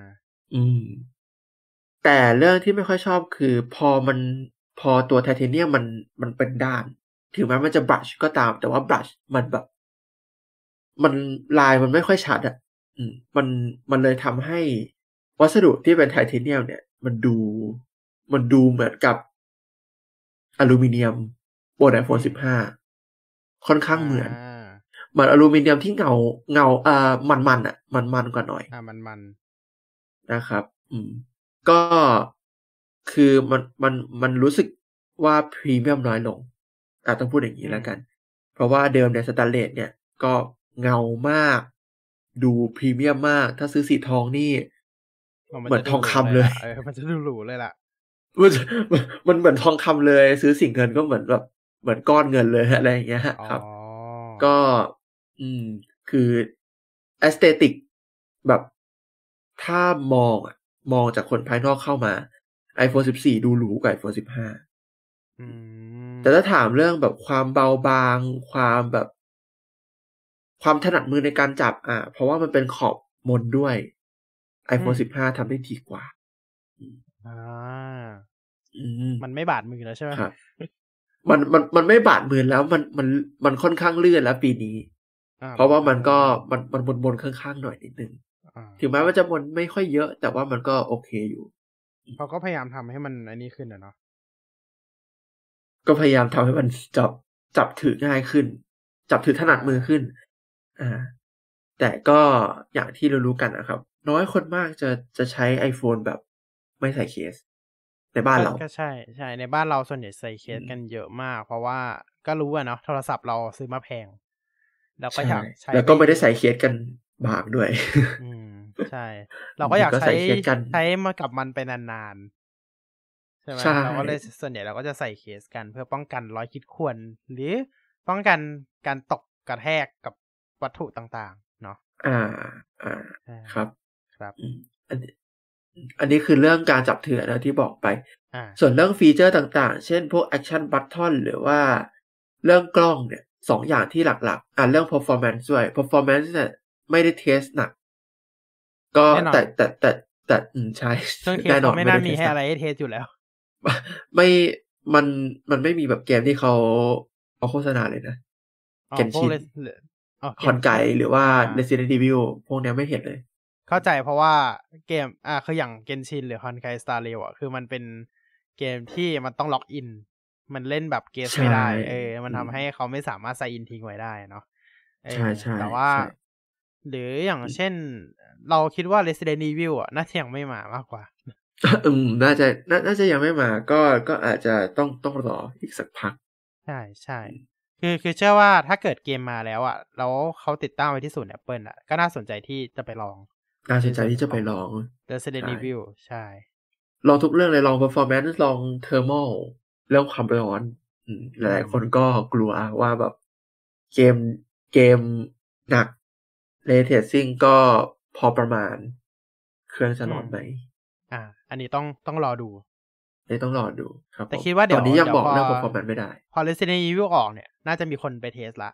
Speaker 2: แต่เรื่องที่ไม่ค่อยชอบคือพอตัวไทเทเนียมมันเป็นด้านถึงแม้มันจะบรัชก็ตามแต่ว่าบรัชมันแบบมันลายมันไม่ค่อยชัดอ่ะมันเลยทำให้วัสดุที่เป็นไทเทเนียมเนี่ยมันดูเหมือนกับอลูมิเนียมบน iPhone 15ค่อนข้างเหมือนเหมือนอลูมิเนียมที่เงามันอ่ะมันกว่าหน่อย
Speaker 1: มัน
Speaker 2: นะครับก็คือมันรู้สึกว่าพรีเมียมน้อยลงต้องพูดอย่างนี้แล้วกันเพราะว่าเดิมเนี่ยสแตนเลสเนี่ยก็เงามากดูพรีเมียมมากถ้าซื้อสีทองนี่เหมือนทองคำเลย
Speaker 1: มันจะดูหรูเลยล่ะ
Speaker 2: มันเหมือนทองคำเลยซื้อสีเงินก็เหมือนแบบเหมือนก้อนเงินเลยอะไรอย่างเงี้ยครับก็คือแอสเตติกแบบถ้ามองจากคนภายนอกเข้ามา iPhone 14 ดูหรูกว่า iPhone 15แต่ถ้าถามเรื่องแบบความเบาบางความแบบความถนัดมือในการจับเพราะว่ามันเป็นขอบมนด้วย iPhone 15 ทำได้ดีกว่า
Speaker 1: มันไม่บาดมือแล้วใช่ไหม
Speaker 2: ครับมันไม่บาดมือแล้วมันค่อนข้างเลื่อนแล้วปีนี้เพราะว่ามันก็มันบนข้างๆหน่อยนิดนึงถึงแม้ว่าจะบนไม่ค่อยเยอะแต่ว่ามันก็โอเคอยู่
Speaker 1: เขาก็พยายามทำให้มันอันนี้ขึ้นเนาะ
Speaker 2: ก็พยายามทำให้มันจับถือง่ายขึ้นจับถือถนัดมือขึ้นแต่ก็อย่างที่เรารู้กันนะครับน้อยคนมากจะใช้ iPhone แบบไม่ใส่เคสในบ้านเรา
Speaker 1: ก็ใช่ในบ้านเราส่วนใหญ่ใส่เคสกันเยอะมากเพราะว่าก็รู้เนาะโทรศัพท์เราซื้อมาแพงแล้วก็อยากใช้
Speaker 2: แล้วก็ไม่ได้ใส่เคสกันบางด้วย
Speaker 1: ใช่เราก็อยากใช้มากับมันไปนานๆใช่ไหมเราก็เลยส่วนใหญ่เราก็จะใส่เคสกันเพื่อป้องกันรอยขีดข่วนหรือป้องกันการตกกระแทกกับวัตถุต่างๆเนาะ
Speaker 2: ครับ
Speaker 1: ครับ
Speaker 2: อันนี้คือเรื่องการจับถือนะที่บอกไปส่วนเรื่องฟีเจอร์ต่างๆเช่นพวก Action Button หรือว่าเรื่องกล้องเนี่ย2อย่างที่หลักๆเรื่อง performance ด้วย performance เนี่ยไม่ได้เทสหนักก็แต่ใช่
Speaker 1: แน่นอนไม่น่ามีให้อะไรให้เทสอยู่แล้ว
Speaker 2: ไม่มันไม่มีแบบเกมที่เขาโฆษณาเลยนะเกนชินคอนไกหรือว่า Resident Evil พวกนี้ไม่เห็นเลย
Speaker 1: เข้าใจเพราะว่าเกมคืออย่างเกนชินหรือคอนไกสตาร์เรลคือมันเป็นเกมที่มันต้องล็อกอินมันเล่นแบบเกสไม่ได้มันทำให้เขาไม่สามารถใส่อินทิ้งไว้ได้เนาะ
Speaker 2: ใช่
Speaker 1: แต่ว่าหรืออย่างเช่นเราคิดว่า Resident Evil น่าจะยังไม่มามากกว่า
Speaker 2: น่าจะยังไม่มาก็อาจจะต้องรออีกสักพัก
Speaker 1: ใช่คือเชื่อว่าถ้าเกิดเกมมาแล้วแล้วเขาติดตั้งไว้ที่ศูนย์ Apple ก็น่าสนใจที่จะไปลอง
Speaker 2: น่าสนใจที่จะไปลอง
Speaker 1: Resident Evil ใช่
Speaker 2: ลองทุกเรื่องเลยลอง performance ลอง thermal เรื่องความร้อนหลายคนก็กลัวว่าแบบเกมหนัก ray tracing ก็พอประมาณเครื่องจะร้อนไหม
Speaker 1: อันนี้ต้องรอดู
Speaker 2: ต้องรอดูครับ
Speaker 1: แต่คิดว่า
Speaker 2: ตอนนี้ยังบอกเรื่อง performance ไม่ได้
Speaker 1: พอ Resident Evil ออกเนี่ยน่าจะมีคนไปเทสละ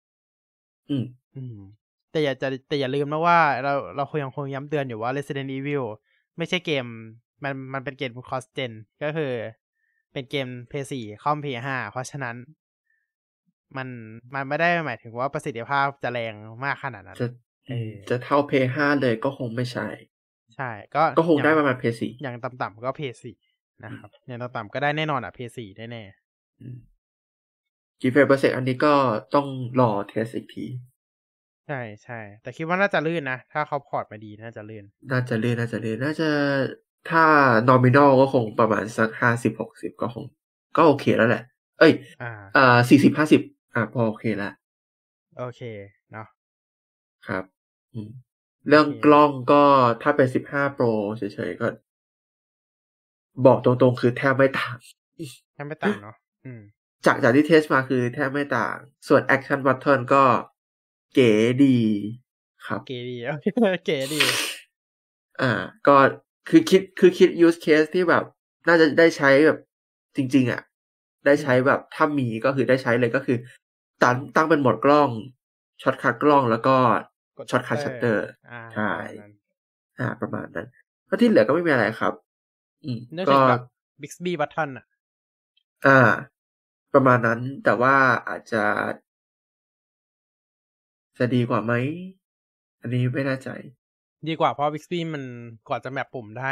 Speaker 1: แต่อย่าลืมนะว่าเรายังคงย้ำเตือนอยู่ว่า Resident Evil ไม่ใช่เกมมันเป็นเกม cross gen ก็คือเป็นเกม PS4 คอม PS5 เพราะฉะนั้นมันไม่ได้หมายถึงว่าประสิทธิภาพจะแรงมากขนาดนั้น
Speaker 2: จะเท่า PS5 เลยก็คงไม่ใช่ก็คงได้ประมาณ PS4
Speaker 1: อย่างต่ำๆก็ PS4 นะครับอย่างต่ำๆก็ได้แน่นอนPS4 ได้แน่
Speaker 2: กี่เฟรมเปอร์เซ็นต์อันนี้ก็ต้องรอเทสอีกที
Speaker 1: ใช่แต่คิดว่าน่าจะลื่นนะถ้าเขาพอร์ตมาดีน่าจะลื่น
Speaker 2: น่าจะถ้า nominal ก็คงประมาณสัก50-60ก็โอเคแล้วแหละ40-50พอโอเคแล้ว
Speaker 1: โอเคเนาะ
Speaker 2: ครับเรื่องกล้องก็ถ้าเป็น15 Pro เฉยๆก็บอกตรงๆคือแทบไม่ต่าง
Speaker 1: เนาะ
Speaker 2: จากที่เทสมาคือแทบไม่ต่างส่วน Action Button ก็เก๋ดีครับ
Speaker 1: เก๋ดีเก๋ดี
Speaker 2: ก็คือคิด use case ที่แบบน่าจะได้ใช้แบบจริงๆได้ใช้แบบถ้ามีก็คือได้ใช้เลยก็คือตั้งเป็นโหมดกล้องช็อตคัทกล้องแล้วก็ช็อตคัทชัตเตอร์ใช่ประมาณนั้นก็ที่เหลือก็ไม่มีอะไรครับ
Speaker 1: ก็ Bixby Button
Speaker 2: ประมาณนั้นแต่ว่าอาจจะดีกว่าไหมอันนี้ไม่แน่ใจ
Speaker 1: ดีกว่าเพราะ Bixby มันกว่าจะแมปปุ่มได้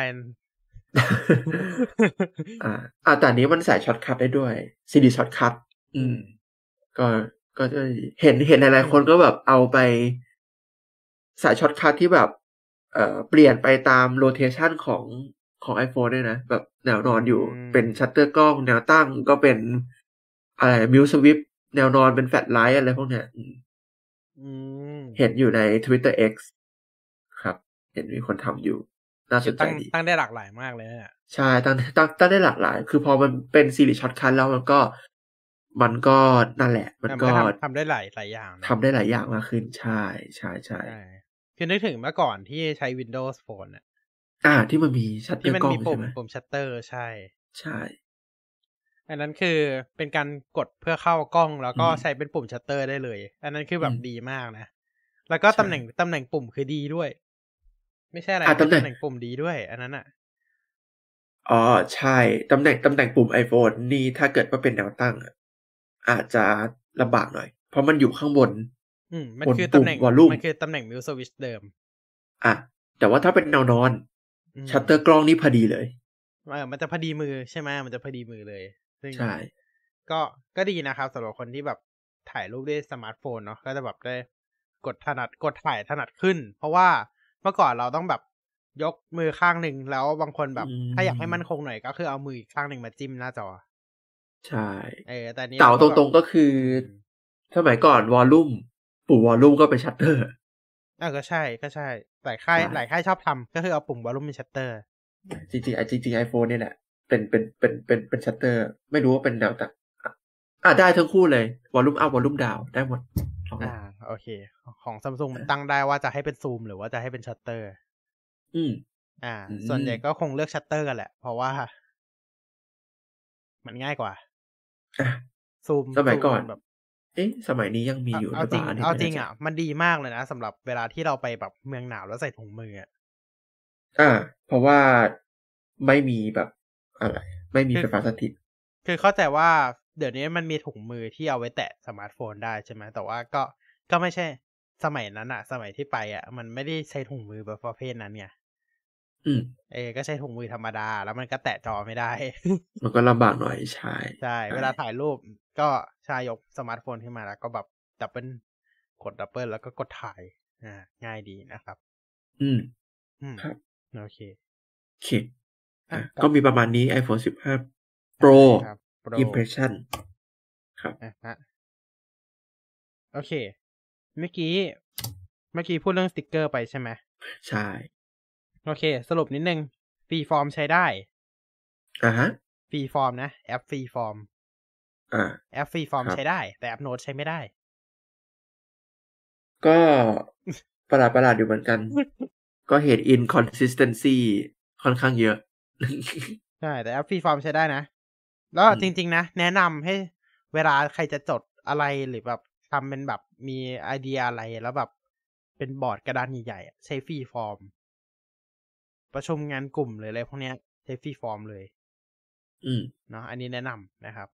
Speaker 2: แต่นี้มันใส่ช็อตคัทได้ด้วย CD ช็อตคัทก็จะเห็นหลายๆคนก็แบบเอาไปใส่ช็อตคัทที่แบบเปลี่ยนไปตามโรเทชันของ iPhone ด้วยนะแบบแนวนอนอยู่เป็นชัตเตอร์กล้องแนวตั้งก็เป็นอะไรมิวสวิปแนวนอนเป็นแฟลชไลท์อะไรพวกเนี้ยเห็นอยู่ใน Twitter X ครับเห็นมีคนทำอยู่น่าสนใจดี
Speaker 1: ตั้งได้หลากหลายมากเลยเนี่ย
Speaker 2: ใช่ตั้งได้หลากหลายคือพอมันเป็นซีรีส์ช็อตคัทแล้วมันก็นั่นแหละมันก็
Speaker 1: ทำได้หลายอย่าง
Speaker 2: ทำได้หลายอย่างมากขึ้นใช่
Speaker 1: คือนึกถึงเมื่อก่อนที่ใช้ Windows Phone
Speaker 2: ที่มันมีชัตเตอร์กล้องใช่ไหม
Speaker 1: ปุ่มชัตเตอร์ใ
Speaker 2: ช่
Speaker 1: อันนั้นคือเป็นการกดเพื่อเข้ากล้องแล้วก็ใช้เป็นปุ่มชัตเตอร์ได้เลยอันนั้นคือแบบดีมากนะแล้วก็ตำแหน่งปุ่มคือดีด้วยไม่ใช่อะไรตำแหน่งปุ่มดีด้วยอันนั้น
Speaker 2: อ๋อใช่ตำแหน่งปุ่ม iPhone นี่ถ้าเกิดว่าเป็นแนวตั้งอาจจะลำบากหน่อยเพราะมันอยู่ข้างบน
Speaker 1: มันคือตำแหน่ง Volume มันคือตำแหน่งมิวสวิชเดิม
Speaker 2: แต่ว่าถ้าเป็นแนวนอนชัตเตอร์กล้องนี่พอดีเลย
Speaker 1: มันจะพอดีมือใช่ไหมมันจะพอดีมือเลย
Speaker 2: ใช่
Speaker 1: ก็ดีนะครับสำหรับคนที่แบบถ่ายรูปด้วยสมาร์ทโฟนเนาะก็จะแบบได้กดถ่ายถนัดขึ้นเพราะว่าเมื่อก่อนเราต้องแบบยกมือข้างหนึ่งแล้วบางคนแบบถ้าอยากให้มั่นคงหน่อยก็คือเอามืออีกข้างหนึ่งมาจิ้มหน้าจอ
Speaker 2: ใช่
Speaker 1: แต่นี้
Speaker 2: เก่าตรงๆก็คือสมัยก่อนวอลลุ่มปุ่มวอลลุ่มก็เป็นชัตเตอร์
Speaker 1: ก็ใช่หลายค่ายชอบทำก็คือเอาปุ่มวอลลุ่มเป็นชัตเตอร์
Speaker 2: จริง iPhone เนี่ยแหละเป็นชัตเตอร์ไม่รู้ว่าเป็นแนวตั้งได้ทั้งคู่เลยวอลลุ่มอัพวอลลุ่มดาวได้หมด
Speaker 1: โอเคของ Samsung มันตั้งได้ว่าจะให้เป็นซูมหรือว่าจะให้เป็นชัตเตอร์ส่วนใหญ่ก็คงเลือกชัตเตอร์กันแหละเพราะว่ามันง่ายกว่าซูม
Speaker 2: สมัยก่อนแบบสมัยนี้ยังมีอยู่
Speaker 1: เอาจริงมันดีมากเลยนะสำหรับเวลาที่เราไปแบบเมืองหนาวแล้วใส่ถุงมือ
Speaker 2: เพราะว่าไม่มีแบบอะไรไม่มีไฟฟ้าสถิต
Speaker 1: คือเข้าใจว่าเดี๋ยวนี้มันมีถุงมือที่เอาไว้แตะสมาร์ทโฟนได้ใช่ไหมแต่ว่าก็ไม่ใช่สมัยนั้นสมัยที่ไปมันไม่ได้ใช้ถุงมือแบบประเภทนั้นไงก็ใช้ถุงมือธรรมดาแล้วมันก็แตะจอไม่ได้
Speaker 2: มันก็ลำบากหน่อยใช่
Speaker 1: เวลาถ่ายรูปก็ใช้ยกสมาร์ทโฟนขึ้นมาแล้วก็แบบกดดับเบิลแล้วก็กดถ่ายง่ายดีนะครับ
Speaker 2: ครับ
Speaker 1: โอเค
Speaker 2: ก็มีประมาณนี้ iPhone 15 Pro Impression ครับ
Speaker 1: โอเคเมื่อกี้พูดเรื่องสติกเกอร์ไปใช่ไหม
Speaker 2: ใช่
Speaker 1: โอเคสรุปนิดนึงฟรีฟอร์มใช้ได้ฟรีฟอร์มนะแอปฟรีฟอร์มแอปฟรีฟอร์มใช้ได้แต่แอปโน้ตใช้ไม่ได้
Speaker 2: ก็ประหลาดอยู่เหมือนกันก็เห็น inconsistency ค่อนข้างเยอะ
Speaker 1: ใช่แต่แอปฟรีฟอร์มใช้ได้นะแล้วจริงๆนะแนะนำให้เวลาใครจะจดอะไรหรือแบบทำเป็นแบบมีไอเดียอะไรแล้วแบบเป็นบอร์ดกระดานใหญ่ๆใช้ฟรีฟอร์มประชุมงานกลุ่มเลยอะไรพวกนี้ใช้ฟรีฟอร์มเลยเนาะอันนี้แนะนำนะครับ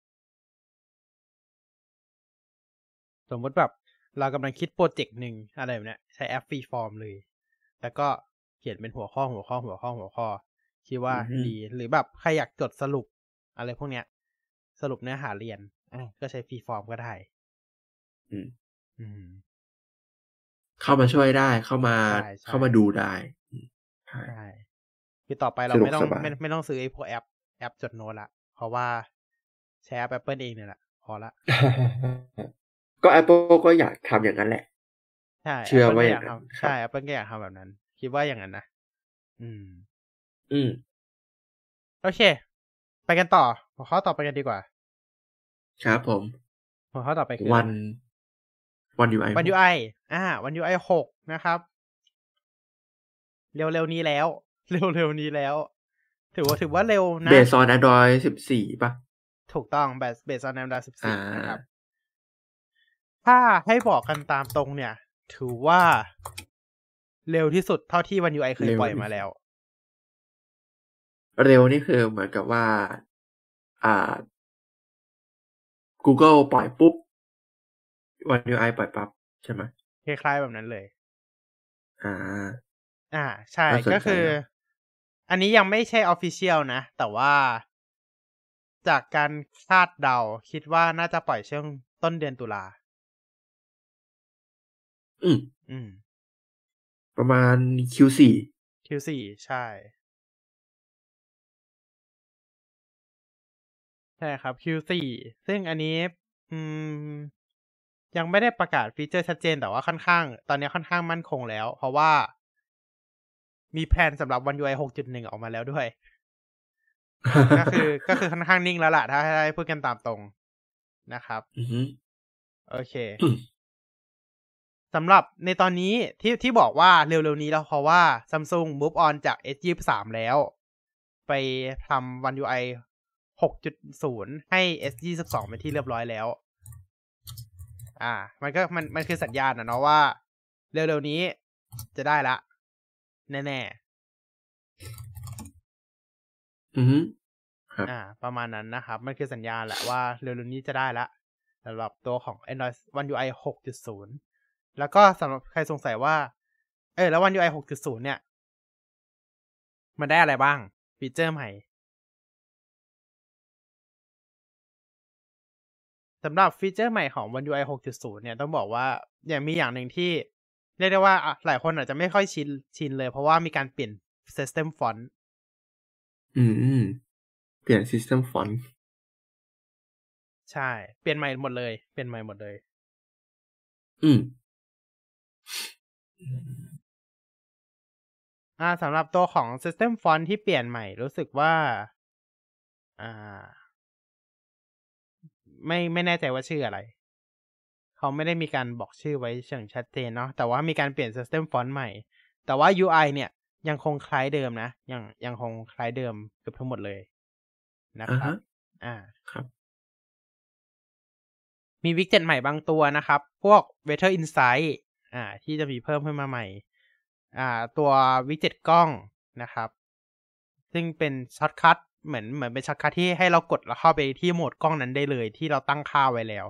Speaker 1: สมมติแบบเรากำลังคิดโปรเจกต์หนึ่งอะไรแบบนี้ใช้แอปฟรีฟอร์มเลยแล้วก็เขียนเป็นหัวข้อคิดว่าดีหรือแบบใครอยากจดสรุปอะไรพวกเนี้ยสรุปเนื้อหาเรียนก็ใช้ฟรีฟอร์มก็ได้
Speaker 2: เข้ามาช่วยได้เข้ามาดูได้
Speaker 1: ใช่คือต่อไปเราไม่ต้องซื้อไอ้พวกแอปจดโน้ตละเพราะว่าใช้แอป Apple เองเนี่ยแหละพอละ
Speaker 2: ก็ Apple ก็อยากทำอย่างนั้นแหละ
Speaker 1: ใช่
Speaker 2: เชื่อว่าอย่างนั้น
Speaker 1: ใช่ Apple ก็อยากทำแบบนั้นคิดว่าอย่างนั้นนะโอเคไปกันต่อหัวข้อต่อไปกันดีกว่า
Speaker 2: ครับผม
Speaker 1: หัวข้อต่อไปคือ
Speaker 2: วัน UI
Speaker 1: วัน UI วัน UI 6นะครับเร็วๆนี้แล้วถือว่าเร็วนะ
Speaker 2: Based on Android 14ป่ะ
Speaker 1: ถูกต้อง Based on Android 14นะครับถ้าให้บอกกันตามตรงเนี่ยถือว่าเร็วที่สุดเท่าที่วัน UI เคยปล่อยมาแล้ว
Speaker 2: เร็วนี่คือเหมือนกับว่าGoogle ปล่อยปุ๊บวัน UI ปล่อยปั๊บใช่ไหม
Speaker 1: คล้ายๆแบบนั้นเลยใช่ ก็คืออันนี้ยังไม่ใช่ official นะแต่ว่าจากการคาดเดาคิดว่าน่าจะปล่อยช่วงต้นเดือนตุลา
Speaker 2: ประมาณ Q4
Speaker 1: ใช่ครับ Q4 ซึ่งอันนี้ยังไม่ได้ประกาศฟีเจอร์ชัดเจนแต่ว่าตอนนี้ค่อนข้างมั่นคงแล้วเพราะว่ามีแผนสำหรับ One UI 6.1 ออกมาแล้วด้วย ก็คือค่อนข้างนิ่งแล้วล่ะถ้าให้พูดกันตามตรงนะครับโอเคสำหรับในตอนนี้ที่บอกว่าเร็วๆนี้แล้วเพราะว่า Samsung move on จาก S23 แล้วไปทำ One UI 6.0 ให้ S22 เป็นที่เรียบร้อยแล้วมันคือสัญญาณนะเนาะว่าเร็วๆนี้จะได้ละแน่ๆประมาณนั้นนะครับมันคือสัญญาณแหละว่าเร็วๆนี้จะได้ละสำหรับตัวของ Android One UI 6.0 แล้วก็สำหรับใครสงสัยว่าแล้ว One UI 6.0 เนี่ยมันได้อะไรบ้างฟีเจอร์ใหม่สำหรับฟีเจอร์ใหม่ของ One UI 6.0 เนี่ยต้องบอกว่ามีอย่างหนึ่งที่เรียกได้ว่าหลายคนอาจจะไม่ค่อยชินเลยเพราะว่ามีการเปลี่ยน System Font
Speaker 2: เปลี่ยน System Font
Speaker 1: ใช่เปลี่ยนใหม่หมดเลยสำหรับตัวของ System Font ที่เปลี่ยนใหม่รู้สึกว่าไม่แน่ใจว่าชื่ออะไรเขาไม่ได้มีการบอกชื่อไว้อย่างชัดเจนเนาะแต่ว่ามีการเปลี่ยน System Font ใหม่แต่ว่า UI เนี่ยยังคงคล้ายเดิมนะยังคงคล้ายเดิมเกือบทั้งหมดเลยนะครับ
Speaker 2: ครับ
Speaker 1: มีวิดเจ็ตใหม่บางตัวนะครับพวก Weather Insight ที่จะมีเพิ่มขึ้นมาใหม่ตัววิดเจ็ตกล้องนะครับซึ่งเป็นช็อตคัทเหมือนเป็นช็อตคัทที่ให้เรากดแล้วเข้าไปที่โหมดกล้องนั้นได้เลยที่เราตั้งค่าไว้แล้ว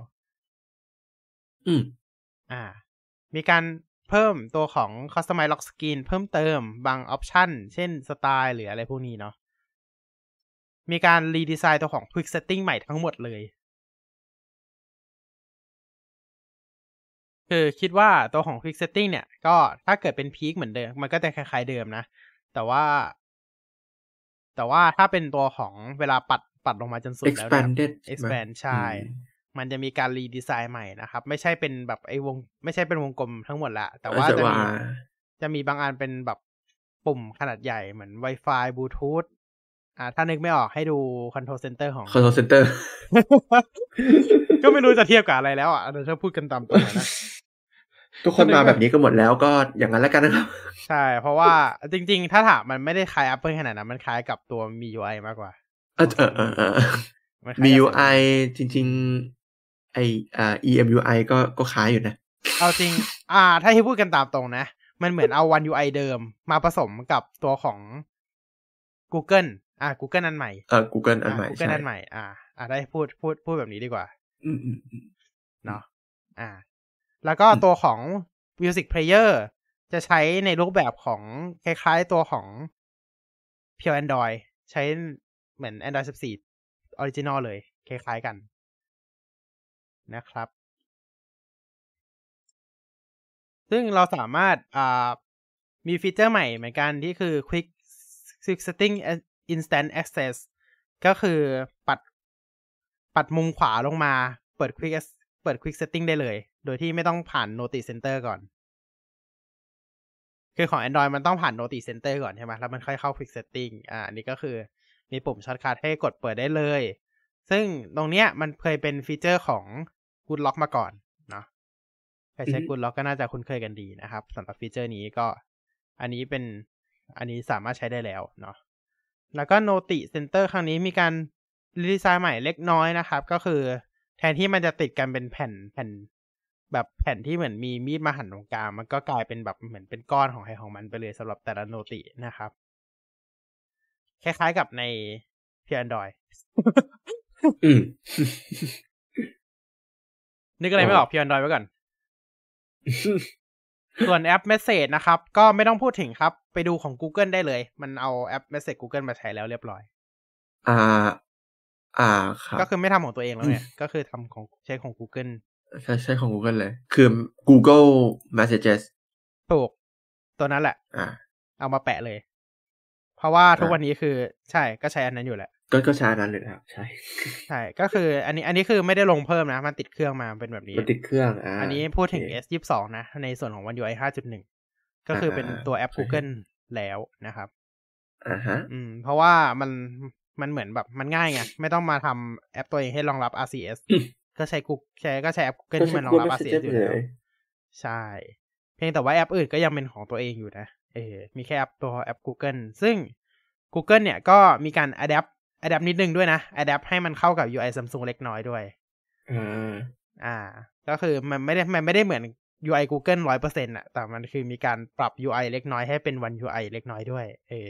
Speaker 1: มีการเพิ่มตัวของ Customize Lock Screen เพิ่มเติมบางออปชันเช่นสไตล์หรืออะไรพวกนี้เนาะมีการรีดีไซน์ตัวของ Quick Setting ใหม่ทั้งหมดเลยคือคิดว่าตัวของ Quick Setting เนี่ยก็ถ้าเกิดเป็นพีคเหมือนเดิมมันก็จะคล้ายๆเดิมนะแต่ว่าถ้าเป็นตัวของเวลาปัดลงมาจนสุดแล้วเนี่ย expand ใช่มันจะมีการรีดีไซน์ใหม่นะครับไม่ใช่เป็นแบบไม่ใช่เป็นวงกลมทั้งหมดละแต่ว่าจะมีบางอันเป็นแบบปุ่มขนาดใหญ่เหมือน Wi-Fi Bluetooth ถ้านึกไม่ออกให้ดู Control Center ของ
Speaker 2: Control Center
Speaker 1: ก็ไม่รู้จะเทียบกับอะไรแล้วเดี๋ยวถ้าพูดกันตามตรงนะ
Speaker 2: ทุกคนมาแบบนี้ก็หมดแล้วก็อย่างนั้นแล้วกันนะครับ
Speaker 1: ใช่เพราะว่าจริงๆถ้าถามมันไม่ได้คล้าย Apple ขนาดนั้นมันคล้ายกับตัวมี UI มากกว่า
Speaker 2: มี UI จริงๆEMUI ก็คล้ายอยู่นะ
Speaker 1: เอาจริงถ้าให้พูดกันตามตรงนะมันเหมือนเอา One UI เดิมมาผสมกับตัวของ Google Google อันใหม่
Speaker 2: Google อันใหม่
Speaker 1: Google อันใหม่ได้พูดแบบนี้ดีกว่าเนาะแล้วก็ตัวของ Music Player จะใช้ในรูปแบบของคล้ายๆตัวของ Pure Android ใช้เหมือน Android 14 Original เลยคล้ายๆกันนะครับซึ่งเราสามารถมีฟีเจอร์ใหม่เหมือนกันที่คือ Quick Setting Instant Access ก็คือปัดมุมขวาลงมาเปิด Quick Setting ได้เลยโดยที่ไม่ต้องผ่าน Notice Center ก่อนคือของ Android มันต้องผ่าน Notice Center ก่อนใช่ไหมแล้วมันค่อยเข้า Quick Setting อันนี้ก็คือมีปุ่มช็อตคัทให้กดเปิดได้เลยซึ่งตรงเนี้ยมันเคยเป็นฟีเจอร์ของ Good Lock มาก่อนเนาะใครใช้ Good Lock ก็น่าจะคุ้นเคยกันดีนะครับสำหรับฟีเจอร์นี้ก็อันนี้สามารถใช้ได้แล้วเนาะแล้วก็ Notice Center ครั้งนี้มีการรีดีไซน์ใหม่เล็กน้อยนะครับก็คือแทนที่มันจะติดกันเป็นแผ่นแบบแผ่นที่เหมือนมีมีดมาหั่นตรงกลางมันก็กลายเป็นแบบเหมือนเป็นก้อนของใครของมันไปเลยสำหรับแต่ละโนตินะครับคล้ายๆกับใน Pure Android นึกอะไรไม่ออก Pure Android ไว้ก่อนส่วนแอป Message นะครับก็ไม่ต้องพูดถึงครับไปดูของ Google ได้เลยมันเอาแอป Message Google มาใช้แล้วเรียบร้อย
Speaker 2: ครับ
Speaker 1: ก็คือไม่ทำของตัวเองแล้วไงก็คือทำของใช้ของ Google
Speaker 2: ใช่ของ Google เลยคือ Google Messages
Speaker 1: ถูกตัวนั้นแหละเอามาแปะเลยเพราะว่าทุกวันนี้คือใช่ก็ใช้อันนั้นอยู่แหละ
Speaker 2: ก็ใช้อันนั้นเลยครับใช่
Speaker 1: ก็คืออันนี้คือไม่ได้ลงเพิ่มนะมันติดเครื่องมาเป็นแบบนี้
Speaker 2: มันติดเครื่อง
Speaker 1: อันนี้พูดถึง S22 นะในส่วนของ One UI 5.1 ก็คือเป็นตัวแอป Google แล้วนะครับเพราะว่ามันเหมือนแบบมันง่ายไงไม่ต้องมาทำแอปตัวเองให้รองรับ RCS ก็ใช้แอป Google ที่มันรองรับ RCS อยู่แล้วใช่เพียงแต่ว่าแอปอื่นก็ยังเป็นของตัวเองอยู่นะมีแค่ตัวแอป Google ซึ่ง Google เนี่ยก็มีการ adapt นิดนึงด้วยนะ adapt ให้มันเข้ากับ UI Samsung เล็กน้อยด้วยก็คือมันไม่ได้เหมือน UI Google 100% อ่ะแต่มันคือมีการปรับ UI เล็กน้อยให้เป็น One UI เล็กน้อยด้วย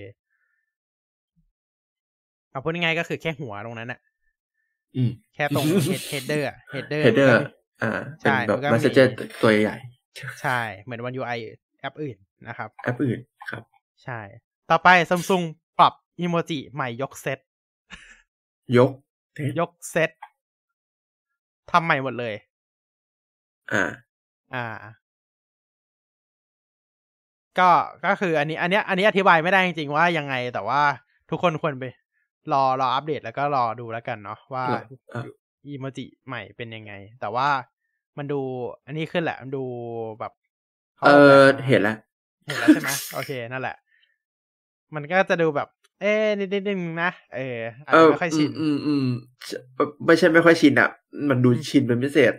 Speaker 1: เอาพูดง่ายๆก็คือแค่หัวตรงนั้นน่ะแค่ตรง header อ่ะ header
Speaker 2: เป็นแบบ message ตัวใหญ่
Speaker 1: ใช่เหมือน One UI แอปอื่นนะครับ
Speaker 2: แอปอื่นครับ
Speaker 1: ใช่ต่อไป Samsung ปรับอีโมจิใหม่ยกเซตยกเซตทำใหม่หมดเลยก็คืออันนี้อธิบายไม่ได้จริงๆว่ายังไงแต่ว่าทุกคนควรไปรออัปเดตแล้วก็รอดูแล้วกันเนาะว่าอีโมจิใหม่เป็นยังไงแต่ว่ามันดูอันนี้ขึ้นแหละมันดูแบบ
Speaker 2: เห็นแล้ว
Speaker 1: ใช่ไหมโอเคนั่นแหละมันก็จะดูแบบนิดนึงนะอาจจะไม่ค่อยชิน
Speaker 2: ไม่ใช่ไม่ค่อยชินอ่ะมันดูชินเป็นพิเศษ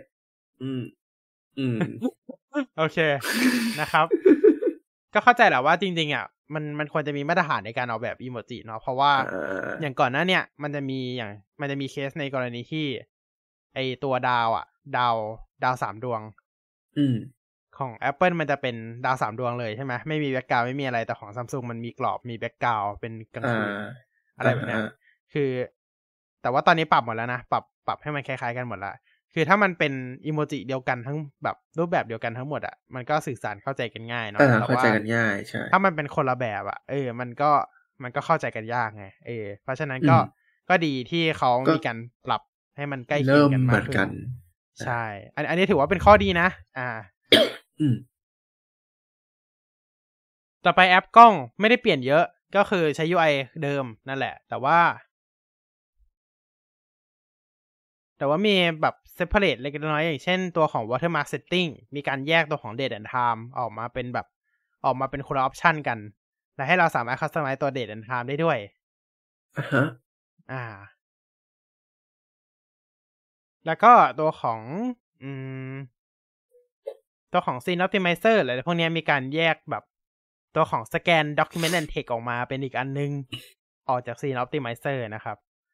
Speaker 1: โอเคนะครับก็เข้าใจแหละว่าจริงๆอ่ะมันควรจะมีมาตรฐานในการออกแบบอีโมจิเนาะเพราะว่าอย่างก่อนหน้าเนี่ยมันจะมีเคสในกรณีที่ไอตัวดาว3 ดวงของ Apple มันจะเป็นดาว3 ดวงเลยใช่ไหมไม่มีแบ็คกราวด์ไม่มีอะไรแต่ของ Samsung มันมีกรอบมีแบ็คกราวด์เป็นกลางคืนอะไรแบบเนี้ยคือแต่ว่าตอนนี้ปรับหมดแล้วนะปรับให้มันคล้ายๆกันหมดละคือถ้ามันเป็นอีโมจิเดียวกันทั้งแบบรูปแบบเดียวกันทั้งหมดอ่ะมันก็สื่อสารเข้าใจกันง่ายเนาะ
Speaker 2: แต่ว่าเข้าใจกันง่ายใช่
Speaker 1: ถ้ามันเป็นคนละแบบอ่ะมันก็เข้าใจกันยากไงเพราะฉะนั้นก็ดีที่เขามีการปรับให้มันใกล้เคียงกันมากขึ้นใช่อันนี้ถือว่าเป็นข้อดีนะต่อไปแอปกล้องไม่ได้เปลี่ยนเยอะก็คือใช้ UI เดิมนั่นแหละแต่ว่ามีแบบ separate เล็กน้อยอย่างเช่นตัวของ watermark setting มีการแยกตัวของ date and time ออกมาเป็นคนละ option กันและให้เราสามารถ customize ตัว date and time ได้ด้วยแล้วก็ตัวของscene optimizer อะไรพวกนี้มีการแยกแบบตัวของ scan document and text ออกมาเป็นอีกอันนึงออกจาก scene optimizer นะครับ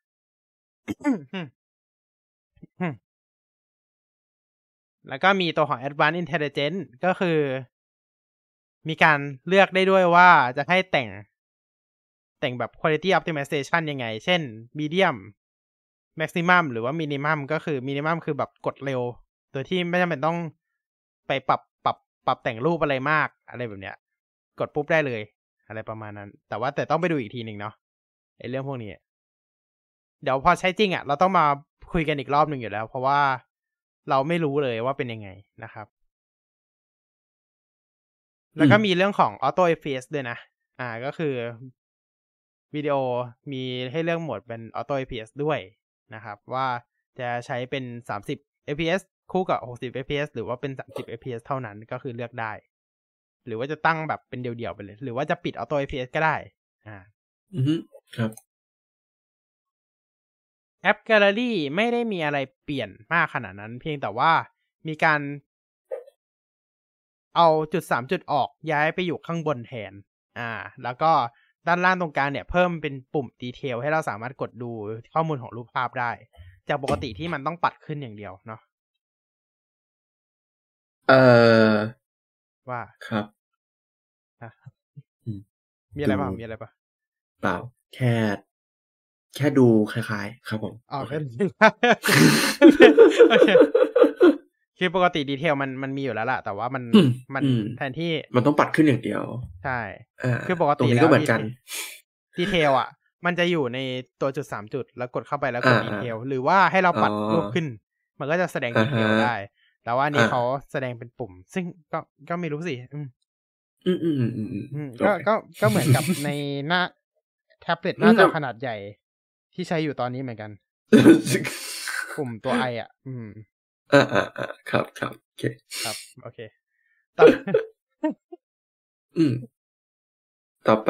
Speaker 1: แล้วก็มีตัวของ advanced intelligence ก็คือมีการเลือกได้ด้วยว่าจะให้แต่งแบบ quality optimization ยังไงเช่น medium maximum หรือว่า minimum ก็คือ minimum คือแบบกดเร็วโดยที่ไม่จำเป็นต้องไปปรับแต่งรูปอะไรมากอะไรแบบเนี้ยกดปุ๊บได้เลยอะไรประมาณนั้นแต่ต้องไปดูอีกทีนึงเนาะไอ้เรื่องพวกนี้เดี๋ยวพอใช้จริงอ่ะเราต้องมาคุยกันอีกรอบนึงอยู่แล้วเพราะว่าเราไม่รู้เลยว่าเป็นยังไงนะครับแล้วก็มีเรื่องของ Auto FPS ด้วยนะก็คือวิดีโอมีให้เลือกโหมดเป็น Auto FPS ด้วยนะครับว่าจะใช้เป็น30 fps คู่กับ60 fps หรือว่าเป็น30 fps เท่านั้นก็คือเลือกได้หรือว่าจะตั้งแบบเป็นเดี่ยวๆไปเลยหรือว่าจะปิด Auto FPS ก็ได้
Speaker 2: ครับ
Speaker 1: แอป Gallery ไม่ได้มีอะไรเปลี่ยนมากขนาดนั้นเพียงแต่ว่ามีการเอาจุด3จุดออกย้ายไปอยู่ข้างบนแทนแล้วก็ด้านล่างตรงกลางเนี่ยเพิ่มเป็นปุ่มดีเทลให้เราสามารถกดดูข้อมูลของรูปภาพได้จากปกติที่มันต้องปัดขึ้นอย่างเดียวเนาะว่า
Speaker 2: ครับ
Speaker 1: มีอะไรบ้าง
Speaker 2: เปล่าแค่ดูคล้ายๆครับผม
Speaker 1: โอเคคือปกติดีเทลมันมีอยู่แล้วล่ะแต่ว่ามันแทนที่
Speaker 2: มันต้องปัดขึ้นอย่างเดียว
Speaker 1: ใช่คือปกติ
Speaker 2: แล้วก็เหมือนกัน
Speaker 1: ดีเทลมันจะอยู่ในตัวจุด3 จุดแล้วกดเข้าไปแล้วกดดีเทลหรือว่าให้เราปัดรูปขึ้นมันก็จะแสดงดีเทลได้แต่ว่านี้เขาแสดงเป็นปุ่มซึ่งก็ไม่รู้สิก็เหมือนกับในหน้าแท็บเล็ตหน้าจอขนาดใหญ่ที่ใช้อยู่ตอนนี้เหมือนกันปุ่มตัวไออ่ะ
Speaker 2: ครับโอเค
Speaker 1: ครับโอเค
Speaker 2: ต่อไป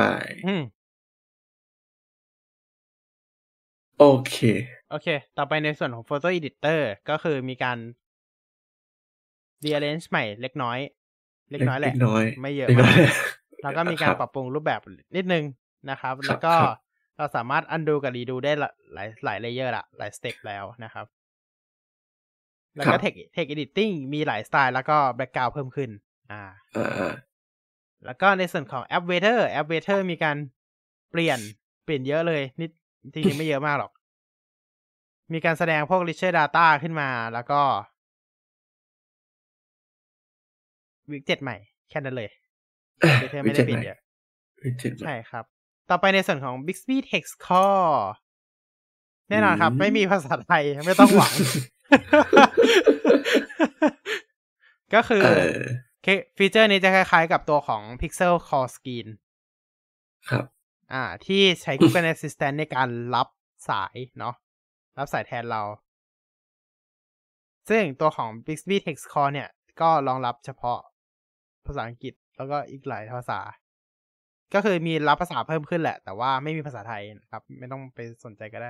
Speaker 2: โอเค
Speaker 1: ต่อไปในส่วนของ Photo Editor ก็คือมีการ rearrange ใหม่เล็กน้อยแหละไม่เยอะมากแล้วก็มีการปรับปรุงรูปแบบนิดนึงนะครับแล้วก็เราสามารถ undo กับ redo ได้หลายเลเยอร์ละหลายสเต็ปแล้วนะครับแล้วก็ text editing มีหลายสไตล์แล้วก็ background เพิ่มขึ้นแล้วก็ในส่วนของ app waiter มีการเปลี่ยนเยอะเลยนิดจริงๆไม่เยอะมากหรอกมีการแสดงพวก richer data ขึ้นมาแล้วก็widget ใหม่แค่นั้นเลยwaiter ไม่ได้เปลี่ยนเยอะใช่ครับต่อไปในส่วนของ Bixby Text Core แน่นอนครับไม่มีภาษาไทยไม่ต้องหวัง ก็คือฟีเจอร์นี้จะคล้ายๆกับตัวของ Pixel Call Screen
Speaker 2: ครับ
Speaker 1: ที่ใช้ Google Assistant ในการรับสายเนาะรับสายแทนเราซึ่งตัวของ Bixby Text Call เนี่ยก็รองรับเฉพาะภาษาอังกฤษแล้วก็อีกหลายภาษาก็คือมีรับภาษาเพิ่มขึ้นแหละแต่ว่าไม่มีภาษาไทยนะครับไม่ต้องไปสนใจก็ได้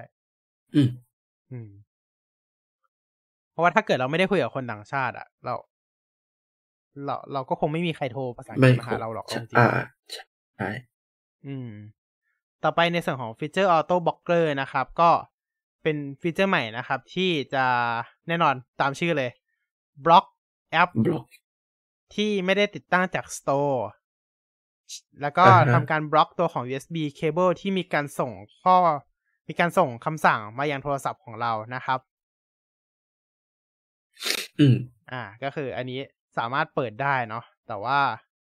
Speaker 1: เพราะว่าถ้าเกิดเราไม่ได้คุยกับคนต่างชาติอ่ะเราก็คงไม่มีใครโทรภาษาอังกฤษมาหาเราหรอกจริง
Speaker 2: ใช่
Speaker 1: ต่อไปในส่วนของฟีเจอร์ Auto Blocker นะครับก็เป็นฟีเจอร์ใหม่นะครับที่จะแน่นอนตามชื่อเลยบล็อกแอปที่ไม่ได้ติดตั้งจาก Store แล้วก็ทำการบล็อกตัวของ USB cable ที่มีการส่งคำสั่งมายังโทรศัพท์ของเรานะครับก็คืออันนี้สามารถเปิดได้เนาะแต่ว่า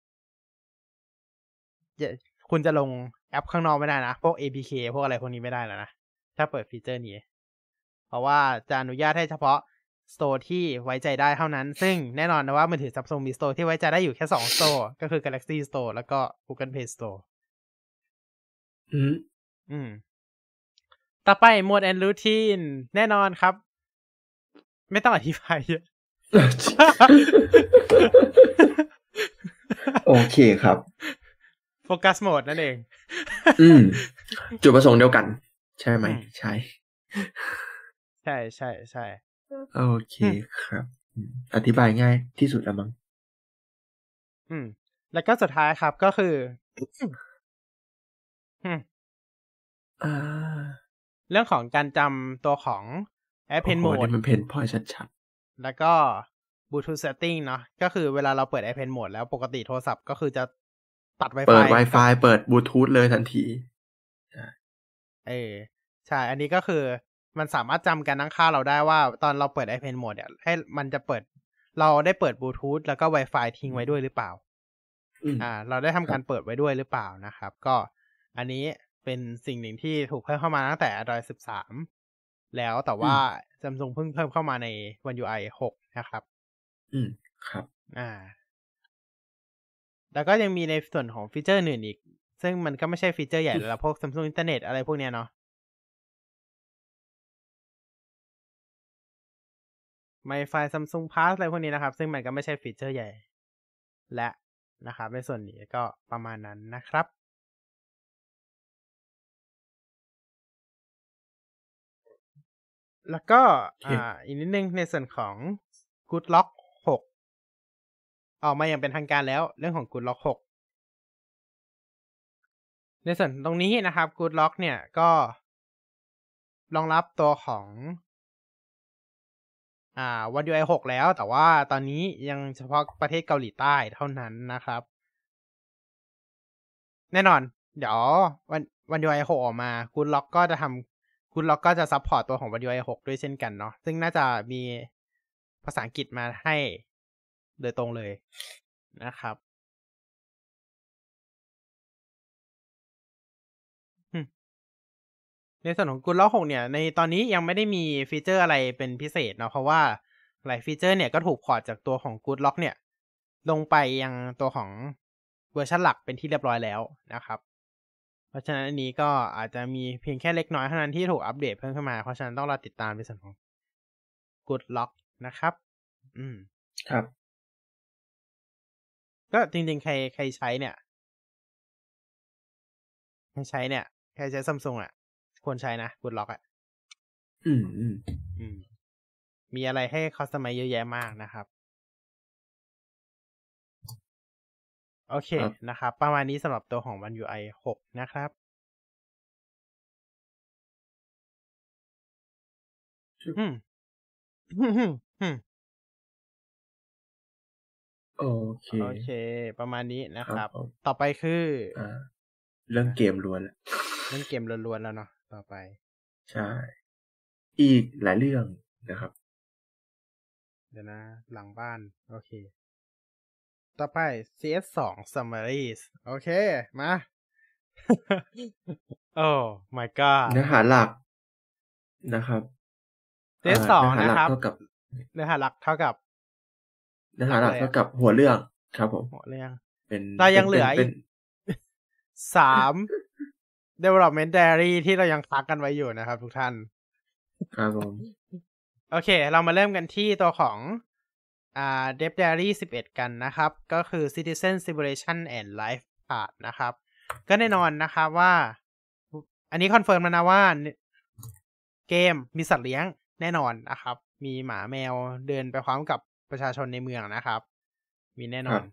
Speaker 1: คุณจะลงแอปข้างนอกไม่ได้นะพวก APK พวกอะไรพวกนี้ไม่ได้แล้วนะถ้าเปิดฟีเจอร์นี้เพราะว่าจะอนุญาตให้เฉพาะ Store ที่ไว้ใจได้เท่านั้นซึ่งแน่นอนนะว่ามือถือ Samsung มี Store ที่ไว้ใจได้อยู่แค่2 Store ก็คือ Galaxy Store แล้วก็ Google Play Store ต่อไป Mode and Routine แน่นอนครับไม่ต้องอธิบายเยอะ
Speaker 2: โอเคครับ
Speaker 1: โฟกัสโหมดนั่นเอง
Speaker 2: จุดประสงค์เดียวกันใช่ไหมใช่โอเคครับอธิบายง่ายที่สุดแล้วมั้ง
Speaker 1: แล้วก็สุดท้ายครับก็คือเรื่องของการจำตัวของ Airplane Mode
Speaker 2: มันเพนพอยชัด
Speaker 1: ๆแล้วก็ Bluetooth Setting เนาะก็คือเวลาเราเปิด Airplane Mode แล้วปกติโทรศัพท์ก็คือจะตัด Wi-Fi
Speaker 2: เปิด Wi-Fi เปิด Bluetooth เลยทันที
Speaker 1: ใช่อันนี้ก็คือมันสามารถจำการตั้งค่าเราได้ว่าตอนเราเปิด Airplane Mode เนี่ยให้มันจะเปิดเราได้เปิด Bluetooth แล้วก็ Wi-Fi ทิ้งไว้ด้วยหรือเปล่าเราได้ทำการเปิดไว้ด้วยหรือเปล่านะครับก็อันนี้เป็นสิ่งหนึ่งที่ถูกเพิ่มเข้ามาตั้งแต่ Android 13แล้วแต่ว่า Samsung เพิ่งเพิ่มเข้ามาใน One UI 6นะครับ
Speaker 2: ครับ
Speaker 1: แล้วก็ยังมีในส่วนของฟีเจอร์อื่นอีกซึ่งมันก็ไม่ใช่ฟีเจอร์ใหญ่แล้วพวก Samsung Internet อะไรพวกเนี้ยเนาะWi-Fi Samsung Pass อะไรพวกนี้นะครับซึ่งมันก็ไม่ใช่ฟีเจอร์ใหญ่และนะครับในส่วนนี้ก็ประมาณนั้นนะครับแล้วก็อีกนิดนึงในส่วนของ Good Lock 6ออกมาอย่างเป็นทางการแล้วเรื่องของ Good Lock 6ในส่วนตรงนี้นะครับ Good Lock เนี่ยก็รองรับตัวของOne UI 6แล้วแต่ว่าตอนนี้ยังเฉพาะประเทศเกาหลีใต้เท่านั้นนะครับแน่นอนเดี๋ยวOne UI 6ออกมา Good Lock ก็จะซัพพอร์ตตัวของ One UI 6ด้วยเช่นกันเนาะซึ่งน่าจะมีภาษาอังกฤษมาให้โดยตรงเลยนะครับในส่วนของ Good Lock 6เนี่ยในตอนนี้ยังไม่ได้มีฟีเจอร์อะไรเป็นพิเศษเนาะเพราะว่าหลายฟีเจอร์เนี่ยก็ถูกพอร์ตจากตัวของ Good Lock เนี่ยลงไปยังตัวของเวอร์ชันหลักเป็นที่เรียบร้อยแล้วนะครับเพราะฉะนั้นอันนี้ก็อาจจะมีเพียงแค่เล็กน้อยเท่านั้นที่ถูกอัปเดตเพิ่มขึ้นมาเพราะฉะนั้นต้องรอติดตามในส่วนของ Good Lock นะครับ
Speaker 2: ครับ
Speaker 1: ก็จริงๆใครใช้เนี่ยใครใช้ Samsung อ่ะควรใช้นะ Good Lock อ่ะมีอะไรให้คัสตอมไมซ์เยอะแยะมากนะครับโอเคนะครับประมาณนี้สำหรับตัวของ One UI 6นะครับโอเคประมาณนี้นะครับต่อไปคือ
Speaker 2: เรื่องเกมล้วนแล้ว
Speaker 1: เรื่องเกมล้วนๆแล้วเนาะต่อไป
Speaker 2: ใช่อีกหลายเรื่องนะครับ
Speaker 1: เดี๋ยวนะหลังบ้านโอเคต่อไป CS2 Summaries โอเคมาโอ้ my god
Speaker 2: เนื้อหาหลักนะครับ
Speaker 1: CS2 นะครับเนื้อหาหลักเท่ากับ
Speaker 2: หัวเรื่องครับผม
Speaker 1: หัวเรื่อง
Speaker 2: เป็น
Speaker 1: เรายังเหลืออีก3 development diary ที่เรายังพักกันไว้อยู่นะครับทุกท่าน
Speaker 2: ครับผม
Speaker 1: โอเคเรามาเริ่มกันที่ตัวของDev Diary 11กันนะครับก็คือ Citizen Simulation and Life Part นะครับก็แน่นอนนะครับว่าอันนี้คอนเฟิร์มแล้วนะว่าเกมมีสัตว์เลี้ยงแน่นอนนะครับมีหมาแมวเดินไปพร้อมกับประชาชนในเมืองนะครับมีแน่นอน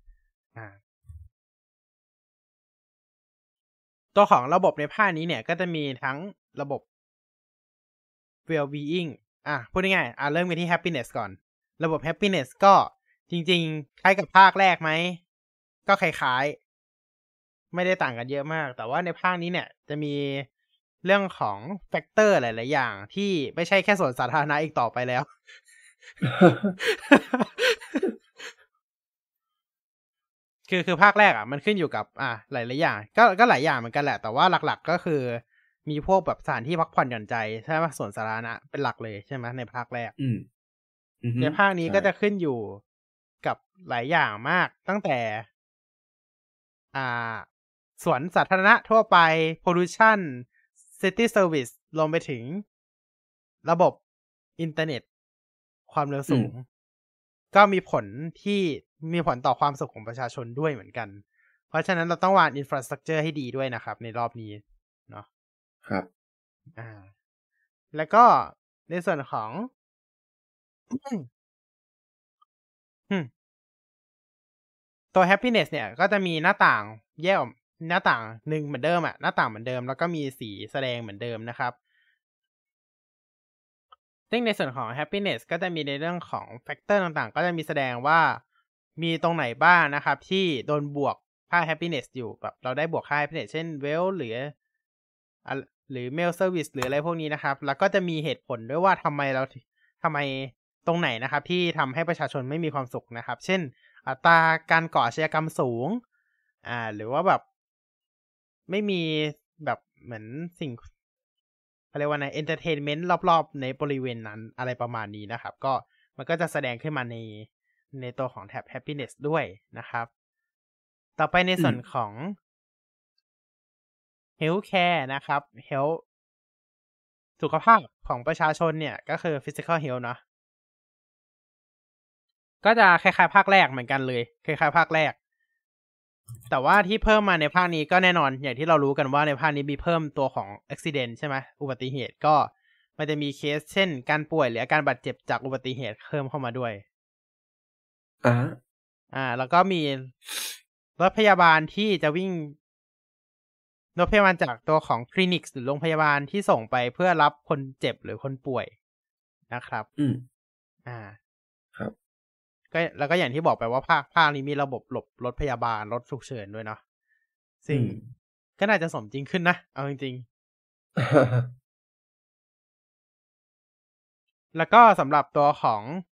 Speaker 1: ตัวของระบบในภาคนี้เนี่ยก็จะมีทั้งระบบ well-being พูดง่ายๆเริ่มกันที่ happiness ก่อนระบบ happiness ก็จริงๆคล้ายกับภาคแรกไหมก็คล้ายๆไม่ได้ต่างกันเยอะมากแต่ว่าในภาคนี้เนี่ยจะมีเรื่องของแฟกเตอร์หลายๆอย่างที่ไม่ใช่แค่สวนสาธารณะอีกต่อไปแล้ว คือภาคแรกมันขึ้นอยู่กับหลายๆอย่างก็หลายอย่างเหมือนกันแหละแต่ว่าหลักๆก็คือมีพวกแบบสถานที่พักผ่อนหย่อนใจใช่ไหมสวนสาธารณะเป็นหลักเลยใช่ไหมในภาคแรกในภาคนี้ก็จะขึ้นอยู่กับหลายอย่างมากตั้งแต่สวนสาธารณะทั่วไป pollution city service รวมไปถึงระบบอินเทอร์เน็ตความเร็วสูงก็มีผลต่อความสุขของประชาชนด้วยเหมือนกันเพราะฉะนั้นเราต้องวาง infrastructure ให้ดีด้วยนะครับในรอบนี้เนาะ
Speaker 2: ครับ
Speaker 1: แล้วก็ในส่วนของตัว happiness เนี่ยก็จะมีหน้าต่างแยกหน้าต่างหนึ่งเหมือนเดิมหน้าต่างเหมือนเดิมแล้วก็มีสีแสดงเหมือนเดิมนะครับซึ่งในส่วนของ happiness ก็จะมีในเรื่องของแฟกเตอร์ต่างๆก็จะมีแสดงว่ามีตรงไหนบ้างนะครับที่โดนบวกค่า happiness อยู่แบบเราได้บวกค่า happiness เช่น wealth หรือmail service หรืออะไรพวกนี้นะครับแล้วก็จะมีเหตุผลด้วยว่าทำไมตรงไหนนะครับที่ทำให้ประชาชนไม่มีความสุขนะครับเช่นอัตราการก่ออาชญากรรมสูงหรือว่าแบบไม่มีแบบเหมือนสิ่งอะไรว่าใน entertainment รอบๆในบริเวณนั้นอะไรประมาณนี้นะครับก็มันก็จะแสดงขึ้นมาในตัวของแท็บ happiness ด้วยนะครับต่อไปในส่วนของ healthcare นะครับ health สุขภาพของประชาชนเนี่ยก็คือ physical health เนาะก็จะคล้ายๆภาคแรกเหมือนกันเลยคล้ายๆภาคแรกแต่ว่าที่เพิ่มมาในภาคนี้ก็แน่นอนอย่างที่เรารู้กันว่าในภาคนี้มีเพิ่มตัวของ accident ใช่ไหมอุบัติเหตุก็มันจะมีเคสเช่นการป่วยหรืออาการบาดเจ็บจากอุบัติเหตุเพิ่มเข้ามาด้วยแล้วก็มีรถพยาบาลที่จะวิ่งรถพยาบาลจากตัวของคลินิกหรือโรงพยาบาลที่ส่งไปเพื่อรับคนเจ็บหรือคนป่วยนะครับ
Speaker 2: ครับ
Speaker 1: ก็แล้วก็อย่างที่บอกไปว่าภาคนี้มีระบบหลบรถพยาบาลรถฉุกเฉินด้วยเนาะซึ่งก็น่าจะสมจริงขึ้นนะเอาจริงๆแล้วก็สำหรับตัวของ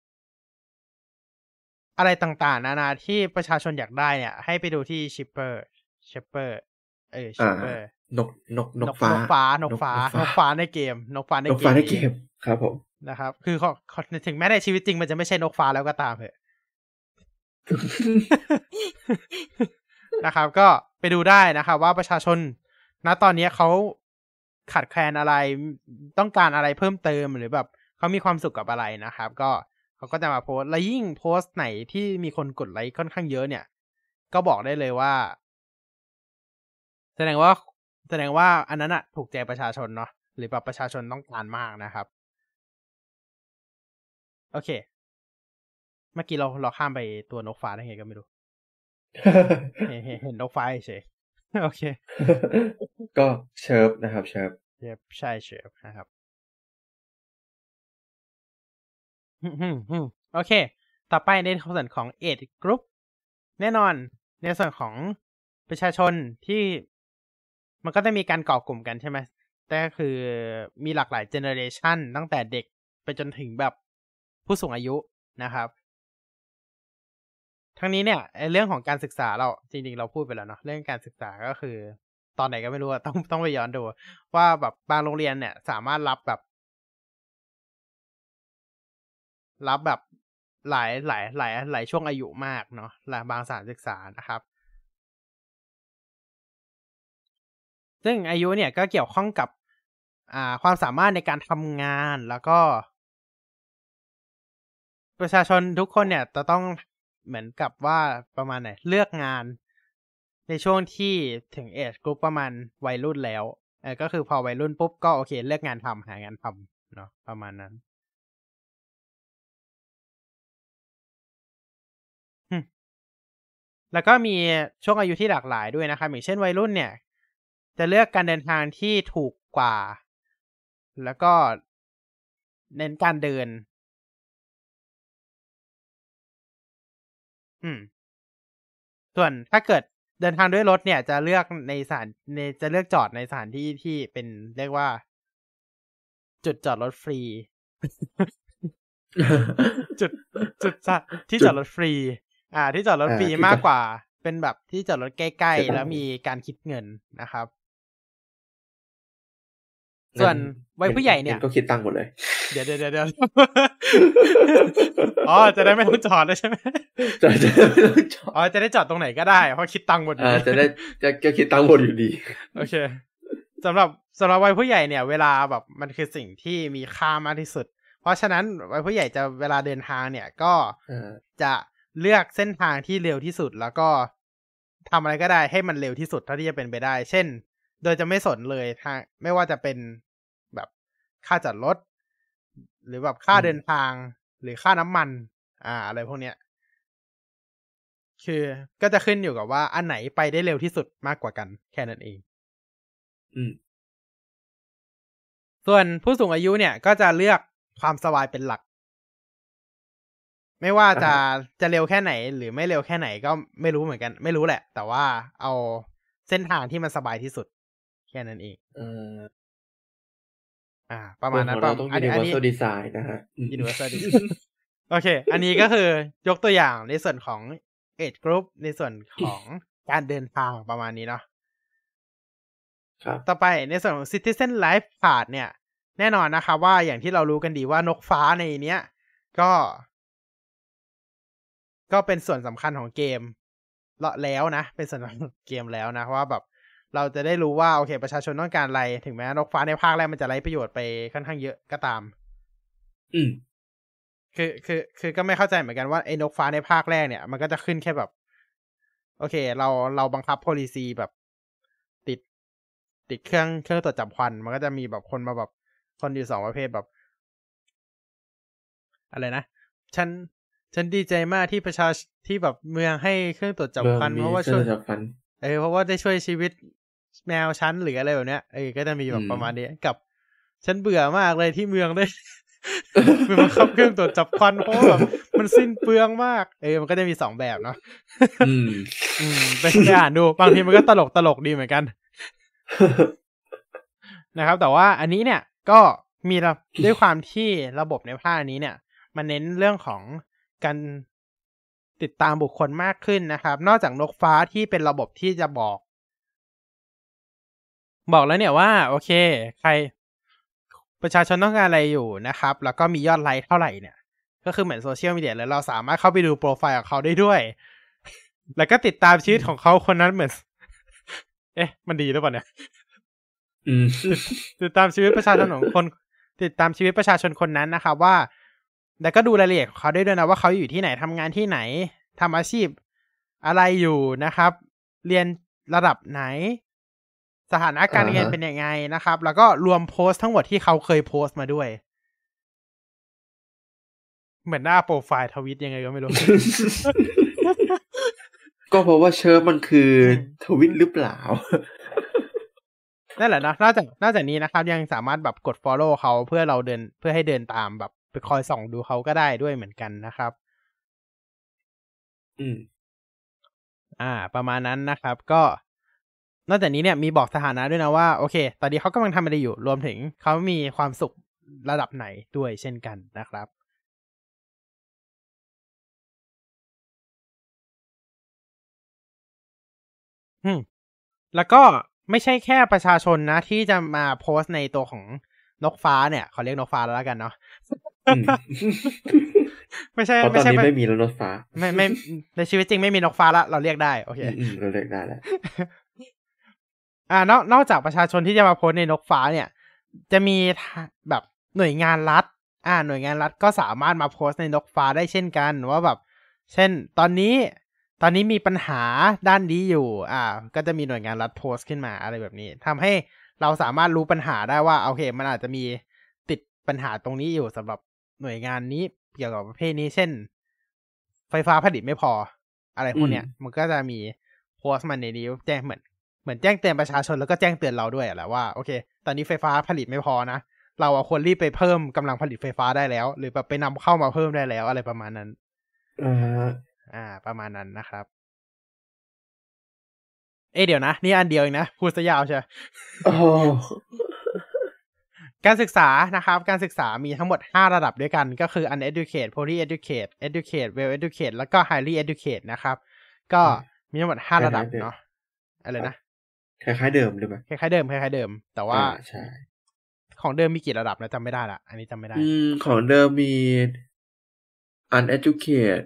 Speaker 1: อะไรต่างๆนานาที่ประชาชนอยากได้เนี่ยให้ไปดูที่ Shipper
Speaker 2: นกฟ้า
Speaker 1: ในเกมนกฟ้าในเกม
Speaker 2: ครับผม
Speaker 1: นะครับคือถึงแม้ในชีวิตจริงมันจะไม่ใช่นกฟ้าแล้วก็ตามเถอะ นะครับก็ไปดูได้นะครับว่าประชาชนณตอนนี้เขาขาดแคลนอะไรต้องการอะไรเพิ่มเติมหรือแบบเขามีความสุขกับอะไรนะครับก็เขาก็จะมาโพสต์และยิ่งโพสต์ไหนที่มีคนกดไลค์ค่อนข้างเยอะเนี่ยก็บอกได้เลยว่าแสดงว่าอันนั้นอะถูกใจประชาชนเนาะหรือแบบประชาชนต้องการมากนะครับโอเคเมื่อกี้เราข้ามไปตัวนกฟ้าได้ไงก็ไม่รู้ เห็นนกฟ้าเฉยโอเค
Speaker 2: ก็เชิร์ฟนะครับเชิร์ฟ
Speaker 1: ใช่เชิร์ฟนะครับโอเคต่อไปในส่วนของ Age Group แน่นอนในส่วนของประชาชนที่มันก็จะมีการก่อกลุ่มกันใช่ไหมแต่คือมีหลากหลายเจเนอเรชันตั้งแต่เด็กไปจนถึงแบบผู้สูงอายุนะครับทั้งนี้เนี่ยเรื่องของการศึกษาเราจริงๆเราพูดไปแล้วเนาะเรื่องการศึกษาก็คือตอนไหนก็ไม่รู้ต้องไปย้อนดูว่าแบบบางโรงเรียนเนี่ยสามารถรับแบบหลายช่วงอายุมากเนาะบางสถานศึกษานะครับซึ่งอายุเนี่ยก็เกี่ยวข้องกับความสามารถในการทำงานแล้วก็ประชาชนทุกคนเนี่ยจะต้องเหมือนกับว่าประมาณไหนเลือกงานในช่วงที่ถึงเอจกรุ๊ปประมาณวัยรุ่นแล้วก็คือพอวัยรุ่นปุ๊บก็โอเคเลือกงานทำหางานทำเนาะประมาณนั้นแล้วก็มีช่วงอายุที่หลากหลายด้วยนะครับอย่างเช่นวัยรุ่นเนี่ยจะเลือกการเดินทางที่ถูกกว่าแล้วก็เน้นการเดินส่วนถ้าเกิดเดินทางด้วยรถเนี่ยจะเลือกจะเลือกจอดในสถานที่ที่เป็นเรียกว่าจุดจอดรถฟรีจุดที่จอดรถฟรีที่จอดรถฟรีมากกว่าเป็นแบบที่จอดรถใกล้ๆแล้วมีการคิดเงินนะครับส่วนวัยผู้ใหญ่เนี่ย
Speaker 2: ก็คิดตังค์หมดเลย
Speaker 1: เดี๋ยวอ๋อจะได้ไม่ต้องจอดเลยใช่ไหม
Speaker 2: จะไม่ต้องจอด
Speaker 1: จะได้จอดตรงไหนก็ได้เพราะคิดตังค์หมด
Speaker 2: จะคิดตังค์หมดอยู่ดี
Speaker 1: โอเคสำหรับวัยผู้ใหญ่เนี่ยเวลาแบบมันคือสิ่งที่มีค่ามากที่สุดเพราะฉะนั้นวัยผู้ใหญ่จะเวลาเดินทางเนี่ยก็จะเลือกเส้นทางที่เร็วที่สุดแล้วก็ทำอะไรก็ได้ให้มันเร็วที่สุดเท่าที่จะเป็นไปได้เช่นโดยจะไม่สนเลยทางไม่ว่าจะเป็นแบบค่าจอดรถหรือแบบค่าเดินทางหรือค่าน้ำมันอะไรพวกเนี้ยคือก็จะขึ้นอยู่กับว่าอันไหนไปได้เร็วที่สุดมากกว่ากันแค่นั้นเองส่วนผู้สูงอายุเนี่ยก็จะเลือกความสบายเป็นหลักไม่ว่าจะเร็วแค่ไหนหรือไม่เร็วแค่ไหนก็ไม่รู้เหมือนกันไม่รู้แหละแต่ว่าเอาเส้นทางที่มันสบายที่สุดแค่นั้นเองประมาณนั้น
Speaker 2: เราต้อง universal design นะฮะ
Speaker 1: universal design โอเคอันนี้ก็คือยกตัวอย่างในส่วนของ age group ในส่วนของการเดินทางประมาณนี้เนาะต่อไปในส่วนของ citizen life card เนี่ยแน่นอนนะครับว่าอย่างที่เรารู้กันดีว่านกฟ้าในเนี้ยก็เป็นส่วนสำคัญของเกมแล้วนะเป็นส่วนสำคัญของเกมแล้วนะเพราะว่าแบบเราจะได้รู้ว่าโอเคประชาชนต้องการอะไรถึงแม้นกฟ้าในภาคแรกมันจะไร้ประโยชน์ไปค่อนข้างเยอะก็ตามคือก็ไม่เข้าใจเหมือนกันว่าไอ้นกฟ้าในภาคแรกเนี่ยมันก็จะขึ้นแค่แบบโอเคเราบังคับ policy แบบติดเครื่องตรวจจับควันมันก็จะมีแบบคนมาแบบคนอยู่2ประเภทแบบอะไรนะฉันดีใจมากที่ที่แบบเมืองให้เครื่องตรวจจับควันเพราะว่าช่วยเพราะว่าได้ช่วยชีวิตแมวฉันหรืออะไรแบบเนี้ยก็จะมีแบบประมาณนี้กับฉันเบื่อมากเลยที่เมืองได้มันบังคับเครื่องตรวจจับควันเพราะแบบมันสิ้นเปลืองมากมันก็จะมี2แบบเนาะไปอ่านดูบางทีมันก็ตลกดีเหมือนกันนะครับแต่ว่าอันนี้เนี่ยก็มีด้วยความที่ระบบในภาคนี้เนี่ยมันเน้นเรื่องของการติดตามบุคคลมากขึ้นนะครับนอกจากนกฟ้าที่เป็นระบบที่จะบอกบอกแล้วเนี่ยว่าโอเคใครประชาชนต้องการอะไรอยู่นะครับแล้วก็มียอดไลค์เท่าไหร่เนี่ยก็คือเหมือนโซเชียลมีเดียแล้วเราสามารถเข้าไปดูโปรไฟล์ของเขาได้ด้วยแล้วก็ติดตามชีวิตของเขาคนนั้นเหมือนมันดีหรือเปล่าเนี่ยติดตามชีวิตประชาชนของคนติดตามชีวิตประชาชนคนนั้นนะครับว่าแล้วก็ดูรายละเอียดของเขาได้ด้วยนะว่าเขาอยู่ที่ไหนทำงานที่ไหนทำอาชีพอะไรอยู่นะครับเรียนระดับไหนสถานะการเงินเป็นยังไงนะครับแล้วก็รวมโพสต์ทั้งหมดที่เขาเคยโพสต์มาด้วยเหมือนหน้าโปรไฟล์ทวิตยังไงก็ไม่รู้
Speaker 2: ก็เพราะว่าเชิร์ฟมันคือทวิตหรือเปล่า
Speaker 1: นั่นแหละนะนอกจากนี้นะครับยังสามารถแบบกด follow เขาเพื่อให้เดินตามแบบไปคอยส่องดูเขาก็ได้ด้วยเหมือนกันนะครับประมาณนั้นนะครับก็นอกจากนี้เนี่ยมีบอกสถานะด้วยนะว่าโอเคตอนนี้เขากำลังทำอะไรอยู่รวมถึงเขามีความสุขระดับไหนด้วยเช่นกันนะครับแล้วก็ไม่ใช่แค่ประชาชนนะที่จะมาโพสต์ในตัวของนกฟ้าเนี่ยเขาเรียกนกฟ้าแล้วกันเนาะไม่ใช่
Speaker 2: ตอนนี้ไม่มีแล้วนกฟ้า
Speaker 1: ไม่ในชีวิตจริงไม่มีนกฟ้าละเราเรียกได้โอเค
Speaker 2: เราเรียกได้แล้ว
Speaker 1: นอกจากประชาชนที่จะมาโพสต์ในนกฟ้าเนี่ยจะมีแบบหน่วยงานรัฐหน่วยงานรัฐก็สามารถมาโพสต์ในนกฟ้าได้เช่นกันว่าแบบเช่นตอนนี้มีปัญหาด้านนี้อยู่ก็จะมีหน่วยงานรัฐโพสต์ขึ้นมาอะไรแบบนี้ทำให้เราสามารถรู้ปัญหาได้ว่าโอเคมันอาจจะมีติดปัญหาตรงนี้อยู่สำหรับหน่วยงานนี้เกี่ยวกับประเภทนี้เช่นไฟฟ้าผลิตไม่พออะไรพวกเนี้ยมันก็จะมีโพสต์มันในนี้แจ้งเหมือนแจ้งเตือนประชาชนแล้วก็แจ้งเตือนเราด้วยแหละว่าโอเคตอนนี้ไฟฟ้าผลิตไม่พอนะเราควรรีบไปเพิ่มกำลังผลิตไฟฟ้าได้แล้วหรือแบบไปนำเข้ามาเพิ่มได้แล้วอะไรประมาณนั้นประมาณนั้นนะครับเดี๋ยวนะนี่อันเดียวเองนะพูดซะยาวใช่การศึกษานะครับการศึกษามีทั้งหมด5ระดับด้วยกันก็คือ uneducated poorly educated educated well educated แล้วก็ highly educated นะครับก็มีทั้งหมด5ระดับเนาะอะไรนะ
Speaker 2: คล้ายๆเดิมหรือเปล่า
Speaker 1: คล้ายๆเดิมแต่ว่า
Speaker 2: ใช่
Speaker 1: ของเดิมมีกี่ระดับนะจำไม่ได้ละอันนี้จำไม่ได้
Speaker 2: ของเดิมมี uneducated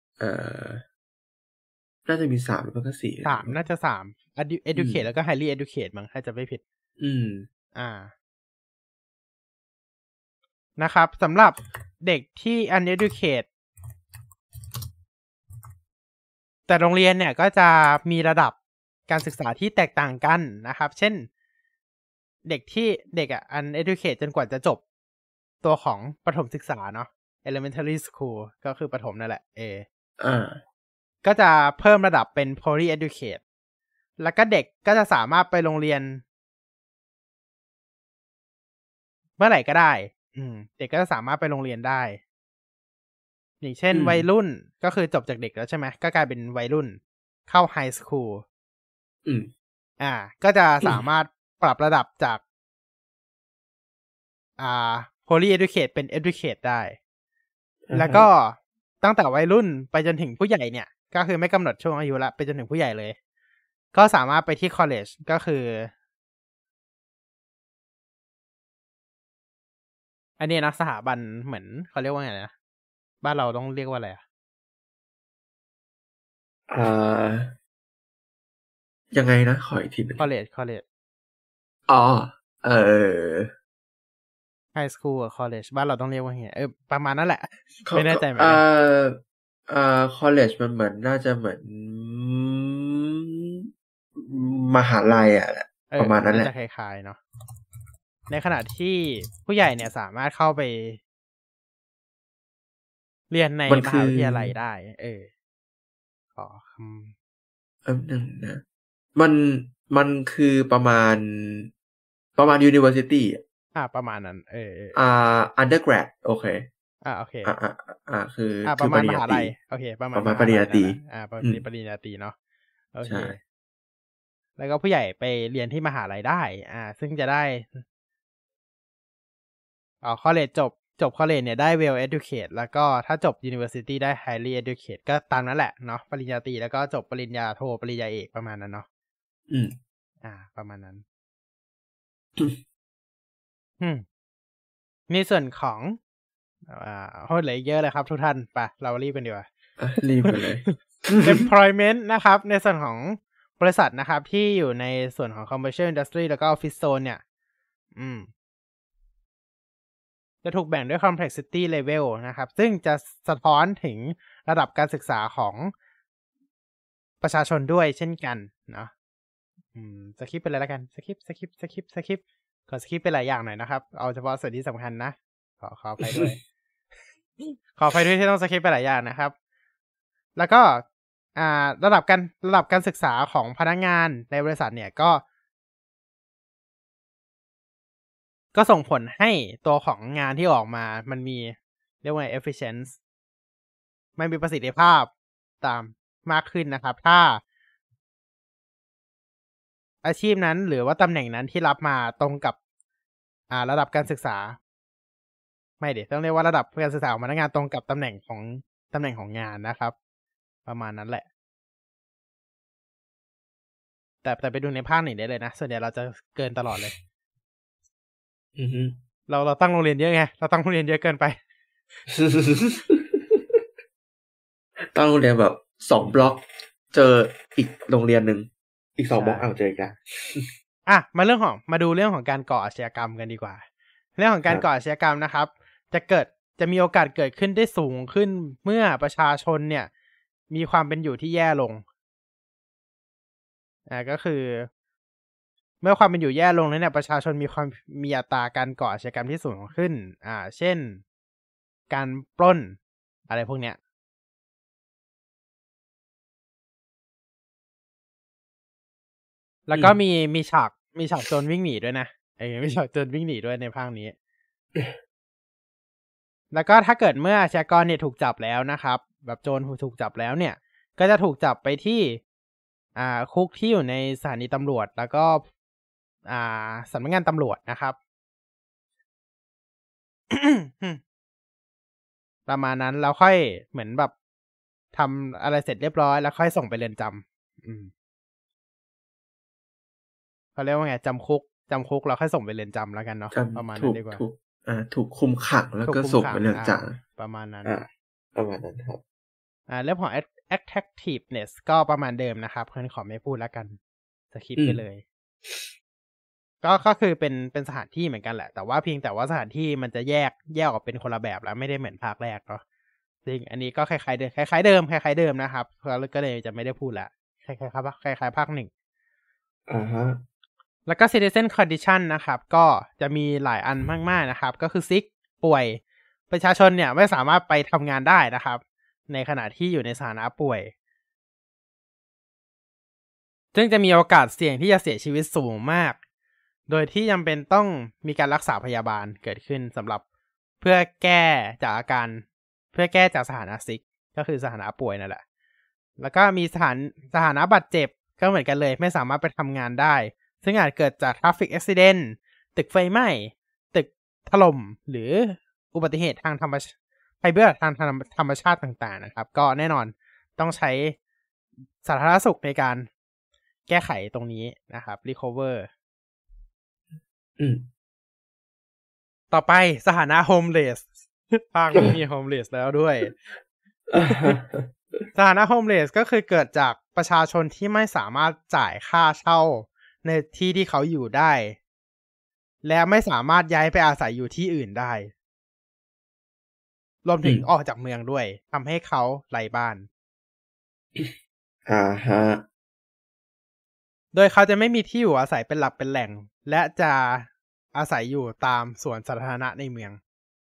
Speaker 2: น่าจะมี3แล้วก็4
Speaker 1: น่าจะ3 educated แล้วก็ highly educated มั้งถ้าจะไม่ผิดนะครับสำหรับเด็กที่ uneducated แต่โรงเรียนเนี่ยก็จะมีระดับการศึกษาที่แตกต่างกันนะครับเช่นเด็กuneducated จนกว่าจะจบตัวของประถมศึกษาเนาะ elementary school ก็คือประถมนั่นแหละก็จะเพิ่มระดับเป็น poorly educated แล้วก็เด็กก็จะสามารถไปโรงเรียนเมื่อไหร่ก็ได้เด็กก็จะสามารถไปโรงเรียนได้อย่างเช่นวัยรุ่นก็คือจบจากเด็กแล้วใช่ไหมก็กลายเป็นวัยรุ่นเข้าไฮสคูลก็จะสามารถปรับระดับจากpoorly educated เป็น educated ได้แล้วก็ตั้งแต่วัยรุ่นไปจนถึงผู้ใหญ่เนี่ยก็คือไม่กำหนดช่วงอายุละไปจนถึงผู้ใหญ่เลยก็สามารถไปที่ college ก็คืออันนี้นะสถาบันเหมือนเขาเรียกว่าไงนะบ้านเราต้องเรียกว่าอะไร
Speaker 2: ยังไงนะขออีกทีนึง
Speaker 1: college high school กับ college บ้านเราต้องเรียกว่าไงประมาณนั้นแหละไม่แน่ใจเหมือนกัน
Speaker 2: college มันเหมือนน่าจะเหมือนมหาลัยประมาณนั้นแหละ
Speaker 1: จะคล้ายๆเนาะในขณะที่ผู้ใหญ่เนี่ยสามารถเข้าไปเรียนในมหาวิทยาลัยได้ขอค
Speaker 2: ำนึงนะมันคือประมาณuniversity
Speaker 1: ประมาณนั้น
Speaker 2: undergrad โอเค
Speaker 1: โอเค
Speaker 2: คือ
Speaker 1: ประมาณมหาลัยโอเคประมาณ
Speaker 2: ปริญญาตรี
Speaker 1: ปริญญาตรีเนาะโอเคแล้วก็ผู้ใหญ่ไปเรียนที่มหาลัยได้ซึ่งจะได้college จบ college เนี่ยได้ well educated แล้วก็ถ้าจบ university ได้ highly educated ก็ตามนั้นแหละเนาะปริญญาตรีแล้วก็จบปริญญาโทปริญญาเอกประมาณนั้นเนาะประมาณนั้นในส่วนของโหเหลือเยอะเลยครับทุกท่านไปเรารีบกันดีกว่า
Speaker 2: รีบกันเลย
Speaker 1: employment นะครับในส่วนของบริษัทนะครับที่อยู่ในส่วนของ commercial industry แล้วก็ office zone เนี่ยจะถูกแบ่งด้วย complexity level นะครับซึ่งจะสะท้อนถึงระดับการศึกษาของประชาชนด้วยเช่นกันเนาะสคริปต์ไปเลยแล้วกันสคริปต์ขอสคริปต์ไปหลายอย่างหน่อยนะครับเอาเฉพาะส่วนที่สำคัญนะขอไปด้วย ขอไปด้วยที่ต้องสคริปต์ไปหลายอย่างนะครับแล้วก็ระดับการศึกษาของพนักงานในบริษัทเนี่ยก็ส่งผลให้ตัวของงานที่ออกมามันมีเรียกว่า efficiency มันมีประสิทธิภาพตามมากขึ้นนะครับถ้าอาชีพนั้นหรือว่าตำแหน่งนั้นที่รับมาตรงกับระดับการศึกษาไม่เดี๋ยวต้องเรียกว่าระดับการศึกษาของพนักงานตรงกับตำแหน่งของงานนะครับประมาณนั้นแหละแต่ไปดูในภาคหนึ่งได้เลยนะส่วนใหญ่เราจะเกินตลอดเลยเราตั้งโรงเรียนเยอะไงเราตั้งโรงเรียนเยอะเกินไป
Speaker 2: ตั้งโรงเรียนแบบ2 บล็อกเจออีกโรงเรียนนึงอีก2 บล็อกเจอกัน
Speaker 1: มาดูเรื่องของการก่ออาชญากรรมกันดีกว่าเรื่องของการก่ออาชญากรรมนะครับจะมีโอกาสเกิดขึ้นได้สูงขึ้นเมื่อประชาชนเนี่ยมีความเป็นอยู่ที่แย่ลงก็คือเมื่อความเป็นอยู่แย่ลงแล้วเนี่ยประชาชนมีอัตราการก่ออาชญากรรมที่สูงขึ้นเช่นการปล้นอะไรพวกเนี้ยแล้วก็มีฉากโจรวิ่งหนีด้วยนะมีฉากโจรวิ่งหนีด้วยในภาคนี้ แล้วก็ถ้าเกิดเมื่ออาชญากรเนี่ยถูกจับแล้วนะครับแบบโจรถูกจับแล้วเนี่ยก็จะถูกจับไปที่คุกที่อยู่ในสถานีตำรวจแล้วก็สำนักงานตำรวจนะครับ ประมาณนั้นแล้วค่อยเหมือนแบบทำอะไรเสร็จเรียบร้อยแล้วค่อยส่งไปเรือนจำเขาเรียกว่าไงจำคุกแล้วค่อยส่งไปเรือนจำแล้วกันเนาะประมาณนั้นดีกว่า
Speaker 2: ถูกคุมขังแล้วก็ส่งไปเรือนจ
Speaker 1: ำประมาณนั้น
Speaker 2: ครับ
Speaker 1: เรื่องของ attractiveness ก็ประมาณเดิมนะครับเพื่อนขอไม่พูดแล้วกันสคิปไปเลยก็คือเป็นสถานที่เหมือนกันแหละแต่ว่าเพียงแต่ว่าสถานที่มันจะแยกออกเป็นคนละแบบแล้วไม่ได้เหมือนภาคแรกเนาะจริงอันนี้ก็คล้ายๆเดิมนะครับก็เลยจะไม่ได้พูดละคล้ายๆภาคหนึ่งแล้วก็ citizen condition นะครับก็จะมีหลายอันมากๆนะครับก็คือ sick ป่วยประชาชนเนี่ยไม่สามารถไปทำงานได้นะครับในขณะที่อยู่ในสถานะป่วยซึ่งจะมีโอกาสเสี่ยงที่จะเสียชีวิตสูงมากโดยที่จำเป็นต้องมีการรักษาพยาบาลเกิดขึ้นสำหรับเพื่อแก้จากสถานะซิกก็คือสถานะป่วยนั่นแหละแล้วก็มีสถานะบาดเจ็บก็เหมือนกันเลยไม่สามารถไปทำงานได้ซึ่งอาจเกิดจาก traffic accident ตึกไฟไหม้ตึกถล่มหรืออุบัติเหตุทางธรรมชาติต่างๆนะครับก็แน่นอนต้องใช้สาธารณสุขในการแก้ไขตรงนี้นะครับ recover ต่อไปสถานะ homeless ภาคนี้มี homeless แล้วด้วย สถานะ homeless ก็คือเกิดจากประชาชนที่ไม่สามารถจ่ายค่าเช่าในที่ที่เขาอยู่ได้และไม่สามารถย้ายไปอาศัยอยู่ที่อื่นได้รวมถึงออกจากเมืองด้วยทำให้เขาไร้บ้านโดยเขาจะไม่มีที่อยู่อาศัยเป็นหลักเป็นแหล่งและจะอาศัยอยู่ตามสวนสาธารณะในเมือง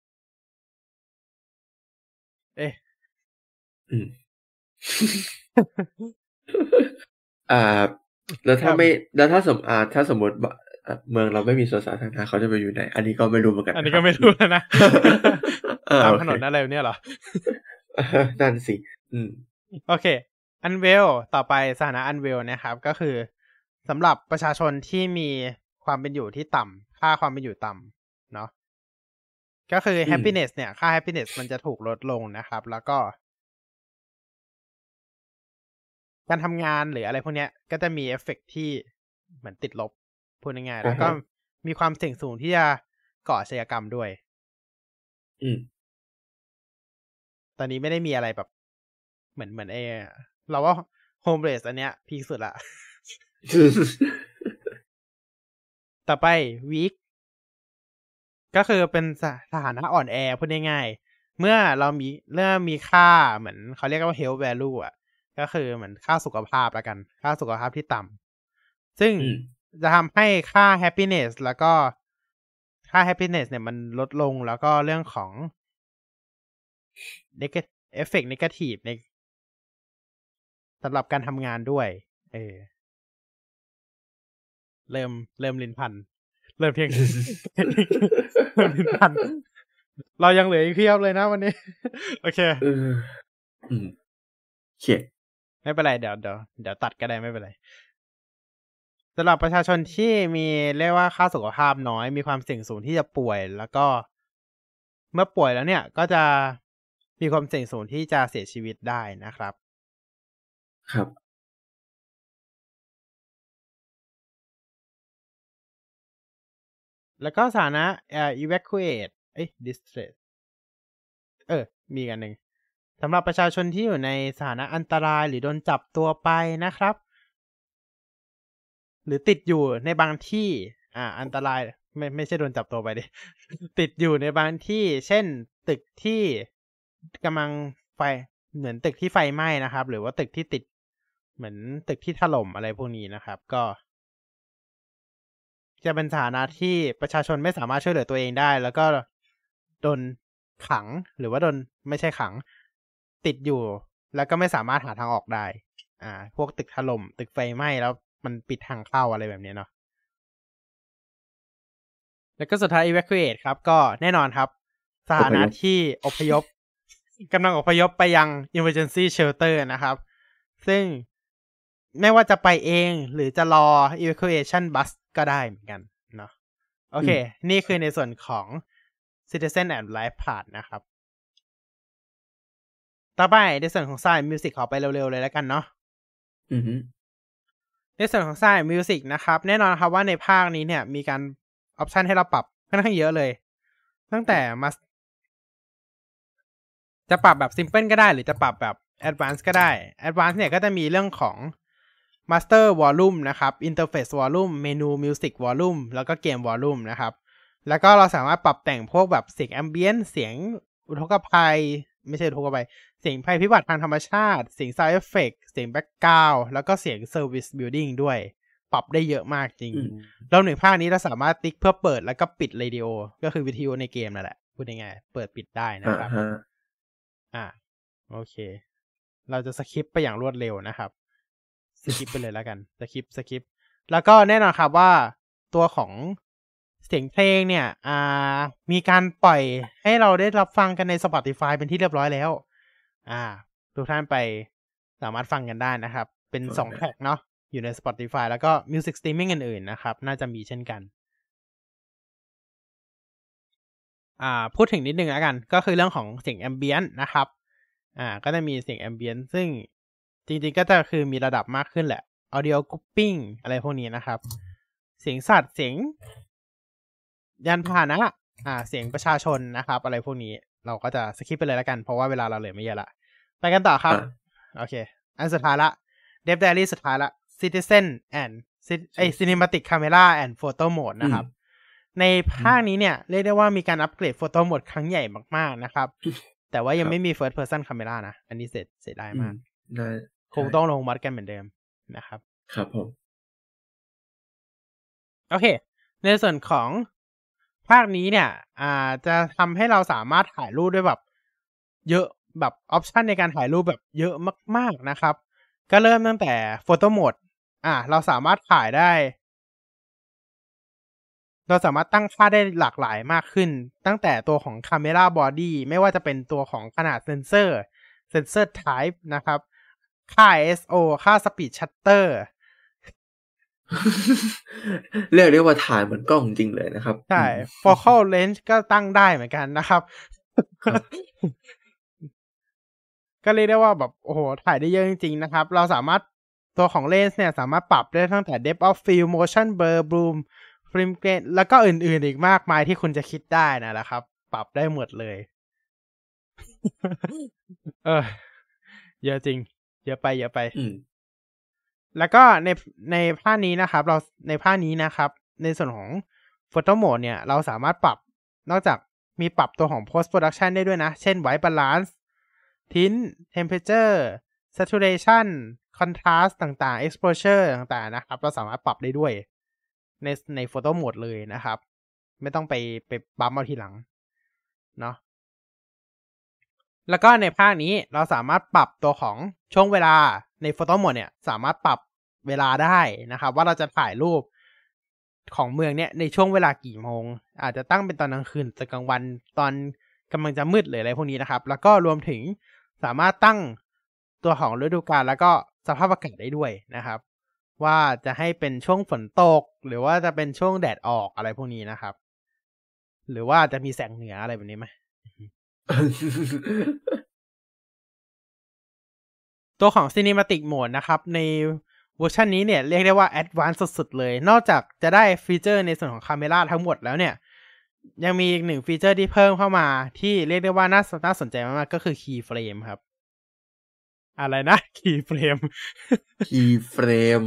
Speaker 2: แล้วถ้าสมมติเมืองเราไม่มีสวนสาธารณะเขาจะไปอยู่ไหนอันนี้ก็ไม่รู้เหมือนกัน
Speaker 1: อันนี้ก็ไม่รู้แล้วนะตามถนนอะไรเนี่ยเหรอ
Speaker 2: นั่นสิ
Speaker 1: โอเคอันเวลต่อไปสถานะอันเวลนะครับก็คือสำหรับประชาชนที่มีความเป็นอยู่ที่ต่ำค่าความเป็นอยู่ต่ำเนาะก็คือ happiness เนี่ยค่า happiness มันจะถูกลดลงนะครับแล้วก็การทำงานหรืออะไรพวกเนี้ยก็จะมีเอฟเฟกต์ที่เหมือนติดลบพูดง่ายๆแล้วก็มีความเสี่ยงสูงที่จะก่ออาชญากรรมด้วยตอนนี้ไม่ได้มีอะไรแบบเหมือนเราว่าโฮมเรสอันเนี้ยพีคสุดละ ต่อไปวีคก็คือเป็นสถานะอ่อนแอพูดง่ายๆเมื่อมีค่าเหมือนเขาเรียกว่า health value อ่ะก็คือเหมือนค่าสุขภาพละกันค่าสุขภาพที่ต่ำซึ่งจะทำให้ค่า happiness แล้วก็ค่า happiness เนี่ยมันลดลงแล้วก็เรื่องของ effect negative ในสำหรับการทำงานด้วยเริ่มลิ้นพันเริ่มเพียง เริ่มลิ้นพันเรายังเหลืออีกเพียบเลยนะวันนี้โอเค
Speaker 2: โอเค
Speaker 1: ไม่เป็นไรเดี๋ยวตัดก็ได้ไม่เป็นไรสำหรับประชาชนที่มีเรียกว่าค่าสุขภาพน้อยมีความเสี่ยงสูงที่จะป่วยแล้วก็เมื่อป่วยแล้วเนี่ยก็จะมีความเสี่ยงสูงที่จะเสียชีวิตได้นะครับ
Speaker 2: ครับ
Speaker 1: แล้วก็สถานะ evacuate distress มีกันหนึ่งสำหรับประชาชนที่อยู่ในสถานะอันตรายหรือโดนจับตัวไปนะครับหรือติดอยู่ในบางที่อันตรายไม่ใช่โดนจับตัวไปดิ ติดอยู่ในบางที่เช่นตึกที่กำลังเหมือนตึกที่ไฟไหม้นะครับหรือว่าตึกที่ติดเหมือนตึกที่ถล่มอะไรพวกนี้นะครับก็จะเป็นสถานะที่ประชาชนไม่สามารถช่วยเหลือตัวเองได้แล้วก็โดนขังหรือว่าโดนไม่ใช่ขังติดอยู่แล้วก็ไม่สามารถหาทางออกได้พวกตึกถล่มตึกไฟไหม้แล้วมันปิดทางเข้าอะไรแบบนี้เนาะแล้วก็สุดท้าย evacuate ครับก็แน่นอนครับสถานะที่อพยพกำลังอพยพไปยัง emergency shelter นะครับซึ่งไม่ว่าจะไปเองหรือจะรอ evacuation bus ก็ได้เหมือนกันเนาะโอเคนี่คือในส่วนของ citizen and life path นะครับต่อไปในส่วนของ science music ขอไปเร็วๆเลยแล้วกันเนาะในส่วนของ science music นะครับแน่นอนครับว่าในภาคนี้เนี่ยมีการออปชันให้เราปรับค่อนข้างเยอะเลยตั้งแต่จะปรับแบบ simple ก็ได้หรือจะปรับแบบ advanced ก็ได้ advanced เนี่ยก็จะมีเรื่องของ master volume นะครับ interface volume menu music volume แล้วก็เกม volume นะครับแล้วก็เราสามารถปรับแต่งพวกแบบเสียง ambient เสียงอุทกภัยไม่ใช่อุทกภัยเสียงภัยพิบัติทางธรรมชาติเสียง sound effect เสียง background แล้วก็เสียง service building ด้วยปรับได้เยอะมากจริงรวมถึงภาคนี้เราสามารถติ๊กเพื่อเปิดแล้วก็ปิดเรดิโอก็คือวิทยุในเกมนั่นแหละพูดง่ายๆเปิดปิดได้นะครับโอเคเราจะสคิปไปอย่างรวดเร็วนะครับสคิปไปเลยแล้วกันสคิปแล้วก็แน่นอนครับว่าตัวของเสียงเพลงเนี่ยมีการปล่อยให้เราได้รับฟังกันใน Spotify เป็นที่เรียบร้อยแล้วทุกท่านไปสามารถฟังกันได้นะครับเป็น2แทร็กเนาะอยู่ใน Spotify แล้วก็ Music Streaming อื่นๆนะครับน่าจะมีเช่นกันพูดถึงนิดนึงแล้วกันก็คือเรื่องของเสียง Ambient นะครับก็จะมีเสียง Ambient ซึ่งจริงๆก็จะคือมีระดับมากขึ้นแหละ Audio Grouping อะไรพวกนี้นะครับเสียงสัตว์เสียงยานพาหนะเสียงประชาชนนะครับอะไรพวกนี้เราก็จะสคิปไปเลยแล้วกันเพราะว่าเวลาเราเหลือไม่เยอะละไปกันต่อครับโอเคอันสุดท้ายละ Dev Diary สุดท้ายละ Citizen and Cinematic Camera and Photo Mode นะครับในภาคนี้เนี่ยเรียกได้ว่ามีการอัปเกรด Photo Mode ครั้งใหญ่มากๆนะครับแต่ว่ายังไม่มี First Person Camera นะอันนี้เสียดายมากคงต้องลงมัดกันเหมือนเดิมนะครับ
Speaker 2: ครับผม
Speaker 1: โอเคในส่วนของภาคนี้เนี่ยจะทำให้เราสามารถถ่ายรูปด้วยแบบเยอะแบบออปชันในการถ่ายรูปแบบเยอะมากๆนะครับก็เริ่มตั้งแต่ Photo Mode เราสามารถถ่ายได้เราสามารถตั้งค่าได้หลากหลายมากขึ้นตั้งแต่ตัวของ Camera Body ไม่ว่าจะเป็นตัวของขนาดเซนเซอร์ Type นะครับค่า ISO ค่า Speed Shutter
Speaker 2: เรียกได้ว่าถ่ายเหมือนกล้องจริงเลยนะครับ
Speaker 1: ใช่ Focal Length ก็ตั้งได้เหมือนกันนะครับก็เรียกได้ว่าแบบโอ้โหถ่ายได้เยอะจริงๆนะครับเราสามารถตัวของเลนส์เนี่ยสามารถปรับได้ตั้งแต่ Depth of Field Motion Blur Bloom ฟรีเกรนแล้วก็อื่นๆอีกมากมายที่คุณจะคิดได้นะครับ ปรับได้หมดเลย เยอะจริงเยอะไปแล้วก็ในภาคนี้นะครับในภาคนี้นะครับในส่วนของ Photo Mode เนี่ยเราสามารถปรับนอกจากมีปรับตัวของ Post Production ได้ด้วยนะเช่น White Balance Tint Temperature Saturation Contrast ต่างๆ Exposure ต่างๆนะครับเราสามารถปรับได้ด้วยใน Photo Mode เลยนะครับไม่ต้องไปบัมเอาทีหลังเนาะแล้วก็ในภาคนี้เราสามารถปรับตัวของช่วงเวลาใน Photo Mode เนี่ยสามารถปรับเวลาได้นะครับว่าเราจะถ่ายรูปของเมืองเนี่ยในช่วงเวลากี่โมงอาจจะตั้งเป็นตอนกลางคืนตอนกลางวันตอนกำลังจะมืดหรืออะไรพวกนี้นะครับแล้วก็รวมถึงสามารถตั้งตัวของฤดูกาลแล้วก็สภาพอากาศได้ด้วยนะครับว่าจะให้เป็นช่วงฝนตกหรือว่าจะเป็นช่วงแดดออกอะไรพวกนี้นะครับหรือว่าจะมีแสงเหนืออะไรแบบนี้ไหม ตัวของ Cinematic Mode นะครับในเวอร์ชันนี้เนี่ยเรียกได้ว่า Advanced สุดๆเลยนอกจากจะได้ฟีเจอร์ในส่วนของคาเมราทั้งหมดแล้วเนี่ยยังมีอีกหนึ่งฟีเจอร์ที่เพิ่มเข้ามาที่เรียกได้ว่าน่าสนใจมากๆก็คือ Keyframe ครับอะไรนะ Keyframe
Speaker 2: Keyframe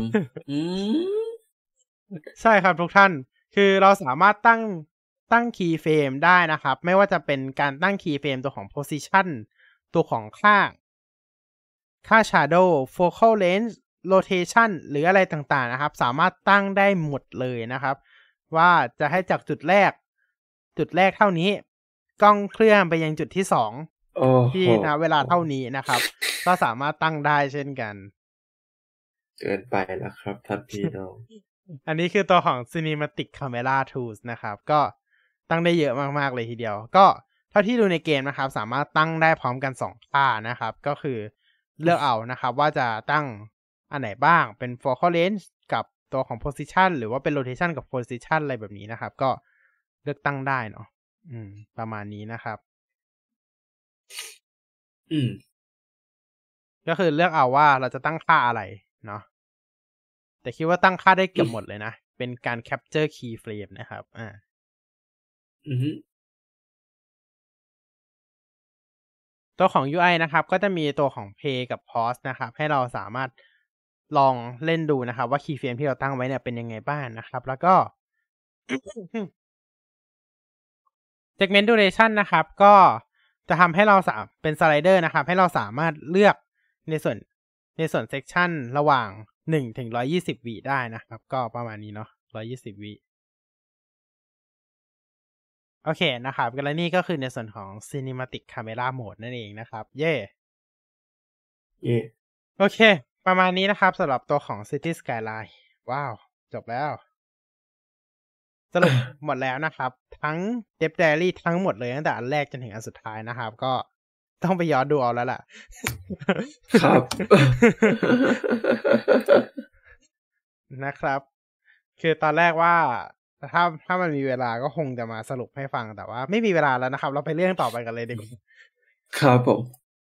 Speaker 1: ใช่ครับทุกท่านคือเราสามารถตั้ง Keyframe ได้นะครับไม่ว่าจะเป็นการตั้ง Keyframe ตัวของ Position ตัวของค่า shadow focal length rotation หรืออะไรต่างๆนะครับสามารถตั้งได้หมดเลยนะครับว่าจะให้จากจุดแรกเท่านี้กล้องเคลื่อนไปยังจุดที่2ที่ณเวลาเท่านี้นะครับก็สามารถตั้งได้เช่นกัน
Speaker 2: เกินไปแล้วครับท่านพี่น้อง
Speaker 1: อันนี้คือตัวของ Cinematic Camera Tools นะครับก็ตั้งได้เยอะมากๆเลยทีเดียวก็เท่าที่ดูในเกมนะครับสามารถตั้งได้พร้อมกัน2ค่านะครับก็คือเลือกเอานะครับว่าจะตั้งอันไหนบ้างเป็น focal length กับตัวของ position หรือว่าเป็น rotation กับ position อะไรแบบนี้นะครับก็เลือกตั้งได้เนาะประมาณนี้นะครับก็คือเลือกเอาว่าเราจะตั้งค่าอะไรเนาะแต่คิดว่าตั้งค่าได้เกือบหมดเลยนะเป็นการ capture keyframe นะครับตัวของ UI นะครับก็จะมีตัวของ play กับ pause นะครับให้เราสามารถลองเล่นดูนะครับว่า keyframe ที่เราตั้งไว้เนี่ยเป็นยังไงบ้างนะครับแล้วก็ segment duration นะครับก็จะทำให้เราเป็นสไลเดอร์นะครับให้เราสามารถเลือกในส่วน section ระหว่าง1ถึง120วิได้นะครับก็ประมาณนี้เนาะ120วิโอเคนะครับและนี่ก็คือในส่วนของ Cinematic Camera Mode นั่นเองนะครับเย่โอเคประมาณนี้นะครับสำหรับตัวของ City Skyline ว้าวจบแล้วสรุปหมดแล้วนะครับทั้ง Death Diary ทั้งหมดเลยตั้งแต่อันแรกจนถึงอันสุดท้ายนะครับก็ต้องไปย้อนดูเอาแล้วล่ะ
Speaker 2: ครับ
Speaker 1: นะครับคือตอนแรกว่าถ้ามันมีเวลาก็คงจะมาสรุปให้ฟังแต่ว่าไม่มีเวลาแล้วนะครับเราไปเรื่องต่อไปกันเลยดีกว่า
Speaker 2: ครับผม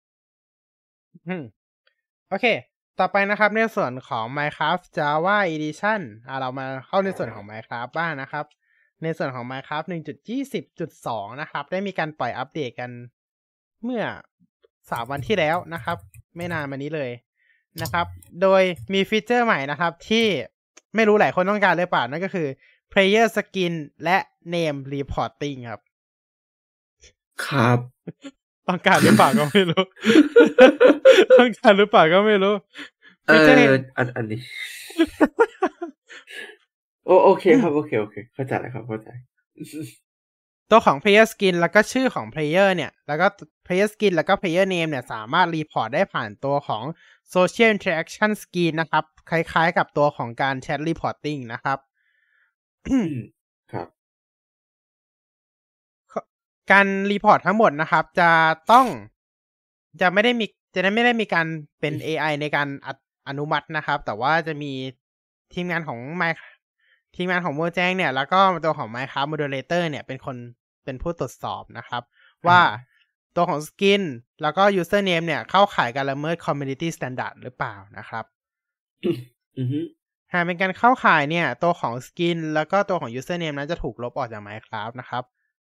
Speaker 1: โอเคต่อไปนะครับในส่วนของ Minecraft Java Edition เรามาเข้าในส่วนของ Minecraft บ้างนะครับในส่วนของ Minecraft 1.20.2 นะครับได้มีการปล่อยอัปเดตกันเมื่อ3 วันที่แล้วนะครับไม่นานมานี้เลยนะครับโดยมีฟีเจอร์ใหม่นะครับที่ไม่รู้หลายคนต้องการหรือเปล่านั่นก็คือ Player Skin และ Name Reporting ครับ
Speaker 2: ครับ
Speaker 1: ต้องการหรือเปล่าก็ไม่รู้ ต้องการหรือเปล่าก็ไม่รู้
Speaker 2: อันนี้ โอเคครับโอเคเข้าใจแล้วครับเข้าใจ
Speaker 1: ตัวของ player skin แล้วก็ชื่อของ player เนี่ยแล้วก็ player skin แล้วก็ player name เนี่ยสามารถรีพอร์ตได้ผ่านตัวของ social interaction skin นะครับคล้ายๆกับตัวของการ chat reporting นะครับ
Speaker 2: ครับ
Speaker 1: การรีพอร์ตทั้งหมดนะครับจะไม่ได้มีการเป็น AI ในการอนุมัตินะครับแต่ว่าจะมีทีมงานของโมแจ้งเนี่ยแล้วก็ตัวของ Minecraft Moderator เนี่ยเป็นผู้ตรวจสอบนะครับว่าตัวของ Skin แล้วก็ Username เนี่ยเข้าข่ายการละเมิด Community Standard หรือเปล่านะครับหากเป็นการเข้าข่ายเนี่ยตัวของ skin แล้วก็ตัวของ username นั้นจะถูกลบออกจาก Minecraft นะครับ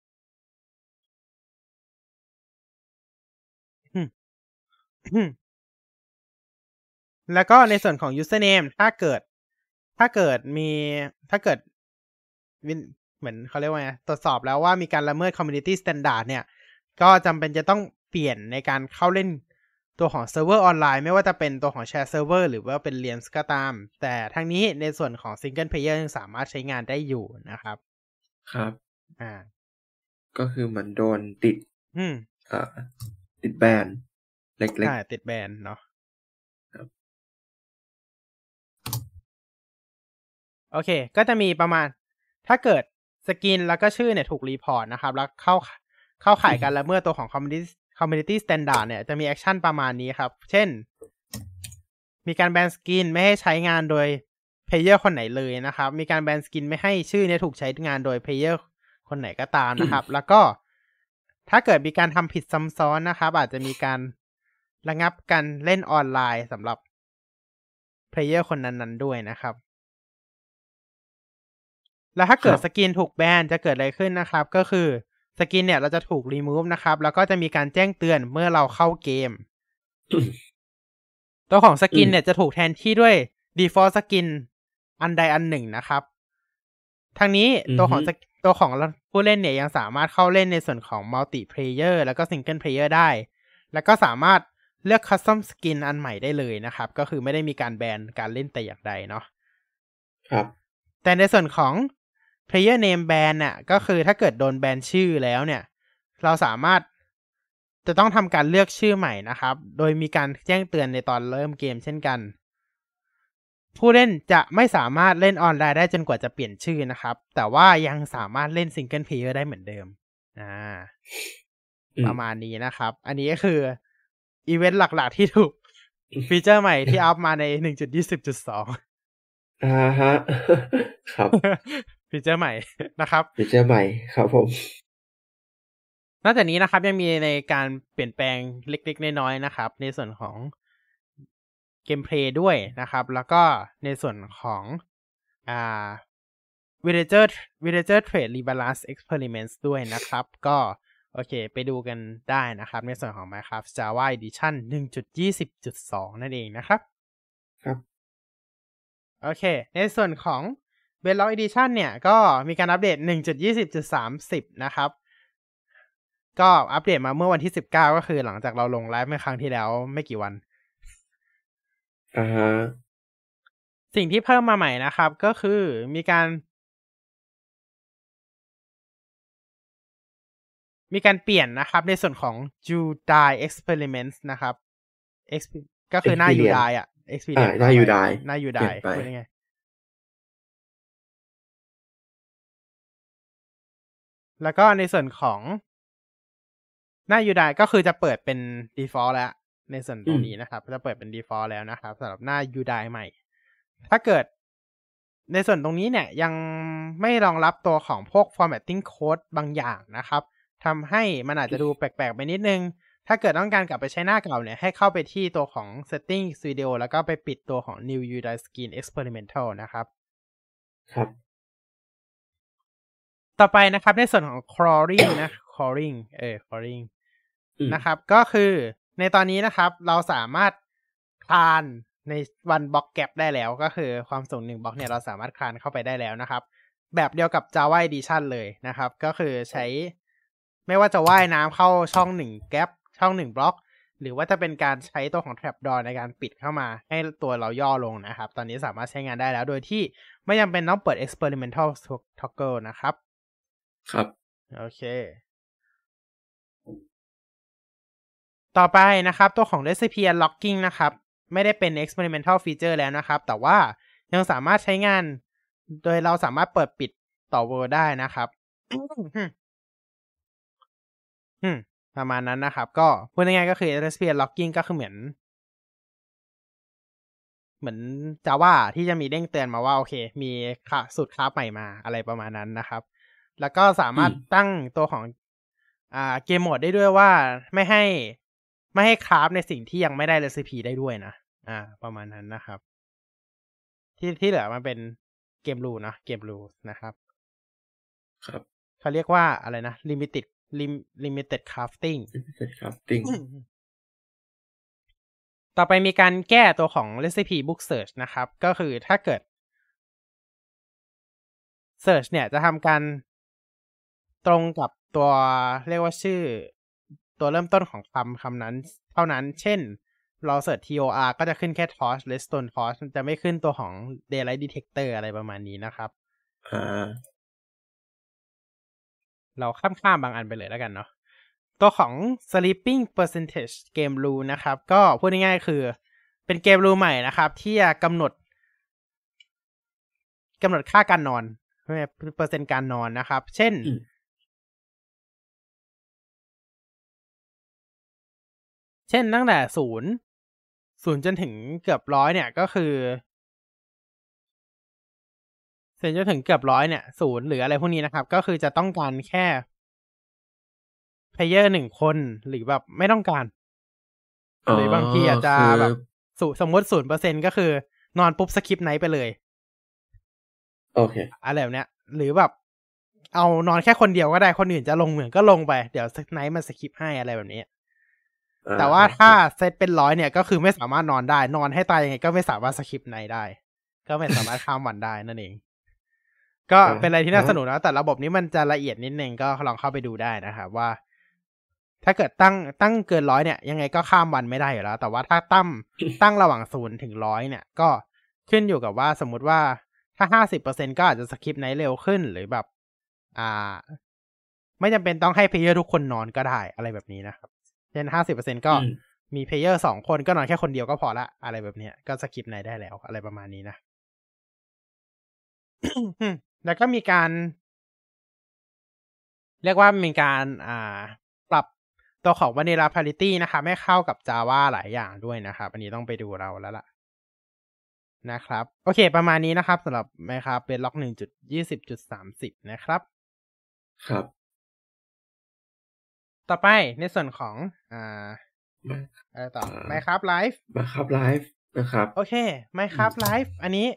Speaker 1: แล้วก็ในส่วนของ username ถ้าเกิดเหมือนเขาเรียกว่าไงตรวจสอบแล้วว่ามีการละเมิด community standard เนี่ยก็จำเป็นจะต้องเปลี่ยนในการเข้าเล่นตัวของเซิร์ฟเวอร์ออนไลน์ไม่ว่าจะเป็นตัวของ share server หรือว่าเป็น Realms ก็ตามแต่ทั้งนี้ในส่วนของ single player ยังสามารถใช้งานได้อยู่นะครับ
Speaker 2: ครับก็คือเหมือนโดนติดติดแบนเล็กๆ
Speaker 1: ใช่ติดแบนเนาะโอเคก็จะมีประมาณถ้าเกิดสกินแล้วก็ชื่อเนี่ยถูกรีพอร์ตนะครับแล้วเข้าข่ายการละเมิดตัวของ community standard เนี่ยจะมีแอคชั่นประมาณนี้ครับเช่นมีการแบนสกินไม่ให้ใช้งานโดยเพลเยอร์คนไหนเลยนะครับมีการแบนสกินไม่ให้ชื่อเนี่ยถูกใช้งานโดยเพลเยอร์คนไหนก็ตามนะครับแล้วก็ถ้าเกิดมีการทำผิดซ้ำซ้อนนะครับอาจจะมีการระงับการเล่นออนไลน์สำหรับเพลเยอร์คนนั้นๆด้วยนะครับแล้วถ้าเกิดสกินถูกแบนจะเกิดอะไรขึ้นนะครับก็คือสกินเนี่ยเราจะถูกรีมูฟนะครับแล้วก็จะมีการแจ้งเตือนเมื่อเราเข้าเกมตัวของสกินเนี่ยจะถูกแทนที่ด้วย default สกินอันใดอันหนึ่งนะครับทั้งนี้ตัวของผู้เล่นเนี่ยยังสามารถเข้าเล่นในส่วนของ multiplayer แล้วก็ single player ได้แล้วก็สามารถเลือก custom skin อันใหม่ได้เลยนะครับก็คือไม่ได้มีการแบนการเล่นแต่อย่างใดเนาะ
Speaker 2: ครับ
Speaker 1: แต่ในส่วนของ player name ban น่ะก็คือถ้าเกิดโดนแบนชื่อแล้วเนี่ยเราสามารถจะต้องทำการเลือกชื่อใหม่นะครับโดยมีการแจ้งเตือนในตอนเริ่มเกมเช่นกันผู้เล่นจะไม่สามารถเล่นออนไลน์ได้จนกว่าจะเปลี่ยนชื่อนะครับแต่ว่ายังสามารถเล่นซิงเกิลเพลเยอร์ได้เหมือนเดิมประมาณนี้นะครับอันนี้ก็คืออีเวนต์หลักๆที่ถูกฟีเจอร์ใหม่ที่อัพมาใน 1.20.2
Speaker 2: ฮะครับ
Speaker 1: ฟีเจอร์ใหม่นะครับ
Speaker 2: ฟีเจอร์ใหม่ครับผม
Speaker 1: นอกจากนี้นะครับยังมีในการเปลี่ยนแปลงเล็กๆน้อยๆนะครับในส่วนของเกมเพลย์ด้วยนะครับแล้วก็ในส่วนของvillager trade rebalance experiments ด้วยนะครับก็โอเคไปดูกันได้นะครับในส่วนของ Minecraft Java Edition 1.20.2 นั่นเองนะครับ
Speaker 2: ครับ
Speaker 1: โอเคในส่วนของ Bedrock Edition เนี่ยก็มีการอัปเดต 1.20.30 นะครับก็อัปเดตมาเมื่อวันที่19ก็คือหลังจากเราลงไลฟ์เมื่อครั้งที่แล้วไม่กี่วันสิ่งที่เพิ่มมาใหม่นะครับก็คือมีการเปลี่ยนนะครับในส่วนของ Udai Experiments นะครับก็คือหน้า Udai อ่ะ Experience
Speaker 2: หน้า Udai
Speaker 1: พูดยังไงแล้วก็ในส่วนของหน้า Udai ก็คือจะเปิดเป็น default แล้วในส่วนตรงนี้นะครับจะเปิดเป็น default แล้วนะครับสำหรับหน้า Udai ใหม่ถ้าเกิดในส่วนตรงนี้เนี่ยยังไม่รองรับตัวของพวก formatting code บางอย่างนะครับทำให้มันอาจจะดูแปลกๆไปนิดนึงถ้าเกิดต้องการกลับไปใช้หน้าเก่าเนี่ยให้เข้าไปที่ตัวของ settings video แล้วก็ไปปิดตัวของ new Udai skin experimental นะครับ
Speaker 2: ครับ
Speaker 1: ต่อไปนะครับในส่วนของ crawling นะ crawling นะครับก็คือในตอนนี้นะครับเราสามารถคลานในวันบล็อกแกปได้แล้วก็คือความสูง1บล็อกเนี่ยเราสามารถคลานเข้าไปได้แล้วนะครับแบบเดียวกับ Java Edition เลยนะครับก็คือใช้ไม่ว่าจะว่ายน้ำเข้าช่อง1แกปช่อง1บล็อกหรือว่าจะเป็นการใช้ตัวของ trapdoor ในการปิดเข้ามาให้ตัวเราย่อลงนะครับตอนนี้สามารถใช้งานได้แล้วโดยที่ไม่จำเป็นต้องเปิด experimental toggle นะครับ
Speaker 2: ครับ
Speaker 1: โอเคต่อไปนะครับตัวของ recipe unlocking นะครับไม่ได้เป็น experimental feature แล้วนะครับแต่ว่ายังสามารถใช้งานโดยเราสามารถเปิดปิดต่อ world ได้นะครับประมาณนั้นนะครับก็พูดง่ายๆก็คือ recipe unlocking ก็คือเหมือนJava ที่จะมีเด้งเตือนมาว่าโอเคมีสูตรคราฟใหม่มาอะไรประมาณนั้นนะครับแล้วก็สามารถตั้งตัวของเกมโหมดได้ด้วยว่าไม่ให้คราฟในสิ่งที่ยังไม่ได้เรซิปีได้ด้วยนะประมาณนั้นนะครับที่เหลือมันเป็นเกมรูนะเกมรูนะครับ
Speaker 2: ครับ
Speaker 1: เขาเรียกว่าอะไรนะ limited crafting
Speaker 2: limited crafting
Speaker 1: ต่อไปมีการแก้ตัวของ recipe book search นะครับ ก็คือถ้าเกิด search เนี่ยจะทำการตรงกับตัวเรียกว่าชื่อตัวเริ่มต้นของคำนั้นเท่านั้นเช่นเราเสิร์ช TOR ก็จะขึ้นแค่ torch redstone torch จะไม่ขึ้นตัวของ daylight detector อะไรประมาณนี้นะครับเราข้ามบางอันไปเลยแล้วกันเนาะตัวของ sleeping percentage game rule นะครับก็พูดง่ายๆคือเป็นเกมรูใหม่นะครับที่จะกำหนดค่าการนอนเปอร์เซ็นต์การนอนนะครับเช่นตั้งแต่0จนถึงเกือบ100เนี่ยก็คือจนถึงเกือบ100เนี่ย0หรืออะไรพวกนี้นะครับก็คือจะต้องการแค่เพลเยอร์1คนหรือแบบไม่ต้องการหรือบางทีอาจจะแบบสมมติ 0% ก็คือนอนปุ๊บสคิปไนท์ไปเลย
Speaker 2: โอเค
Speaker 1: อะไรแบบเนี้ยหรือแบบเอานอนแค่คนเดียวก็ได้คนอื่นจะลงเหมือนก็ลงไปเดี๋ยวไนท์มันสคิปให้อะไรแบบนี้แต่ว่าถ้าเซตเป็น100เนี่ยก็คือไม่สามารถนอนได้นอนให้ตายยังไงก็ไม่สามารถสคิปไนท์ได้ก็ไม่สามารถข้ามวันได้นั่นเองก็เป็นอะไรที่น่าสนุกนะแต่ระบบนี้มันจะละเอียดนิดนึงก็ลองเข้าไปดูได้นะครับว่าถ้าเกิดตั้งเกิน100เนี่ยยังไงก็ข้ามวันไม่ได้อยู่แล้วแต่ว่าถ้าตั้งระหว่าง0ถึง100เนี่ยก็ขึ้นอยู่กับว่าสมมุติว่าถ้า 50% ก็อาจจะสคิปไนท์เร็วขึ้นหรือแบบไม่จำเป็นต้องให้เพลเยอร์ทุกคนนอนก็ได้อะไรแบบนี้นะครับเช่น 50% ก็มีเพลเยอร์2คนก็นอนแค่คนเดียวก็พอละอะไรแบบนี้ก็สคิปไนท์ได้แล้วอะไรประมาณนี้นะ แล้วก็มีการเรียกว่ามีการปรับตัวของ Vanilla Parity นะครับให้เข้ากับ Java หลายอย่างด้วยนะครับอันนี้ต้องไปดูเราแล้วล่ะนะครับโอเคประมาณนี้นะครับสำหรับ Minecraft Bedrock 1.20.30 นะครับ
Speaker 2: ครับ
Speaker 1: ต่อไปในส่วนของต่อ Minecraft Live
Speaker 2: นะครับ
Speaker 1: โอเค Minecraft Live อันนี้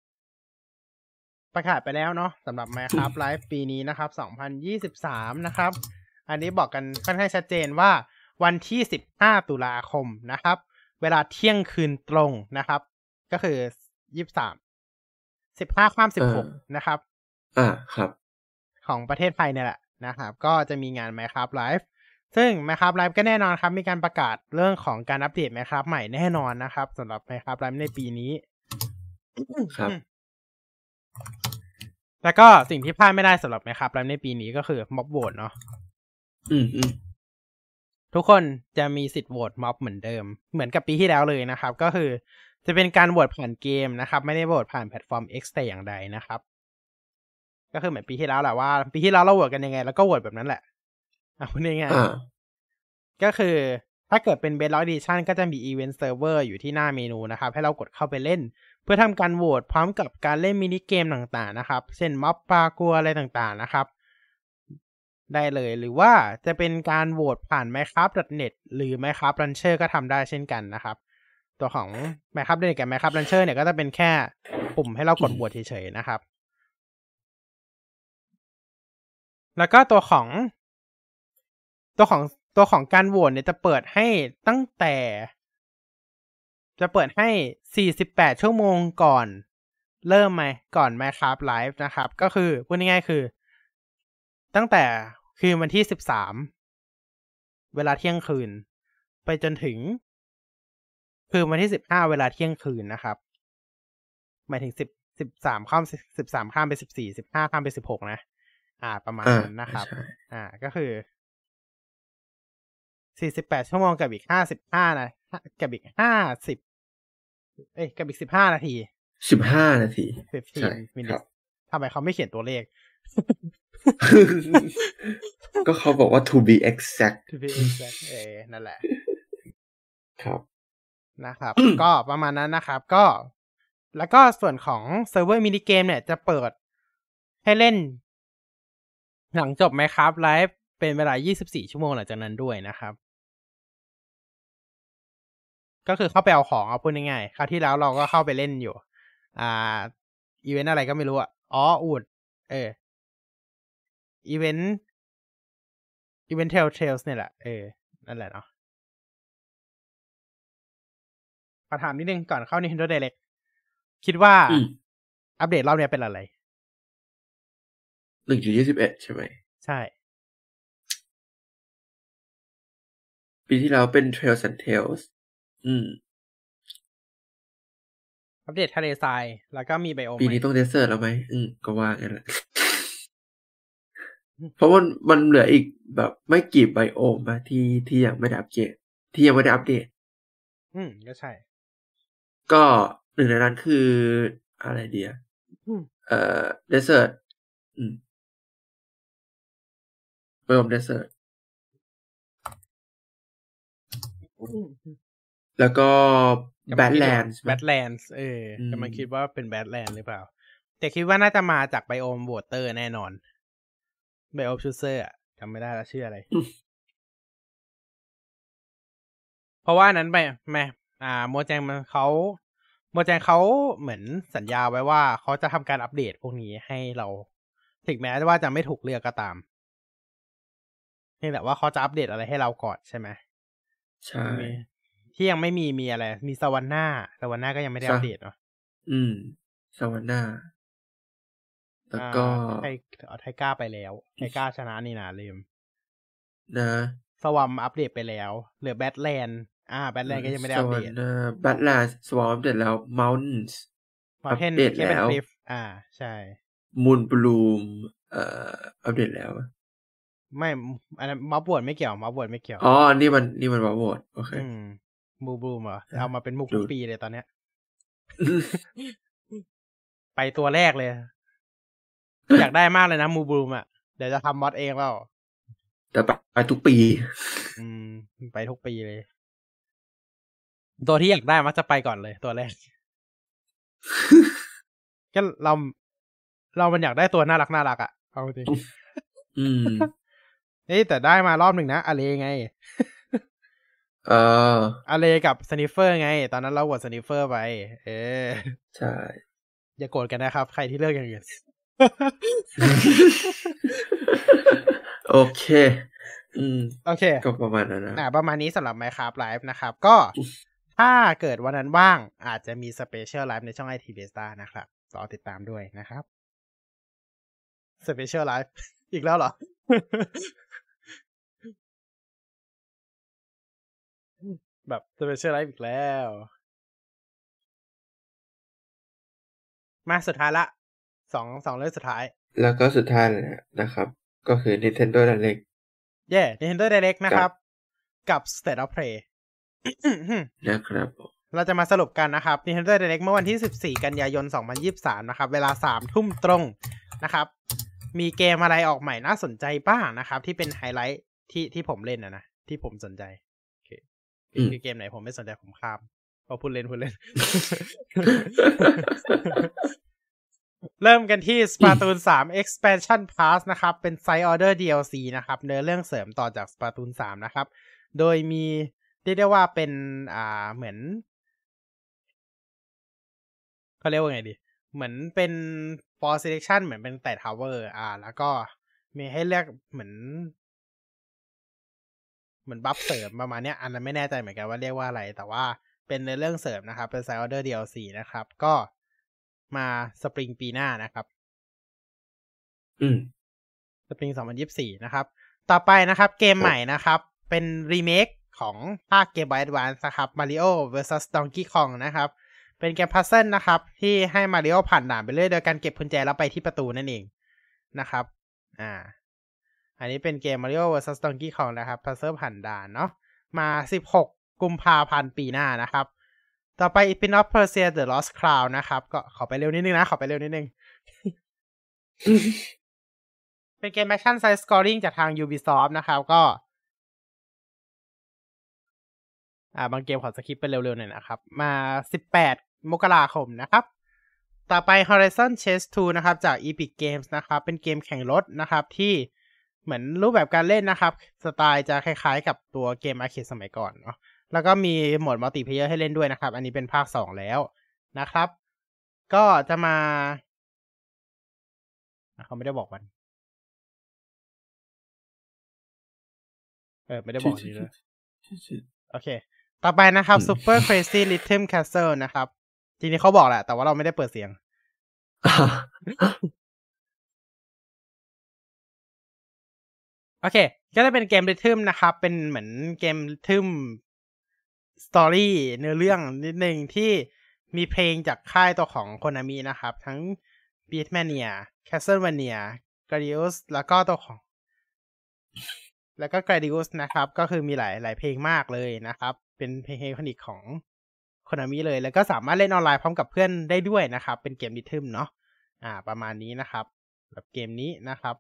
Speaker 1: ประกาศไปแล้วเนาะสำหรับ Minecraft Live ปีนี้นะครับ2023นะครับอันนี้บอกกันค่อนข้างชัดเจนว่าวันที่15ตุลาคมนะครับเวลาเที่ยงคืนตรงนะครับก็คือ23 15ข้าม16นะครับ
Speaker 2: ครับ
Speaker 1: ของประเทศไทยเนี่ยแหละนะครับก็จะมีงาน Minecraft Live ซึ่ง Minecraft Live ก็แน่นอนครับมีการประกาศเรื่องของการอัปเดต Minecraft ใหม่แน่นอนนะครับสำหรับ Minecraft Live ในปีนี้
Speaker 2: ครับ
Speaker 1: แล้วก็สิ่งที่พลาดไม่ได้สำหรับ Minecraft Live ในปีนี้ก็คือม็อบโหวตเนาะทุกคนจะมีสิทธิ์โหวตม็อบเหมือนเดิมเหมือนกับปีที่แล้วเลยนะครับก็คือจะเป็นการโหวตผ่านเกมนะครับไม่ได้โหวตผ่านแพลตฟอร์ม X แต่อย่างใดนะครับก็คือเหมือนปีที่แล้วแหละว่าปีที่แล้วเราโหวตกันยังไงแล้วก็โหวตแบบนั้นแหละพูดง่ายๆก็คือถ้าเกิดเป็น Bedrock Edition ก็จะมี Event Server อยู่ที่หน้าเมนูนะครับให้เรากดเข้าไปเล่นเพื่อทำการโหวตพร้อมกับการเล่นมินิเกมต่างๆนะครับเช่นม็อบปากัวอะไรต่างๆนะครับได้เลยหรือว่าจะเป็นการโหวตผ่าน Minecraft.net หรือ Minecraft Launcher ก็ทำได้เช่นกันนะครับตัวของ Minecraft.net กับ Minecraft Launcher เนี่ยก็จะเป็นแค่ปุ่มให้เรากดโหวตเฉยๆนะครับแล้วก็ตัวของการโหวตเนี่ยจะเปิดให้ตั้งแต่48ชั่วโมงก่อนเริ่มก่อน Minecraft Live นะครับก็คือพูดง่ายๆคือตั้งแต่คืนวันที่13เวลาเที่ยงคืนไปจนถึงคืนวันที่15เวลาเที่ยงคืนนะครับหมายถึง13ข้าม13ข้ามไป14 15ข้ามไป16นะประมาณนั้นนะครับก็คือ48ชั่วโมงกับอีก55นะกับอีก50กับอีก15นาที
Speaker 2: 15นาที
Speaker 1: 15 minutes ทำไมเขาไม่เขียนตัวเลข
Speaker 2: ก็เขาบอกว่า to be exact
Speaker 1: นั่นแหละ
Speaker 2: ครับ
Speaker 1: นะครับ ก็ประมาณนั้นนะครับก็แล้วก็ส่วนของเซิร์ฟเวอร์มินิเกมเนี่ยจะเปิดให้เล่นหลังจบ Minecraft Live เป็นเวลา24ชั่วโมงหลังจากนั้นด้วยนะครับก็คือเข้าไปเอาของเอาพูดง่ายๆคราวที่แล้วเราก็เข้าไปเล่นอยู่อีเวนต์อะไรก็ไม่รู้อ่ะอูดอีเวนต์Telltales เนี่ยแหละนั่นแหละเนาะขอถามนิดนึงก่อนเข้า Nintendo Direct คิดว่าอัปเดตรอบนี้เป็นอะไร
Speaker 2: 1.21 ใช่ไหม
Speaker 1: ใช่
Speaker 2: ปีที่แล้วเป็น Trails and Tales
Speaker 1: อัปเดตทะเลทรายแล้วก็มีไบโอม
Speaker 2: ปีนี้ต้องเดสเซอร์แล้วไหมก็ว่างั้นแหละ เพราะมันเหลืออีกแบบไม่กี่ไบโอมมาที่ยังไม่ได้อัปเกรดที่ยังไม่ได้อัปเดต
Speaker 1: ก็ใช่
Speaker 2: ก็หนึ่งในนั้นคืออะไรเดียเดสเซอร์ไบโอมเดสเซอร์แล้วก็แบดแลนด์
Speaker 1: กำลังคิดว่าเป็นแบดแลนด์หรือเปล่าแต่คิดว่าน่าจะมาจากไบโอมวอเตอร์แน่นอนไบโอมชูเซอร์จำไม่ได้แล้วชื่ออะไร เพราะว่านั้นไปโมแจงเขาเหมือนสัญญาไว้ว่าเขาจะทำการอัปเดตพวกนี้ให้เราถึงแม้ว่าจะไม่ถูกเลือกก็ตามเพียงแต่ว่าเขาจะอัปเดตอะไรให้เราก่อนใช่ไหม
Speaker 2: ใช่
Speaker 1: ที่ยังไม่มีอะไรมีซาวาน่าก็ยังไม่ได้อัปเดตเนาะ
Speaker 2: ซาวาน่าแล้วก็
Speaker 1: ไทก้าไปแล้วไทก้าชนะนี่นะลืม
Speaker 2: นะ
Speaker 1: สวัมอัปเดตไปแล้วเหลือแบทแลนด์แบทแลนด์ก็ยังไม่ได้อัปเดต
Speaker 2: แบทแลนด์สวอมอัปเดตแล้ว Mountains
Speaker 1: อัปเดตแล้วใช่
Speaker 2: มูนบลูมอัปเดตแล้ว
Speaker 1: ไม่อันนั้นมัฟวอร์ดไม่เกี่ยว
Speaker 2: นี่มันมัฟวอร์ดโอเค
Speaker 1: มูบลูมเหรอเอามาเป็นมุกทุกปีเลยตอนเนี้ย ไปตัวแรกเลยอยากได้มากเลยนะมูบลูมเดี๋ยวจะทำมอดเองแล้ว
Speaker 2: แต่ไปทุกปี
Speaker 1: ไปทุกปีเลยตัวที่อยากได้มักจะไปก่อนเลยตัวแรกก็เรามันอยากได้ตัวน่ารักเอาจริงแต่ได้มารอบหนึ่งนะอเลไงอเลกับสนิฟเฟอร์ไงตอนนั้นเราโหวตสนิฟเฟอร์ไป
Speaker 2: ใช่
Speaker 1: อย่าโกรธกันนะครับใครที่เลือกอย่างอื่น
Speaker 2: โอเคก็ประมาณนั้น
Speaker 1: นะประมาณนี้สำหรับ Minecraft Live นะครับก็ถ้าเกิดวันนั้นว่างอาจจะมี Special Live ในช่อง IT Beta นะครับรอติดตามด้วยนะครับ Special Live อีกแล้วเหรอ แบบ Special Live อีกแล้วมาสุดท้ายละสองเรื่องสุดท้าย
Speaker 2: แล้วก็สุดท้ายเลยนะครับก็คือ Nintendo Direct
Speaker 1: Nintendo Direct นะครับกับ State of Play
Speaker 2: นะครับ
Speaker 1: เราจะมาสรุปกันนะครับ Nintendo Direct เมื่อวันที่14กันยายน2023นะครับเวลา 3 ทุ่มตรงนะครับมีเกมอะไรออกใหม่น่าสนใจบ้างนะครับที่เป็นไฮไลท์ที่ผมเล่นนะที่ผมสนใจคือเกมไหนผมไม่สนใจผมข้ามพอพูดเล่น เริ่มกันที่ Splatoon 3 Expansion Pass นะครับเป็น Side Order DLC นะครับเนื้อเรื่องเสริมต่อจาก Splatoon 3นะครับโดยมีเรียกได้ว่าเป็นเหมือนเขาเรียกว่าไงดีเหมือนเป็น for selection เหมือนเป็นแต่ tower แล้วก็มีให้เลือกเหมือนบัฟเสริมประมาณเนี้ยอันนั้นไม่แน่ใจเหมือนกันว่าเรียกว่าอะไรแต่ว่าเป็นในเรื่องเสริมนะครับเป็น Side Order DLC นะครับก็มาสปริงปีหน้านะครับสปริง2024นะครับต่อไปนะครับเกมใหม่นะครับเป็นรีเมคของภาค Game Boy Advance นะครับ Mario vs Donkey Kong นะครับเป็นเกมพัซเซิลนะครับที่ให้มาริโอผ่านด่านไปเรื่อยโดยการเก็บกุญแจแล้วไปที่ประตูนั่นเองนะครับอันนี้เป็นเกม Mario vs Donkey Kong นะครับพัซเซิลผ่านด่านเนาะมา16กุมภาพันธ์ปีหน้านะครับต่อไป Prince of Persia The Lost Crown นะครับก็ขอไปเร็วนิดนึงเป็นเกม Action Side Scrolling จากทาง Ubisoft นะครับก็บางเกมขอสคิปไปเร็วๆหน่อยนะครับมา18มกราคมนะครับต่อไป Horizon Chase 2 นะครับจาก Epic Games นะครับเป็นเกมแข่งรถนะครับที่เหมือนรูปแบบการเล่นนะครับสไตล์จะคล้ายๆกับตัวเกมอาร์เคดสมัยก่อนเนาะแล้วก็มีโหมดมัลติเพลเยอร์ให้เล่นด้วยนะครับอันนี้เป็นภาค2แล้วนะครับก็จะมาเขาไม่ได้บอกวันไม่ได้บอกทีเลยโอเคต่อไปนะครับ Super Crazy Rhythm Castle นะครับทีนี้เขาบอกแหละแต่ว่าเราไม่ได้เปิดเสียง โอเคก็จะเป็นเกมริทึมนะครับเป็นเหมือนเกมริทึมสตอรี่เนื้อเรื่องนิดนึงที่มีเพลงจากค่ายตัวของโคนามินะครับทั้ง Beatmania Castlevania Gradius แล้วก็ตัวของGradius นะครับก็คือมีหลายเพลงมากเลยนะครับเป็นเพลงไอคอนิกของโคนามิเลยแล้วก็สามารถเล่นออนไลน์พร้อมกับเพื่อนได้ด้วยนะครับเป็นเกมริทึมเนาะประมาณนี้นะครับแบบเกมนี้นะครับ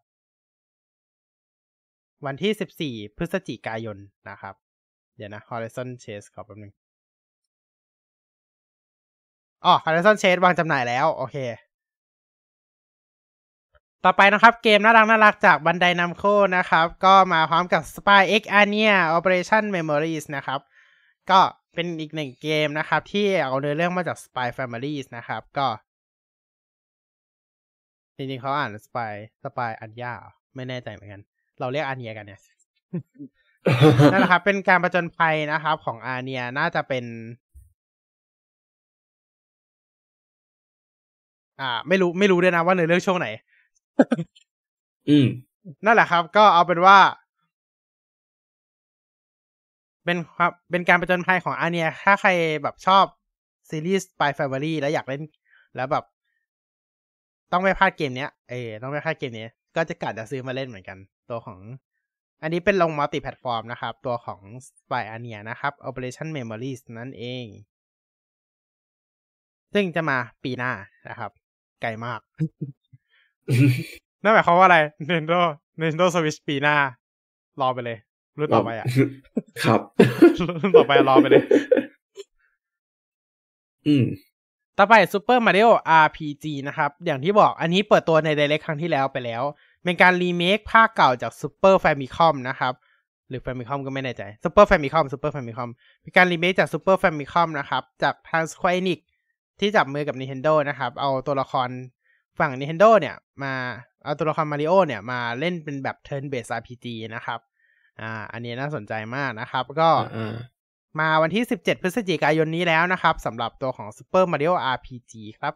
Speaker 1: วันที่14พฤศจิกายนนะครับเดี๋ยวนะ Horizon Chase ขอแป๊บนึงHorizon Chase วางจำหน่ายแล้วโอเคต่อไปนะครับเกมน่ารักจาก Bandai Namco นะครับก็มาพร้อมกับ Spy X Arnia Operation Memories นะครับก็เป็นอีกหนึ่งเกมนะครับที่เอาเนื้อเรื่องมาจาก Spy Families นะครับก็จริงๆเขาอ่าน Spy Anya ไม่แน่ใจเหมือนกันเราเรียก Anya กันเนี่ยนั่นแหละครับเป็นการผจญภัยนะครับของ Anya น่าจะเป็นไม่รู้ด้วยนะว่าในเรื่องช่วงไหนนั่นแหละครับก็เอาเป็นว่าเป็นการผจญภัยของอาเนียถ้าใครแบบชอบซีรีส์ Spy Family แล้วอยากเล่นแล้วแบบต้องไม่พลาดเกมเนี้ยต้องไม่พลาดเกมนี้ก็จะกะจะซื้อมาเล่นเหมือนกันตัวของอันนี้เป็นลงมัลติแพลตฟอร์มนะครับตัวของ Spy Anya นะครับ Operation Memories นั่นเองซึ่งจะมาปีหน้านะครับไกลมาก นั่นหมายความว่าอะไร Nintendo Switch ปีหน้ารอไปเลยรุ่นต่อไป
Speaker 2: ครับ
Speaker 1: รุ่นต่อไปรอไปเลยต่อไป Super Mario RPG นะครับอย่างที่บอกอันนี้เปิดตัวใน Direct ครั้งที่แล้วไปแล้วเป็นการรีเมคภาคเก่าจาก Super Famicom นะครับหรือ Famicom ก็ไม่แน่ใจ Super Famicom เป็นการรีเมคจาก Super Famicom นะครับจากทาง Square Enix ที่จับมือกับ Nintendo นะครับเอาตัวละครฝั่ง Nintendo เนี่ยมาเอาตัวละคร Mario เนี่ยมาเล่นเป็นแบบ Turn Based RPG นะครับอันนี้น่าสนใจมากนะครับก็มาวันที่17พฤศจิกายนนี้แล้วนะครับสำหรับตัวของ Super Mario RPG ครับ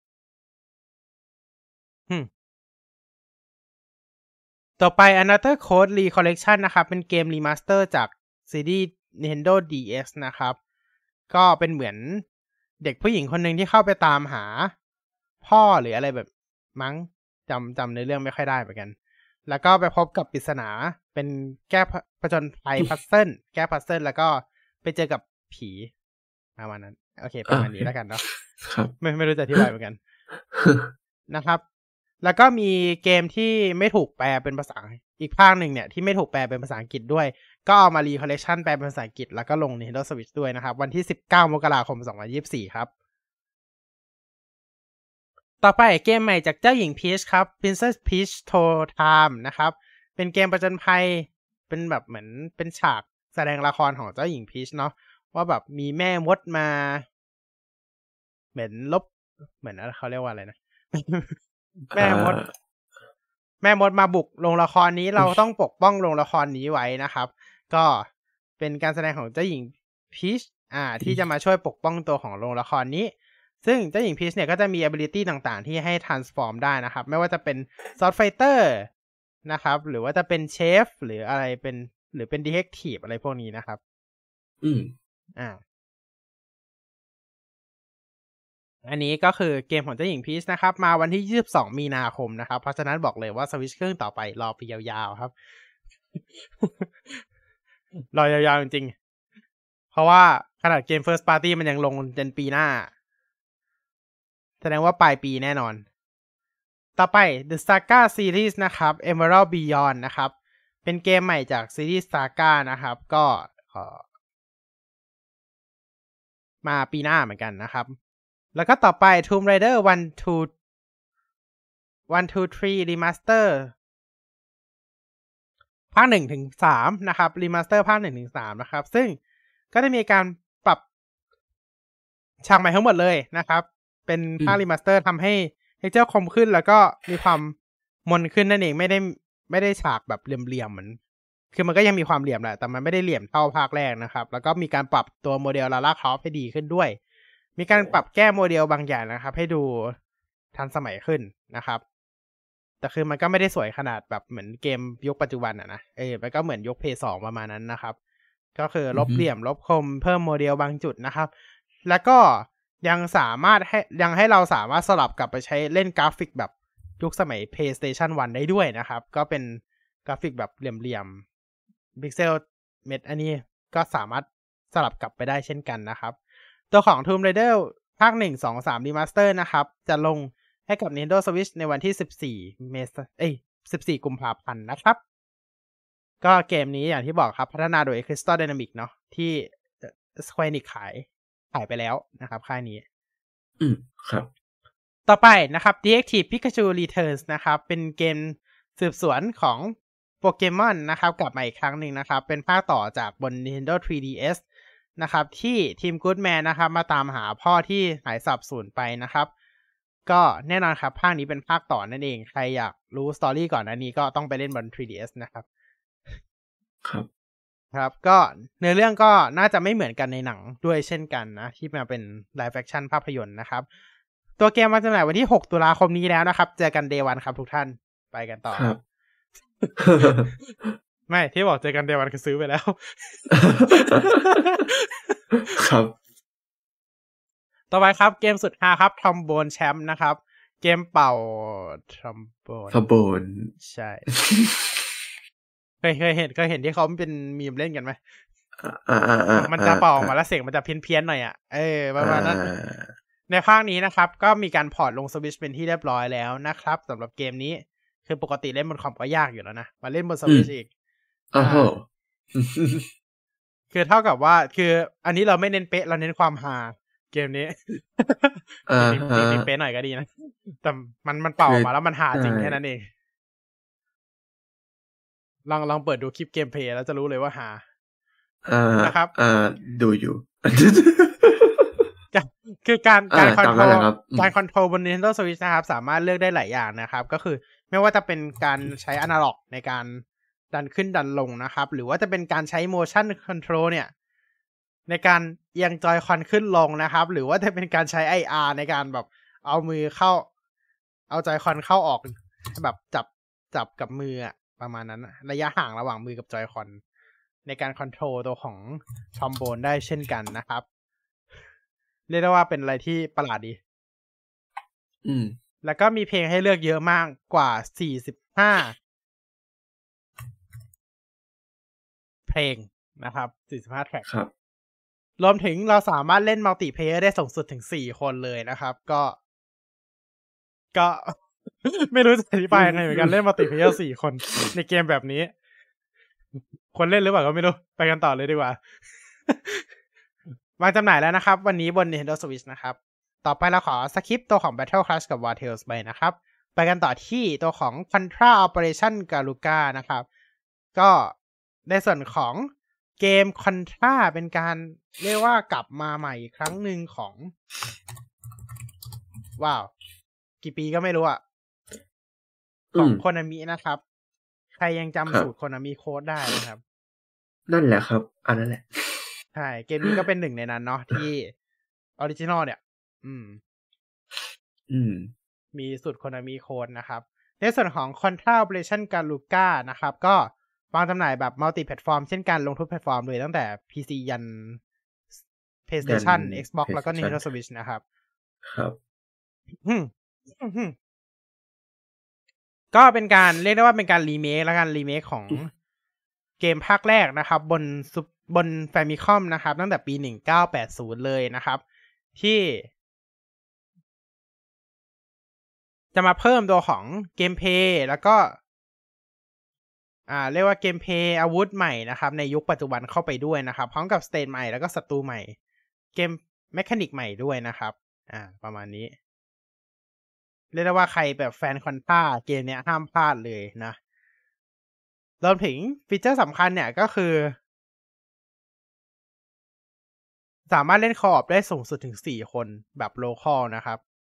Speaker 1: ต่อไป Another Code Recollection นะครับเป็นเกมรีมาสเตอร์จากซีรีส์ Nintendo DS นะครับก็เป็นเหมือนเด็กผู้หญิงคนหนึ่งที่เข้าไปตามหาพ่อหรืออะไรแบบมั้งจำในเรื่องไม่ค่อยได้เหมือนกันแล้วก็ไปพบกับปริศนาเป็นแก้ผจญภัยพัซเซิลแก้พัซเซิลแล้วก็ไปเจอกับผีประมาณนั้นโอเคประมาณนี้แล้วกันเนาะไม่รู้จะอธิบายเหมือนกันนะครับแล้วก็มีเกมที่ไม่ถูกแปลเป็นภาษาอีกภาคหนึ่งเนี่ยที่ไม่ถูกแปลเป็นภาษาอังกฤษด้วยก็เอามารีคอลเลคชันแปลเป็นภาษาอังกฤษแล้วก็ลง Nintendo Switch ด้วยนะครับวันที่19มกราคม2024ครับต่อไปเกมใหม่จากเจ้าหญิงพีชครับ Princess Peach Tour Time นะครับเป็นเกมประจนภัยเป็นแบบเหมือนเป็นฉากแสดงละครของเจ้าหญิงพีชเนาะว่าแบบมีแม่มดมาเหมือนเหมือนเขาเรียกว่าอะไรนะแม่มดมาบุกโรงละครนี้เราต้องปกป้องโรงละครนี้ไว้นะครับก็เป็นการแสดงของเจ้าหญิงพีชที่จะมาช่วยปกป้องตัวของโรงละครนี้ซึ่งเจ้าหญิงพีชเนี่ยก็จะมี ability ต่างๆที่ให้ transform ได้นะครับไม่ว่าจะเป็น sword fighter นะครับหรือว่าจะเป็นเชฟหรืออะไรเป็นหรือเป็น detective อะไรพวกนี้นะครับอันนี้ก็คือเกมของเจ้าหญิงพีชนะครับมาวันที่22มีนาคมนะครับเพราะฉะนั้นบอกเลยว่าสวิตช์เครื่องต่อไปรอไปยาวๆครับ รอยาวๆจริงๆเพราะว่าขนาดเกม First Party มันยังลงจนปีหน้าแสดงว่าปลายปีแน่นอนต่อไป The Saga Series นะครับ Emerald Beyond นะครับเป็นเกมใหม่จากซีรีส์ Saga นะครับก็มาปีหน้าเหมือนกันนะครับแล้วก็ต่อไป Tomb Raider 1-2-3 Remaster ภาค 1-3 นะครับ Remaster ภาค 1-3 นะครับซึ่งก็ได้มีการปรับฉากใหม่ทั้งหมดเลยนะครับเป็นภาครีมาสเตอร์ทำให้เท็กเจอร์คมขึ้นแล้วก็มีความมนขึ้นนั่นเองไม่ได้ฉากแบบเหลี่ยมๆเหมือนคือมันก็ยังมีความเหลี่ยมแหละแต่มันไม่ได้เหลี่ยมเท่าภาคแรกนะครับแล้วก็มีการปรับตัวโมเดลลาร่าครอฟต์ให้ดีขึ้นด้วยมีการปรับแก้โมเดลบางอย่างนะครับให้ดูทันสมัยขึ้นนะครับแต่คือมันก็ไม่ได้สวยขนาดแบบเหมือนเกมยุคปัจจุบันนะมันก็เหมือนยุค PS2 ประมาณนั้นนะครับก็คือลบเหลี่ยมลบคมเพิ่มโมเดลบางจุดนะครับแล้วก็ยังสามารถให้เราสามารถสลับกลับไปใช้เล่นกราฟิกแบบยุคสมัย PlayStation 1 ได้ด้วยนะครับก็เป็นกราฟิกแบบเหลี่ยมพิกเซลเม็ดอันนี้ก็สามารถสลับกลับไปได้เช่นกันนะครับตัวของ Tomb Raider ภาค 1 2 3 Remaster นะครับจะลงให้กับ Nintendo Switch ในวันที่14 กุมภาพันธ์นะครับก็เกมนี้อย่างที่บอกครับพัฒนาโดย Crystal Dynamics เนาะที่ Square Enix ขายไปแล้วนะครับค่ายนี้
Speaker 2: ครับ
Speaker 1: ต่อไปนะครับ Detective Pikachu Returns นะครับเป็นเกมสืบสวนของโปเกมอนนะครับกลับมาอีกครั้งหนึ่งนะครับเป็นภาคต่อจากบน Nintendo 3DS นะครับที่ทีม Goodman นะครับมาตามหาพ่อที่หายสาบสูญไปนะครับก็แน่นอนครับภาคนี้เป็นภาคต่อนั่นเองใครอยากรู้สตอรี่ก่อนหน้านี้ก็ต้องไปเล่นบน 3DS นะครับครับก็เนื้อเรื่องก็น่าจะไม่เหมือนกันในหนังด้วยเช่นกันนะที่มาเป็น Live Action ภาพยนตร์นะครับตัวเกมมาจำหน่ายวันที่6 ตุลาคมนี้แล้วนะครับเจอกัน Day 1ครับทุกท่านไปกันต่อ
Speaker 2: ครับ
Speaker 1: ไม่ที่บอกเจอกัน Day 1คือซื้อไปแล้ว
Speaker 2: ครับ
Speaker 1: ต่อไปครับเกมสุดฮาครับ Trombone Champ นะครับเกมเป่า
Speaker 2: Trombone
Speaker 1: ใช่เคยเห็นที่เขาเป็นมีมเล่นกันไหมมันจะเป่าออกมาแล้วเสียงมันจะเพี้ยนๆหน่อยประมาณนั้นในภาคนี้นะครับก็มีการพอร์ตลง Switch เป็นที่เรียบร้อยแล้วนะครับสำหรับเกมนี้คือปกติเล่นบนคอมก็ยากอยู่แล้วนะมาเล่นบน Switch อีกคือเท่ากับว่าคืออันนี้เราไม่เน้นเป๊ะเราเน้นความฮาเกมนี้จริงเป๊ะหน่อยก็ดีนะแต่มันเป่าออกมาแล้วมันฮาจริงแค่นั้นเองลองเปิดดูคลิปเกมเพลย์แล้วจะรู้เลยว่าฮานะครับ
Speaker 2: ดูอยู่
Speaker 1: คือการคอนโทรลบน Nintendo Switch นะครับสามารถเลือกได้หลายอย่างนะครับก็คือไม่ว่าจะเป็นการใช้อนาล็อกในการดันขึ้นดันลงนะครับหรือว่าจะเป็นการใช้ motion control เนี่ยในการเอียงจอยคอนขึ้นลงนะครับหรือว่าจะเป็นการใช้ IR ในการแบบเอามือเข้าเอาจอยคอนเข้าออกแบบจับกับมือประมาณนั้นระยะห่างระหว่างมือกับจอยคอนในการคอนโทรลตัวของทรอมโบนได้เช่นกันนะครับเรียกได้ว่าเป็นอะไรที่ประหลาดดีแล้วก็มีเพลงให้เลือกเยอะมากกว่า45เพลงนะครับ45แทร็ก
Speaker 2: ครับ
Speaker 1: รวมถึงเราสามารถเล่นมัลติเพลเยอร์ได้สูงสุดถึง4คนเลยนะครับก็ไม่รู้จะอธิบายยังไงเหมือนกันเล่นมัลติเพลเยอร์4คนในเกมแบบนี้คนเล่นหรือเปล่าก็ไม่รู้ไปกันต่อเลยดีกว่าวางจำหน่ายแล้วนะครับวันนี้บน Nintendo Switch นะครับต่อไปเราขอสคิปตัวของ Battle Clash กับ War Tales ไปนะครับไปกันต่อที่ตัวของ Contra Operation Garuga นะครับก็ในส่วนของเกม Contra เป็นการเรียกว่ากลับมาใหม่อีกครั้งหนึ่งของว้าวกี่ปีก็ไม่รู้ของ Konami นะครับใครยังจำสูตร Konami Code ได้นะครับ
Speaker 2: นั่นแหละครับอันนั้นแหละ
Speaker 1: ใช่เกมนี้ก็เป็นหนึ่งในนั้นเนาะที่ออริจินอลเนี่ยมีสูตร Konami Code นะครับในส่วนของ Contra Operation Garuga นะครับก็วางจำหน่ายแบบมัลติแพลตฟอร์มเช่นกันลงทุกแพลตฟอร์มเลยตั้งแต่ PC ยัน PlayStation Xbox แล้วก็ Nintendo Switch นะครับ
Speaker 2: ครับ
Speaker 1: ก็เป็นการเรียกได้ว่าเป็นการรีเมคและการรีเมคของเกมภาคแรกนะครับบน Famicom นะครับตั้งแต่ปี1980เลยนะครับที่จะมาเพิ่มตัวของเกมเพลย์แล้วก็เรียกว่าเกมเพลย์อาวุธใหม่นะครับในยุคปัจจุบันเข้าไปด้วยนะครับพร้อมกับสเตจใหม่แล้วก็ศัตรูใหม่เกมเมคานิกใหม่ด้วยนะครับประมาณนี้เรียกได้ว่าใครแบบแฟนคอนท่าเกมเนี้ยห้ามพลาดเลยนะรวมถึงฟีเจอร์สำคัญเนี่ยก็คือสามารถเล่นคออปได้สูงสุดถึง4คนแบบโลคอลนะครับ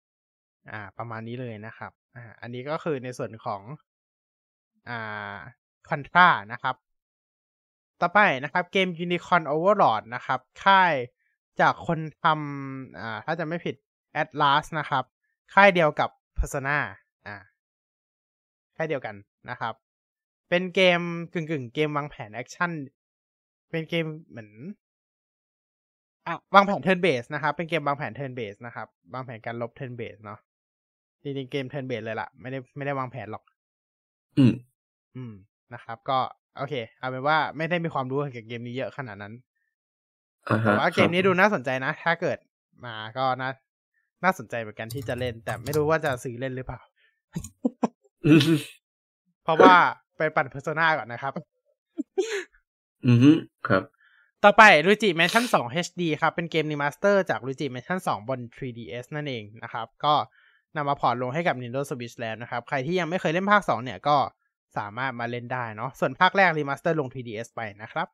Speaker 1: ประมาณนี้เลยนะครับอันนี้ก็คือในส่วนของอ่า Contra นะครับต่อไปนะครับเกม Unicorn Overlord นะครับค่ายจากคนทำถ้าจะไม่ผิด Atlus นะครับค่ายเดียวกับ Persona ค่ายเดียวกันนะครับเป็นเกมกึ่งเกมวางแผนแอคชั่นเป็นเกมเหมือนวางแผน turn based นะครับเป็นเกมวางแผน turn based นะครับวางแผนการลบ turn based เนาะจริงๆเกม turn based เลยล่ะไม่ได้วางแผนหรอกนะครับก็โอเคเอาเป็นว่าไม่ได้มีความรู้เกี่ยวกับเกมนี้เยอะขนาดนั้นแต่ว่าเกมนี้ดูน่าสนใจนะถ้าเกิดมาก็น่าสนใจเหมือนกันที่จะเล่นแต่ไม่รู้ว่าจะซื้อเล่นหรือเปล่าเพราะว่าไปปั่น Persona ก่อนนะครับ
Speaker 2: ครับ
Speaker 1: ต่อไป Luigi Mansion 2 HD ครับเป็นเกมรีมาสเตอร์จาก Luigi Mansion 2 บน 3DS นั่นเองนะครับก็นำมาพอร์ตลงให้กับ Nintendo Switch แล้วนะครับใครที่ยังไม่เคยเล่นภาค2เนี่ยก็สามารถมาเล่นได้เนาะส่วนภาคแรกรีมาสเตอร์ลง 3DS ไปนะครับ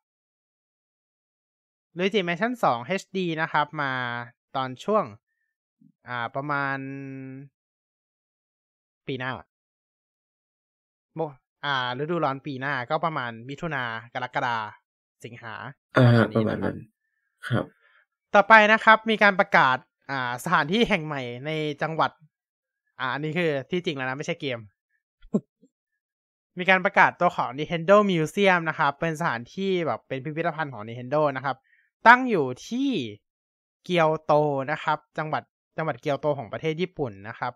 Speaker 1: Luigi Mansion 2 HD นะครับมาตอนช่วงประมาณปีหน้าฤดูร้อนปีหน้าก็ประมาณมิถุนากรกฎาสิงหา
Speaker 2: ประมาณนั้นครับ
Speaker 1: ต่อไปนะครับมีการประกาศสถานที่แห่งใหม่ในจังหวัดอันนี้คือที่จริงแล้วนะไม่ใช่เกม มีการประกาศตัวของ Nintendo Museum นะครับเป็นสถานที่แบบเป็นพิพิธภัณฑ์ของ Nintendo นะครับตั้งอยู่ที่เกียวโตนะครับจังหวัดเกียวโตของประเทศญี่ปุ่นนะครับ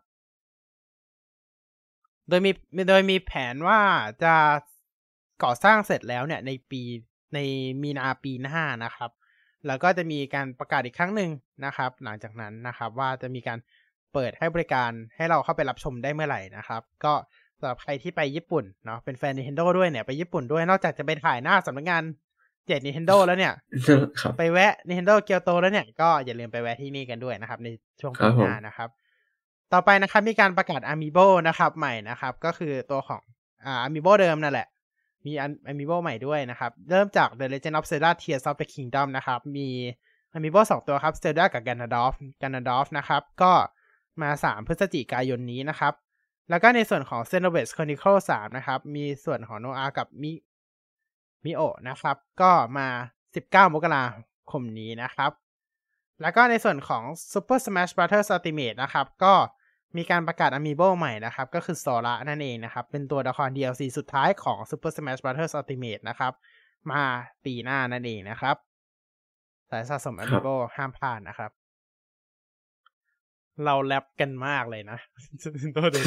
Speaker 1: โดยมีแผนว่าจะก่อสร้างเสร็จแล้วเนี่ยในมีนาปีหน้านะครับแล้วก็จะมีการประกาศอีกครั้งหนึ่งนะครับหลังจากนั้นนะครับว่าจะมีการเปิดให้บริการให้เราเข้าไปรับชมได้เมื่อไหร่นะครับก็สำหรับใครที่ไปญี่ปุ่นเนาะเป็นแฟน Nintendo ด้วยเนี่ยไปญี่ปุ่นด้วยนอกจากจะไปถ่ายหน้าสำนักงานNintendo แล้วเนี่ยไปแวะ Nintendo เกียวโตแล้วเนี่ยก็อย่าลืมไปแวะที่นี่กันด้วยนะครับในช่วงปีหน้านะครับต่อไปนะครับมีการประกาศ Amiibo นะครับใหม่นะครับก็คือตัวของAmiibo เดิมนั่นแหละมี Amiibo ใหม่ด้วยนะครับเริ่มจาก The Legend of Zelda Tears of the Kingdom นะครับมี Amiibo 2 ตัวครับ Zelda กับ Ganondorf นะครับก็มา3พฤศจิกายนนี้นะครับแล้วก็ในส่วนของ Xenoblade Chronicles 3นะครับมีส่วนของโนอากับมิโอะนะครับก็มา19มกราคมนี้นะครับแล้วก็ในส่วนของ Super Smash Bros Ultimate นะครับก็มีการประกาศ Amiibo ใหม่นะครับก็คือโซระนั่นเองนะครับเป็นตัวละคร DLC สุดท้ายของ Super Smash Bros Ultimate นะครับมาปีหน้านั่นเองนะครับสายสะสม Amiibo ห้ามพลาดนะครับเราแรปกันมากเลยนะตัวเด็ก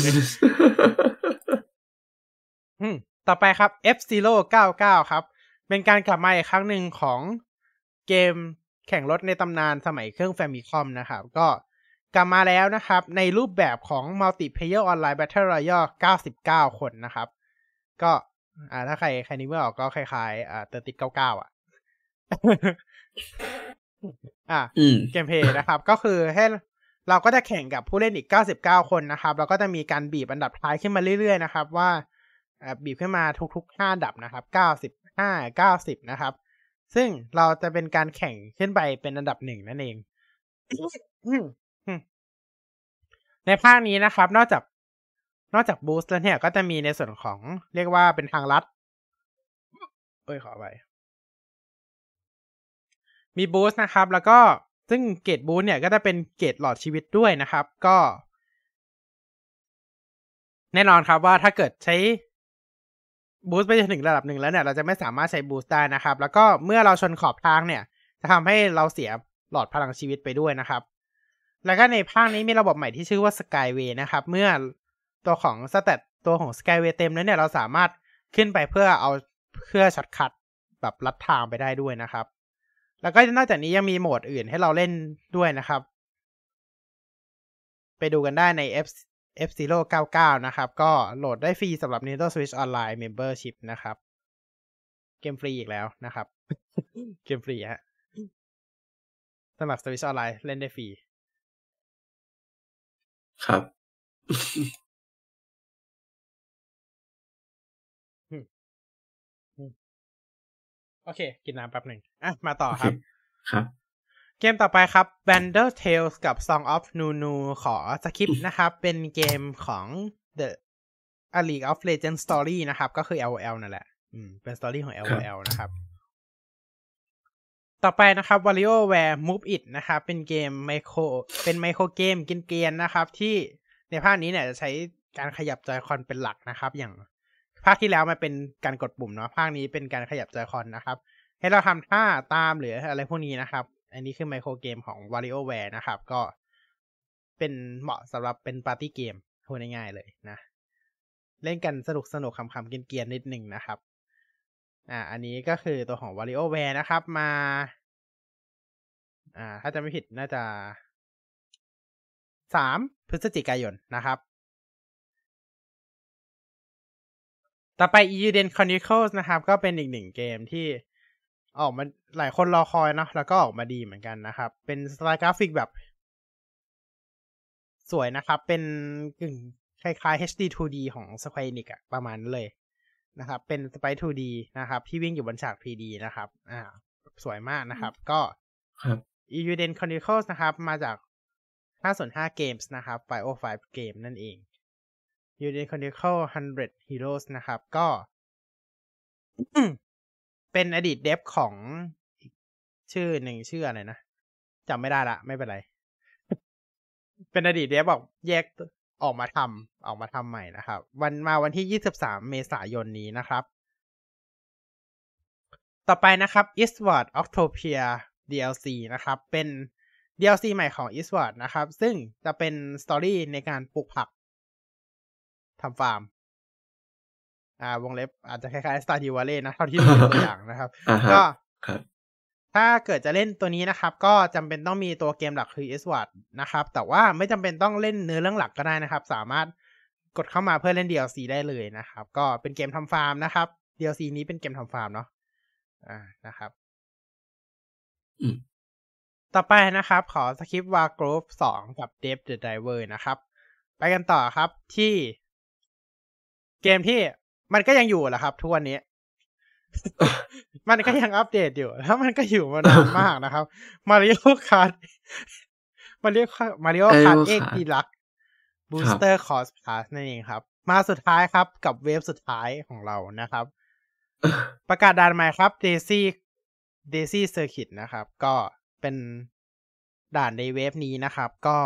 Speaker 1: ต่อไปครับ F-Zero 99ครับเป็นการกลับมาอีกครั้งหนึ่งของเกมแข่งรถในตำนานสมัยเครื่อง Famicom นะครับก็กลับมาแล้วนะครับในรูปแบบของ Multiplayer Online Battle Royale 99 คนนะครับก็ถ้าใครนึกไม่ออกก็คล้ายๆติด99เกมเพลย์นะครับก็คือให้เราก็จะแข่งกับผู้เล่นอีก99คนนะครับแล้วก็จะมีการบีบอันดับท้ายขึ้นมาเรื่อยๆนะครับว่าบีบขึ้นมาทุกๆ5อันดับนะครับ95 90นะครับซึ่งเราจะเป็นการแข่งขึ้นไปเป็นอันดับ1นั่นเองในภาคนี้นะครับนอกจากบูสต์แล้วเนี่ยก็จะมีในส่วนของเรียกว่าเป็นทางลัดขอไปมีบูสต์นะครับแล้วก็ซึ่งเกรดบูสต์เนี่ยก็จะเป็นเกรดหลอดชีวิตด้วยนะครับก็แน่นอนครับว่าถ้าเกิดใช้บูสต์ไปถึงระดับหนึ่งแล้วเนี่ยเราจะไม่สามารถใช้บูสต์ได้นะครับแล้วก็เมื่อเราชนขอบทางเนี่ยจะทำให้เราเสียหลอดพลังชีวิตไปด้วยนะครับแล้วก็ในภาคนี้มีระบบใหม่ที่ชื่อว่า Skyway นะครับเมื่อตัวของสเตตตัวของ Skyway เต็มแล้วเนี่ยเราสามารถขึ้นไปเพื่อช็อตคัทแบบลัดทางไปได้ด้วยนะครับแล้วก็นอกจากนี้ยังมีโหมดอื่นให้เราเล่นด้วยนะครับไปดูกันได้ใน F-Zero 99นะครับก็โหลดได้ฟรีสำหรับ Nintendo Switch Online Membership นะครับเกมฟรีอีกแล้วนะครับเกมฟรีฮะสำหรับ Switch Online เล่นได้ฟรี
Speaker 2: ครับ
Speaker 1: โอเคกินน้ำแป๊บหนึ่งมาต่อครับเกมต่อไปครับ Vandal Tales กับ Song of Nunu ขอสคริปต์นะครับ เป็นเกมของ The A League of Legends Story นะครับก็คือ LOL นั่นแหละเป็น story ของ LOL นะครับต่อไปนะครับ WarioWare Move It นะครับเป็นเกมไมโครเกมกินเกรียนนะครับที่ในภาคนี้เนี่ยจะใช้การขยับจอยคอนเป็นหลักนะครับอย่างภาคที่แล้วมันเป็นการกดปุ่มเนาะภาคนี้เป็นการขยับจอยคอนนะครับให้เราทำท่าตามหรืออะไรพวกนี้นะครับอันนี้คือไมโครเกมของ WarioWare นะครับก็เป็นเหมาะสำหรับเป็นปาร์ตี้เกมพูดง่ายๆเลยนะเล่นกันสนุกขำๆกินเกรียนนิดนึงนะครับอันนี้ก็คือตัวของ WarioWare นะครับมาถ้าจะไม่ผิดน่าจะ3 พฤศจิกายนนะครับต่อไป Euden Chronicles นะครับก็เป็นอีกหนึ่งเกมที่ออกมาหลายคนรอคอยเนาะแล้วก็ออกมาดีเหมือนกันนะครับเป็นสไตล์กราฟิกแบบสวยนะครับเป็นกึ่งคล้ายๆ HD 2D ของ Square Enix ประมาณนั้นเลยนะครับเป็น Sprite 2D นะครับที่วิ่งอยู่บนฉาก 3D นะครับสวยมากนะครับก็
Speaker 2: ครับ
Speaker 1: Euden Chronicles นะครับมาจาก505 Games นะครับ 505 Game นั่นเอง Euden Chronicles 100 Heroes นะครับก็ เป็นอดีตเดฟของชื่อหนึ่งชื่ออะไรนะจำไม่ได้ละไม่เป็นไร เป็นอดีตเดฟบอกแยกออกมาทำใหม่นะครับวันที่23 เมษายนนี้นะครับต่อไปนะครับ Eastward Octopia DLC นะครับเป็น DLC ใหม่ของ Eastward นะครับซึ่งจะเป็นสตอรี่ในการปลูกผักทำฟาร์มวงเล็บอาจจะคล้ายๆ Stardew Valley นะเท่าที่ดูตัวอย่างนะครับ ก็ถ้าเกิดจะเล่นตัวนี้นะครับก็จำเป็นต้องมีตัวเกมหลักคือ Eastward นะครับแต่ว่าไม่จำเป็นต้องเล่นเนื้อเรื่องหลักก็ได้นะครับสามารถกดเข้ามาเพื่อเล่น DLC ได้เลยนะครับก็เป็นเกมทำฟาร์มนะครับ DLC นี้เป็นเกมทำฟาร์มเนาะนะครับต่อไปนะครับขอสคริปต์ Wargroove 2 กับ Dave the Diver นะครับไปกันต่อครับที่เกมที่มันก็ยังอยู่แหละครับทุกวันนี้ มันก็ยังอัปเดตอยู่แล้วมันก็อยู่มานานมากนะครับ Mario Kart X Deluxe Booster Course Pass นั่นเองครับมาสุดท้ายครับกับเวฟสุดท้ายของเรานะครับประกาศด่านใหม่ครับ Daisy Circuit นะครับก็เป็นด่านในเวฟนี้นะครับก็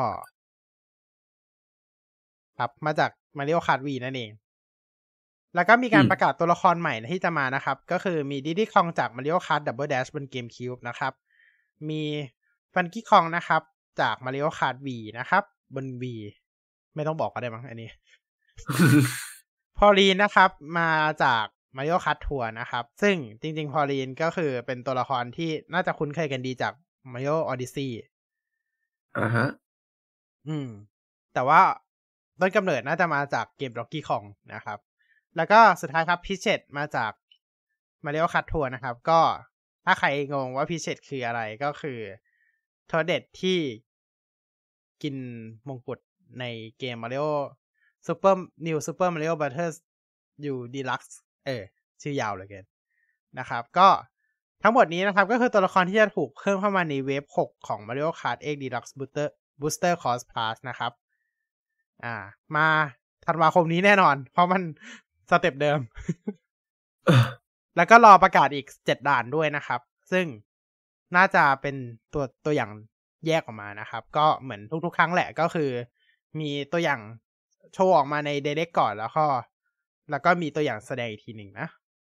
Speaker 1: ครับมาจาก Mario Kart V นั่นเองแล้วก็มีการประกาศตัวละครใหม่ที่จะมานะครับก็คือมี Diddy Kong จาก Mario Kart Double Dash บน GameCube นะครับมี Funky Kong นะครับจาก Mario Kart V นะครับบน V ไม่ต้องบอกก็ได้มั้งอันนี้ Pauline นะครับมาจาก Mario Kart Tour นะครับซึ่งจริงๆ Pauline ก็คือเป็นตัวละครที่น่าจะคุ้นเคยกันดีจาก Mario Odyssey
Speaker 2: ฮะ
Speaker 1: แต่ว่าต้นกำเนิดน่าจะมาจากเกม Donkey Kong นะครับแล้วก็สุดท้ายครับพิเชตมาจาก Mario Kart Tour นะครับก็ถ้าใครงงว่าพิเชตคืออะไรก็คือโทเด็ดที่กินมงกุฎในเกม Mario Super Mario Bros. U Deluxe ชื่อยาวเหลือเกินนะครับก็ทั้งหมดนี้นะครับก็คือตัวละครที่จะถูกเพิ่มเข้ามาในเวฟ6ของ Mario Kart X Deluxe Booster Course Pass นะครับมาธันวาคมนี้แน่นอนเพราะมันสเต็ปเดิม แล้วก็รอประกาศอีก7ด่านด้วยนะครับซึ่งน่าจะเป็นตัวอย่างแยกออกมานะครับก็เหมือนทุกๆครั้งแหละก็คือมีตัวอย่างโชว์ออกมาใน Direct ก่อนแล้วก็มีตัวอย่างแสดงอีกทีหนึ่งนะ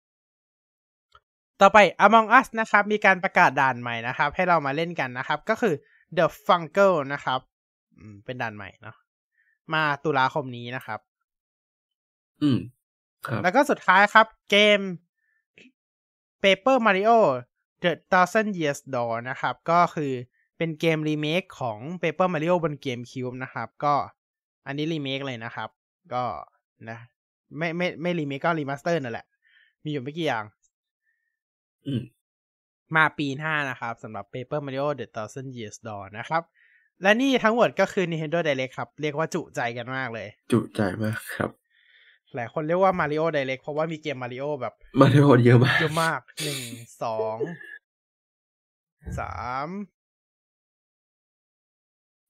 Speaker 1: ต่อไป Among Us นะครับมีการประกาศด่านใหม่นะครับให้เรามาเล่นกันนะครับก็คือ The Fungle นะครับเป็นด่านใหม่เนาะมาตุลาคมนี้นะครับ
Speaker 2: ครับ
Speaker 1: แล้วก็สุดท้ายครับเกม Paper Mario The Thousand Years Door นะครับก็คือเป็นเกมรีเมคของ Paper Mario บน GameCube นะครับก็อันนี้รีเมคเลยนะครับก็นะไม่รีเมคก็รีมาสเตอร์นั่นแหละมีอยู่ไม่กี่อย่างมาปีหน้านะครับสำหรับ Paper Mario The Thousand Years Door นะครับและนี่ทั้งหมดก็คือ Nintendo Direct ครับเรียกว่าจุใจกันมากเลย
Speaker 2: จุใจมากครับ
Speaker 1: หลายคนเรียกว่า Mario Direct เพราะว่ามีเกม Mario แบบ
Speaker 2: Mario เยอะมาก
Speaker 1: 1 2 3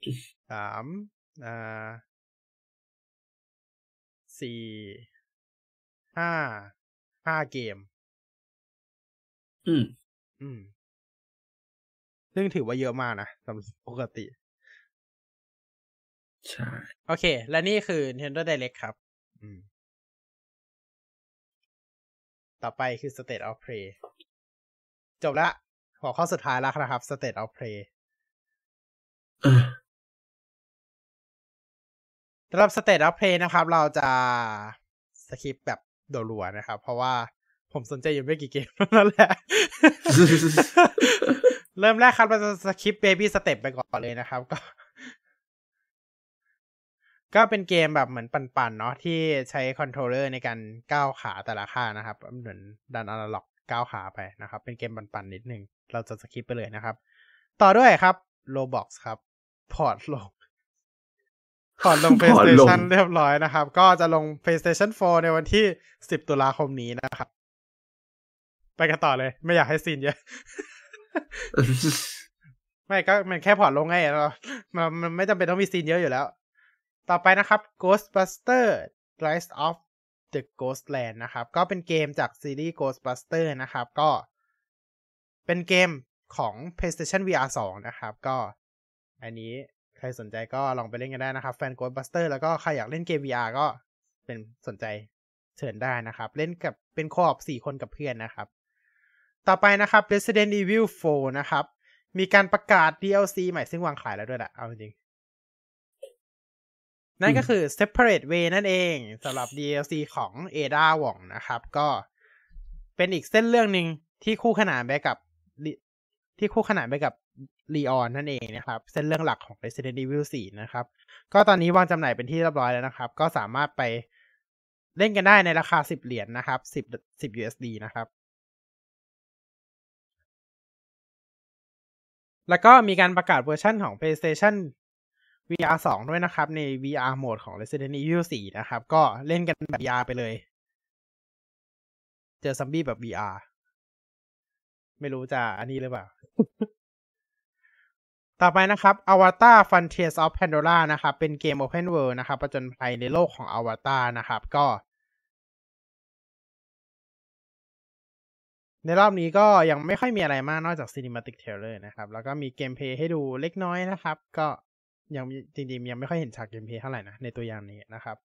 Speaker 1: 3 4 5เกมซึ่งถือว่าเยอะมากนะสำหรับปกติ
Speaker 2: ใช่
Speaker 1: โอเคและนี่คือ Nintendo Direct ครับต่อไปคือ State of Play จบละหัวข้อสุดท้ายแล้วนะครับ State of Play สำหรับ State of Play นะครับเราจะสคิปแบบรัวๆนะครับเพราะว่าผมสนใจอยู่ไม่กี่เกมนั่นแหละ เริ่มแรกครับเราจะสคิป Baby Step ไปก่อนเลยนะครับก็เป็นเกมแบบเหมือนปั่นๆเนาะที่ใช้คอนโทรลเลอร์ในการก้าวขาแต่ละข้างนะครับเหมือนดันอนาล็อกก้าวขาไปนะครับเป็นเกมปั่นๆนิดนึงเราจะสคิปไปเลยนะครับต่อด้วยครับ Roblox ครับพอร์ตลง PlayStation เรียบร้อยนะครับก็จะลง PlayStation 4 ในวันที่10 ตุลาคมนี้นะครับไปกันต่อเลยไม่อยากให้ซีนเยอะ ไม่ก็มันแค่พอร์ตลงไงมันไม่จำเป็นต้องมีซีนเยอะอยู่แล้วต่อไปนะครับ Ghostbuster Rise of the Ghostland นะครับก็เป็นเกมจากซีรีส์ Ghostbuster นะครับก็เป็นเกมของ PlayStation VR 2 นะครับก็อันนี้ใครสนใจก็ลองไปเล่นกันได้นะครับแฟน Ghostbuster แล้วก็ใครอยากเล่นเกม VR ก็เป็นสนใจเชิญได้นะครับเล่นกับเป็นโคออป4 คนกับเพื่อนนะครับต่อไปนะครับ Resident Evil 4 นะครับมีการประกาศ DLC ใหม่ซึ่งวางขายแล้วด้วยแหละเอาจริงนั่นก็คือ Separate Way นั่นเองสำหรับ DLC ของ Ada Wong นะครับก็เป็นอีกเส้นเรื่องนึงที่คู่ขนานไปกับLeon นั่นเองนะครับเส้นเรื่องหลักของ Resident Evil 4 นะครับก็ตอนนี้วางจำหน่ายเป็นที่เรียบร้อยแล้วนะครับก็สามารถไปเล่นกันได้ในราคา$10นะครับ10 USD นะครับแล้วก็มีการประกาศเวอร์ชันของ PlayStation VR 2 ด้วยนะครับใน VR โหมดของ Resident Evil 4 นะครับก็เล่นกันแบบ VR ไปเลยเจอซอมบี้แบบ VR ไม่รู้จะอันนี้หรือเปล่า ต่อไปนะครับ Avatar Frontiers of Pandora นะครับเป็นเกม Open World นะครับผจญภัยในโลกของ Avatar นะครับก็ในรอบนี้ก็ยังไม่ค่อยมีอะไรมากนอกจาก Cinematic Trailer นะครับแล้วก็มีเกมเพลย์ให้ดูเล็กน้อยนะครับก็ยังจริงๆยังไม่ค่อยเห็นฉากเกมเพลย์เท่าไหร่นะในตัวอย่างนี้นะครับ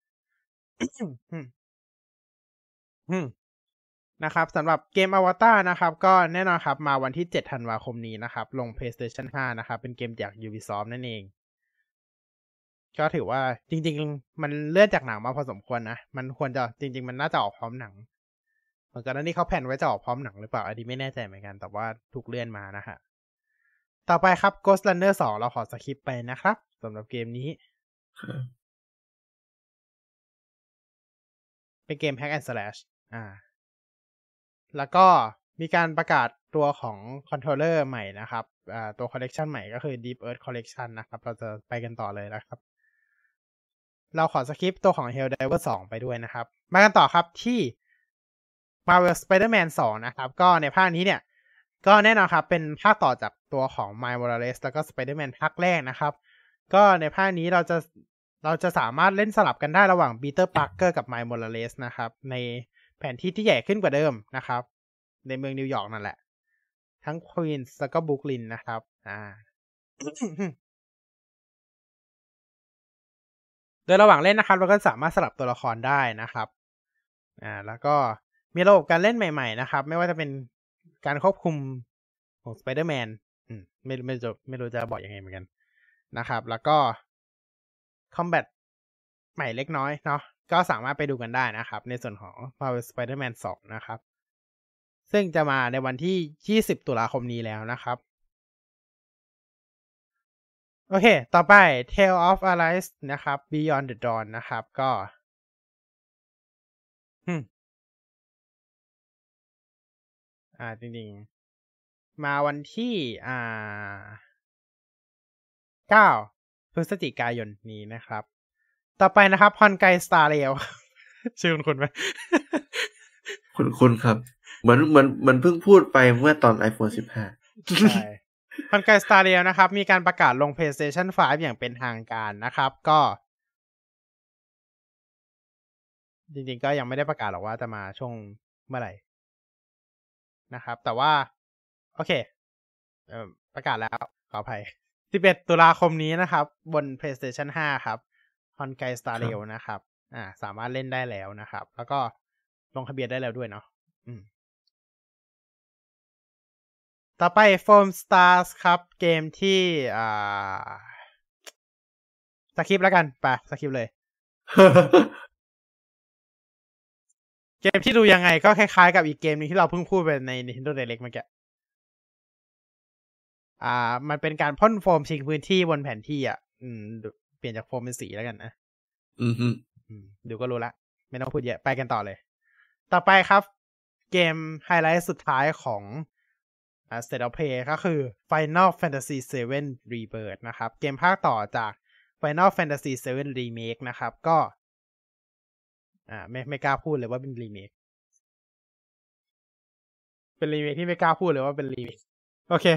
Speaker 1: นะครับสำหรับเกม Avatar นะครับก็แน่นอนครับมาวันที่7 ธันวาคมนี้นะครับลง PlayStation 5 นะครับเป็นเกมจาก Ubisoft นั่นเองก็ถือว่าจริงๆมันเลื่อนจากหนังมาพอสมควรนะมันควรจะจริงๆมันน่าจะออกพร้อมหนังเหมือนกันนั้นนี่เขาแผนไว้จะออกพร้อมหนังหรือเปล่าอันนี้ไม่แน่ใจเหมือนกันแต่ว่าถูกเลื่อนมานะฮะต่อไปครับ Ghost Runner 2 เราขอสคิปไปนะครับสำหรับเกมนี้เป็นเกม Hack and Slash แล้วก็มีการประกาศตัวของคอนโทรลเลอร์ใหม่นะครับตัวคอลเลกชันใหม่ก็คือ Deep Earth Collection นะครับเราจะไปกันต่อเลยนะครับเราขอสคิปตัวของ Helldivers 2 ไปด้วยนะครับมากันต่อครับที่ Marvel Spider-Man 2 นะครับก็ในภาคนี้เนี่ยก็แน่นอนครับเป็นภาคต่อจากตัวของ Miles Morales แล้วก็ Spider-Man ภาคแรกนะครับก็ในภาคนี้เราจะสามารถเล่นสลับกันได้ระหว่าง Peter Parker กับ Miles Morales นะครับในแผนที่ที่ใหญ่ขึ้นกว่าเดิมนะครับในเมืองนิวยอร์กนั่นแหละทั้งควีนส์แล้วก็บรุกลินนะครับโดยระหว่างเล่นนะครับเราก็สามารถสลับตัวละครได้นะครับแล้วก็มีระบบการเล่นใหม่ๆนะครับไม่ว่าจะเป็นการควบคุมของ Spider-Man ไม่รู้จะบอกยังไงเหมือนกันนะครับแล้วก็คอมแบทใหม่เล็กน้อยเนาะก็สามารถไปดูกันได้นะครับในส่วนของ Marvel Spider-Man 2 นะครับซึ่งจะมาในวันที่20 ตุลาคมนี้แล้วนะครับโอเคต่อไป Tale of Arise นะครับ Beyond the Dawn นะครับก็จริงๆมาวันที่9 พฤศจิกายนนี้นะครับต่อไปนะครับฮอนไกสตาร์เรลชื่อคุณไหม
Speaker 2: คุณครับเหมือนเพิ่งพูดไปเมื่อตอน iPhone 15
Speaker 1: ใช่คอนไกสตาเรียนะครับมีการประกาศลง PlayStation 5 อย่างเป็นทางการนะครับก็จริงๆก็ยังไม่ได้ประกาศหรอกว่าจะมาช่วงเมื่อไหร่นะครับแต่ว่าโอเคประกาศแล้วขออภัย11 ตุลาคมนี้นะครับบน PlayStation 5 ครับ Honkai Star
Speaker 2: ครับ
Speaker 1: Rail นะครับสามารถเล่นได้แล้วนะครับแล้วก็ลงทะเบียนได้แล้วด้วยเนาะต่อไป Foam Stars ครับเกมที่สคริปต์แล้วกันไปสคริปต์เลย เกมที่ดูยังไงก็คล้ายๆกับอีกเกมนึงที่เราเพิ่งพูดไปใน Nintendo Direct เมื่อกี้มันเป็นการพ่นโฟมชิงพื้นที่บนแผนที่เปลี่ยนจากโฟมเป็นสีแล้วกันนะดูก็รู้ละไม่ต้องพูดเยอะไปกันต่อเลยต่อไปครับเกมไฮไลท์สุดท้ายของState of Play ก็คือ Final Fantasy 7 Rebirth นะครับเกมภาคต่อจาก Final Fantasy 7 Remake นะครับก็ไม่กล้าพูดเลยว่าเป็นรีเมคที่ไม่กล้าพูดเลยว่าเป็นรีเมคโอเค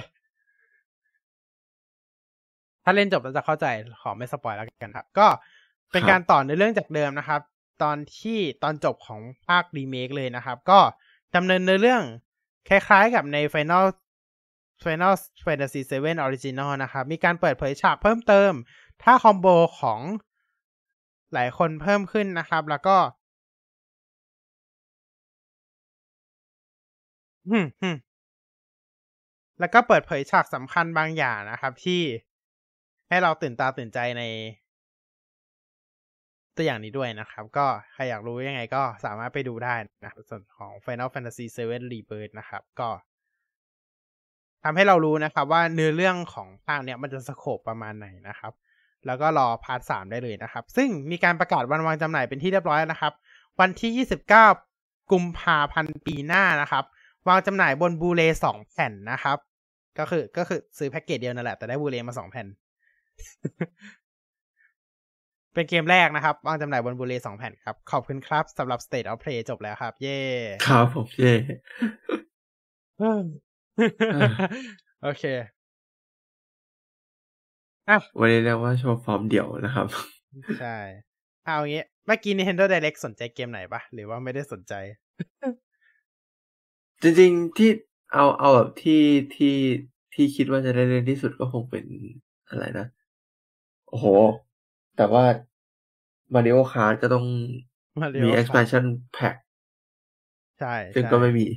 Speaker 1: ถ้าเล่นจบแล้วจะเข้าใจขอไม่สปอยแล้วกันครับก็เป็นการต่อในเรื่องจากเดิมนะครับตอนจบของภาครีเมคเลยนะครับก็ดำเนินในเรื่องคล้ายๆกับใน Final Fantasy 7 Original นะครับมีการเปิดเผยฉากเพิ่มเติมถ้าคอมโบของหลายคนเพิ่มขึ้นนะครับแล้วก็เปิดเผยฉากสำคัญบางอย่างนะครับที่ให้เราตื่นตาตื่นใจในตัวอย่างนี้ด้วยนะครับก็ใครอยากรู้ยังไงก็สามารถไปดูได้นะครับส่วนของ Final Fantasy 7 Rebirth นะครับก็ทำให้เรารู้นะครับว่าเนื้อเรื่องของภาคเนี้ยมันจะสโคปประมาณไหนนะครับแล้วก็รอพาร์ท 3ได้เลยนะครับซึ่งมีการประกาศวันวางจำหน่ายเป็นที่เรียบร้อยนะครับวันที่29กุมภาพันธ์ปีหน้านะครับวางจำหน่ายบนบูเล2แผ่นนะครับก็คือซื้อแพ็กเกจเดียวนั่นแหละแต่ได้บูเลมา2แผ่น เป็นเกมแรกนะครับวางจำหน่ายบนบูเล2แผ่นครับขอบคุณครับสำหรับ State of Play จบแล้วครับเย่
Speaker 2: ครับผมเย่
Speaker 1: โอเค
Speaker 2: วันนี้เรียกว่าโชว์ฟอร์มเดี่ยวนะครับ
Speaker 1: ใช่เอางี้เมื่อกี้ Nintendo Direct สนใจเกมไหนปะหรือว่าไม่ได้สนใจ
Speaker 2: จริงๆที่เอาแบบที่คิดว่าจะได้เล่นที่สุดก็คงเป็นอะไรนะโอ้โหแต่ว่า Mario Kart ก็ต้องมี expansion pack
Speaker 1: ใช่
Speaker 2: ซึ่งก็ไม่มี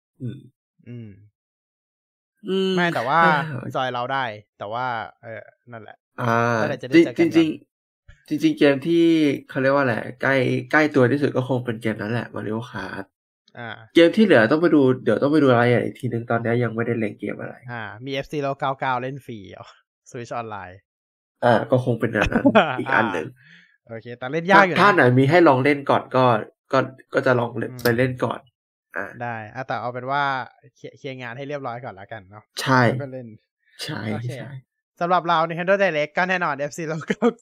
Speaker 1: ไม่แต่ว่าจอยเราได้แต่ว่านั่นแหละ
Speaker 2: จริงเกมที่เขาเรียกว่าแหละใกล้ตัวที่สุดก็คงเป็นเกมนั้นแหละ Mario Kart เกมที่เหลือต้องไปดูเดี๋ยวต้องไปดูรายละเอียดอีกทีนึงตอนนี้ยังไม่ได้เล่นเกมอะไร
Speaker 1: มี F-Zero 99เล่นฟรีSwitch ออนไลน์
Speaker 2: ก็คงเป็นอันนั้นอีกอันหนึ่ง
Speaker 1: โอเคแต่เล่นยากอยู่นะ
Speaker 2: ถ้าไหนมีให้ลองเล่นก่อนก็จะลองไปเล่นก่อน
Speaker 1: ได้แต่เอาเป็นว่าเคลียร์งานให้เรียบร้อยก่อนแล้วกันเนาะ
Speaker 2: ใช่
Speaker 1: ก็เล่น
Speaker 2: ใช่
Speaker 1: สำหรับเรา Nintendo Direct ก็แน่นอน F-Zero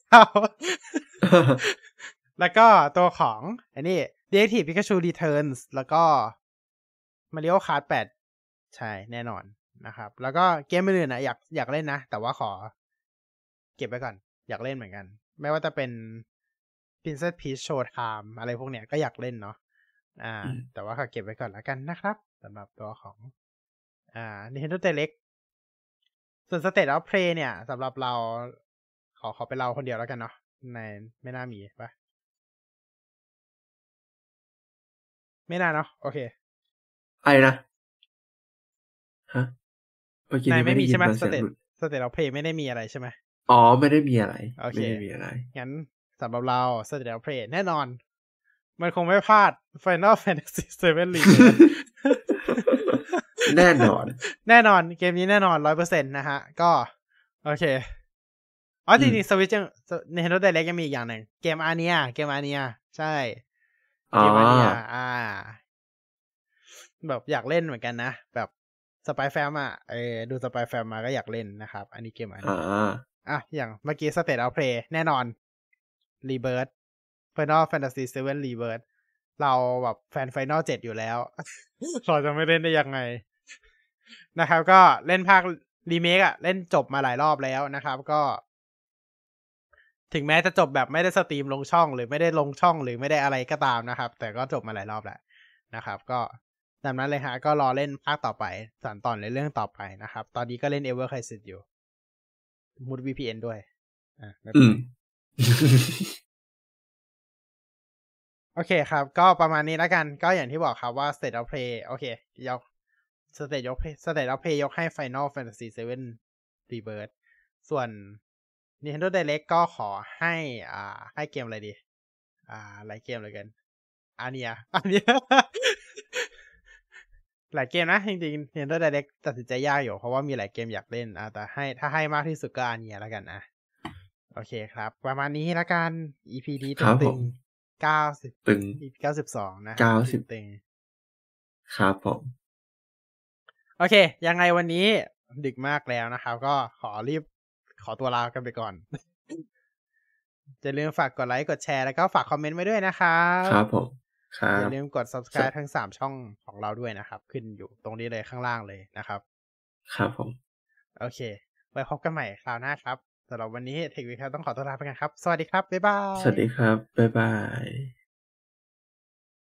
Speaker 1: 99แล้วก็ตัวของอันนี้ Detective Pikachu Returns แล้วก็ Mario Kart 8ใช่แน่นอนนะครับแล้วก็เกมอื่นๆนะอยากเล่นนะแต่ว่าขอเก็บไว้ก่อนอยากเล่นเหมือนกันไม่ว่าจะเป็น Princess Peach Showtime อะไรพวกเนี้ยก็อยากเล่นเนาะแต่ว่าขอเก็บไว้ก่อนแล้วกันนะครับสำหรับตัวของNintendo Direct ส่วน State of Play เนี่ยสำหรับเราขอเป็นเราคนเดียวแล้วกันเนาะในไม่น่ามีปะไม่น่าเนาะโอเค
Speaker 2: ไอ้นะฮะเมื่อกี้นี้ไม่มีใช่ไหม
Speaker 1: State of Play ไม่ได้มีอะไรใช่ไหม
Speaker 2: ไม่ได้มีอะไร
Speaker 1: ไม่ได้มีอะไรงั้นสำหรับเรา State of Play แน่นอนมันคงไม่พลาด Final Fantasy 7 Rebirth
Speaker 2: แน่นอน
Speaker 1: เกมนี้แน่นอน 100% นะฮะก็โอเคจริงๆ Switch ยัง Nintendo Direct ยังมีอีกอย่างหนึ่งเกมอาเนียใช่เกมอาเนียแบบอยากเล่นเหมือนกันนะแบบสไปแฟมดูสไปแฟมมาก็อยากเล่นนะครับอันนี้เกมอาเนียอย่างเมื่อกี้ State of Play แน่นอน Rebirth Final Fantasy 7 Rebirth เราแบบแฟน Final 7 อยู่แล้วเราจะไม่เล่นได้ยังไงนะครับก็เล่นภาครีเมคอะเล่นจบมาหลายรอบแล้วนะครับก็ถึงแม้จะจบแบบไม่ได้สตรีมลงช่องหรือไม่ได้ลงช่องหรือไม่ได้อะไรก็ตามนะครับแต่ก็จบมาหลายรอบแล้วนะครับก็ตามนั้นเลยฮะก็รอเล่นภาคต่อไปสานต่อในเรื่องต่อไปนะครับตอนนี้ก็เล่น Ever Crisis อยู่มุด VPN ด้วยไม่เป็นไร โอเคครับก็ประมาณนี้แล้วกันก็อย่างที่บอกครับว่า State of Play โอเคยก State of Play ยกให้ Final Fantasy 7 Rebirth ส่วน Nintendo Direct ก็ขอให้ให้เกมอะไรดีหลายเกมเลยกันอันเนี้ย หลายเกมนะจริงๆ Nintendo Direct ตัดสินใจยากอยู่เพราะว่ามีหลายเกมอยากเล่นแต่ถ้าให้มากที่สุดก็อันเนี้ยแล้วกันโอเคครับประมาณนี้แล้วกัน EP นี้ตึง90
Speaker 2: ตึง
Speaker 1: EP 92นะครับตึง
Speaker 2: ครับผม
Speaker 1: โอเคยังไงวันนี้ดึกมากแล้วนะครับก็ขอตัวลากันไปก่อนอย่าลืมฝากกดไลค์กดแชร์แล้วก็ฝากคอมเมนต์ไว้ด้วยนะครับ
Speaker 2: ครับผมครับ
Speaker 1: อย่าลืมกด subscribe ทั้ง3ช่องของเราด้วยนะครับขึ้นอยู่ตรงนี้เลยข้างล่างเลยนะครับ
Speaker 2: ครับผม
Speaker 1: โอเคไว้พบกันใหม่คราวหน้าครับสำหรับวันนี้เทควิคต้องขอตัวลาไปกันครับสวัสดีครับบ๊ายบา
Speaker 2: สวัสดี
Speaker 1: ย
Speaker 2: ครับบ๊ายบาย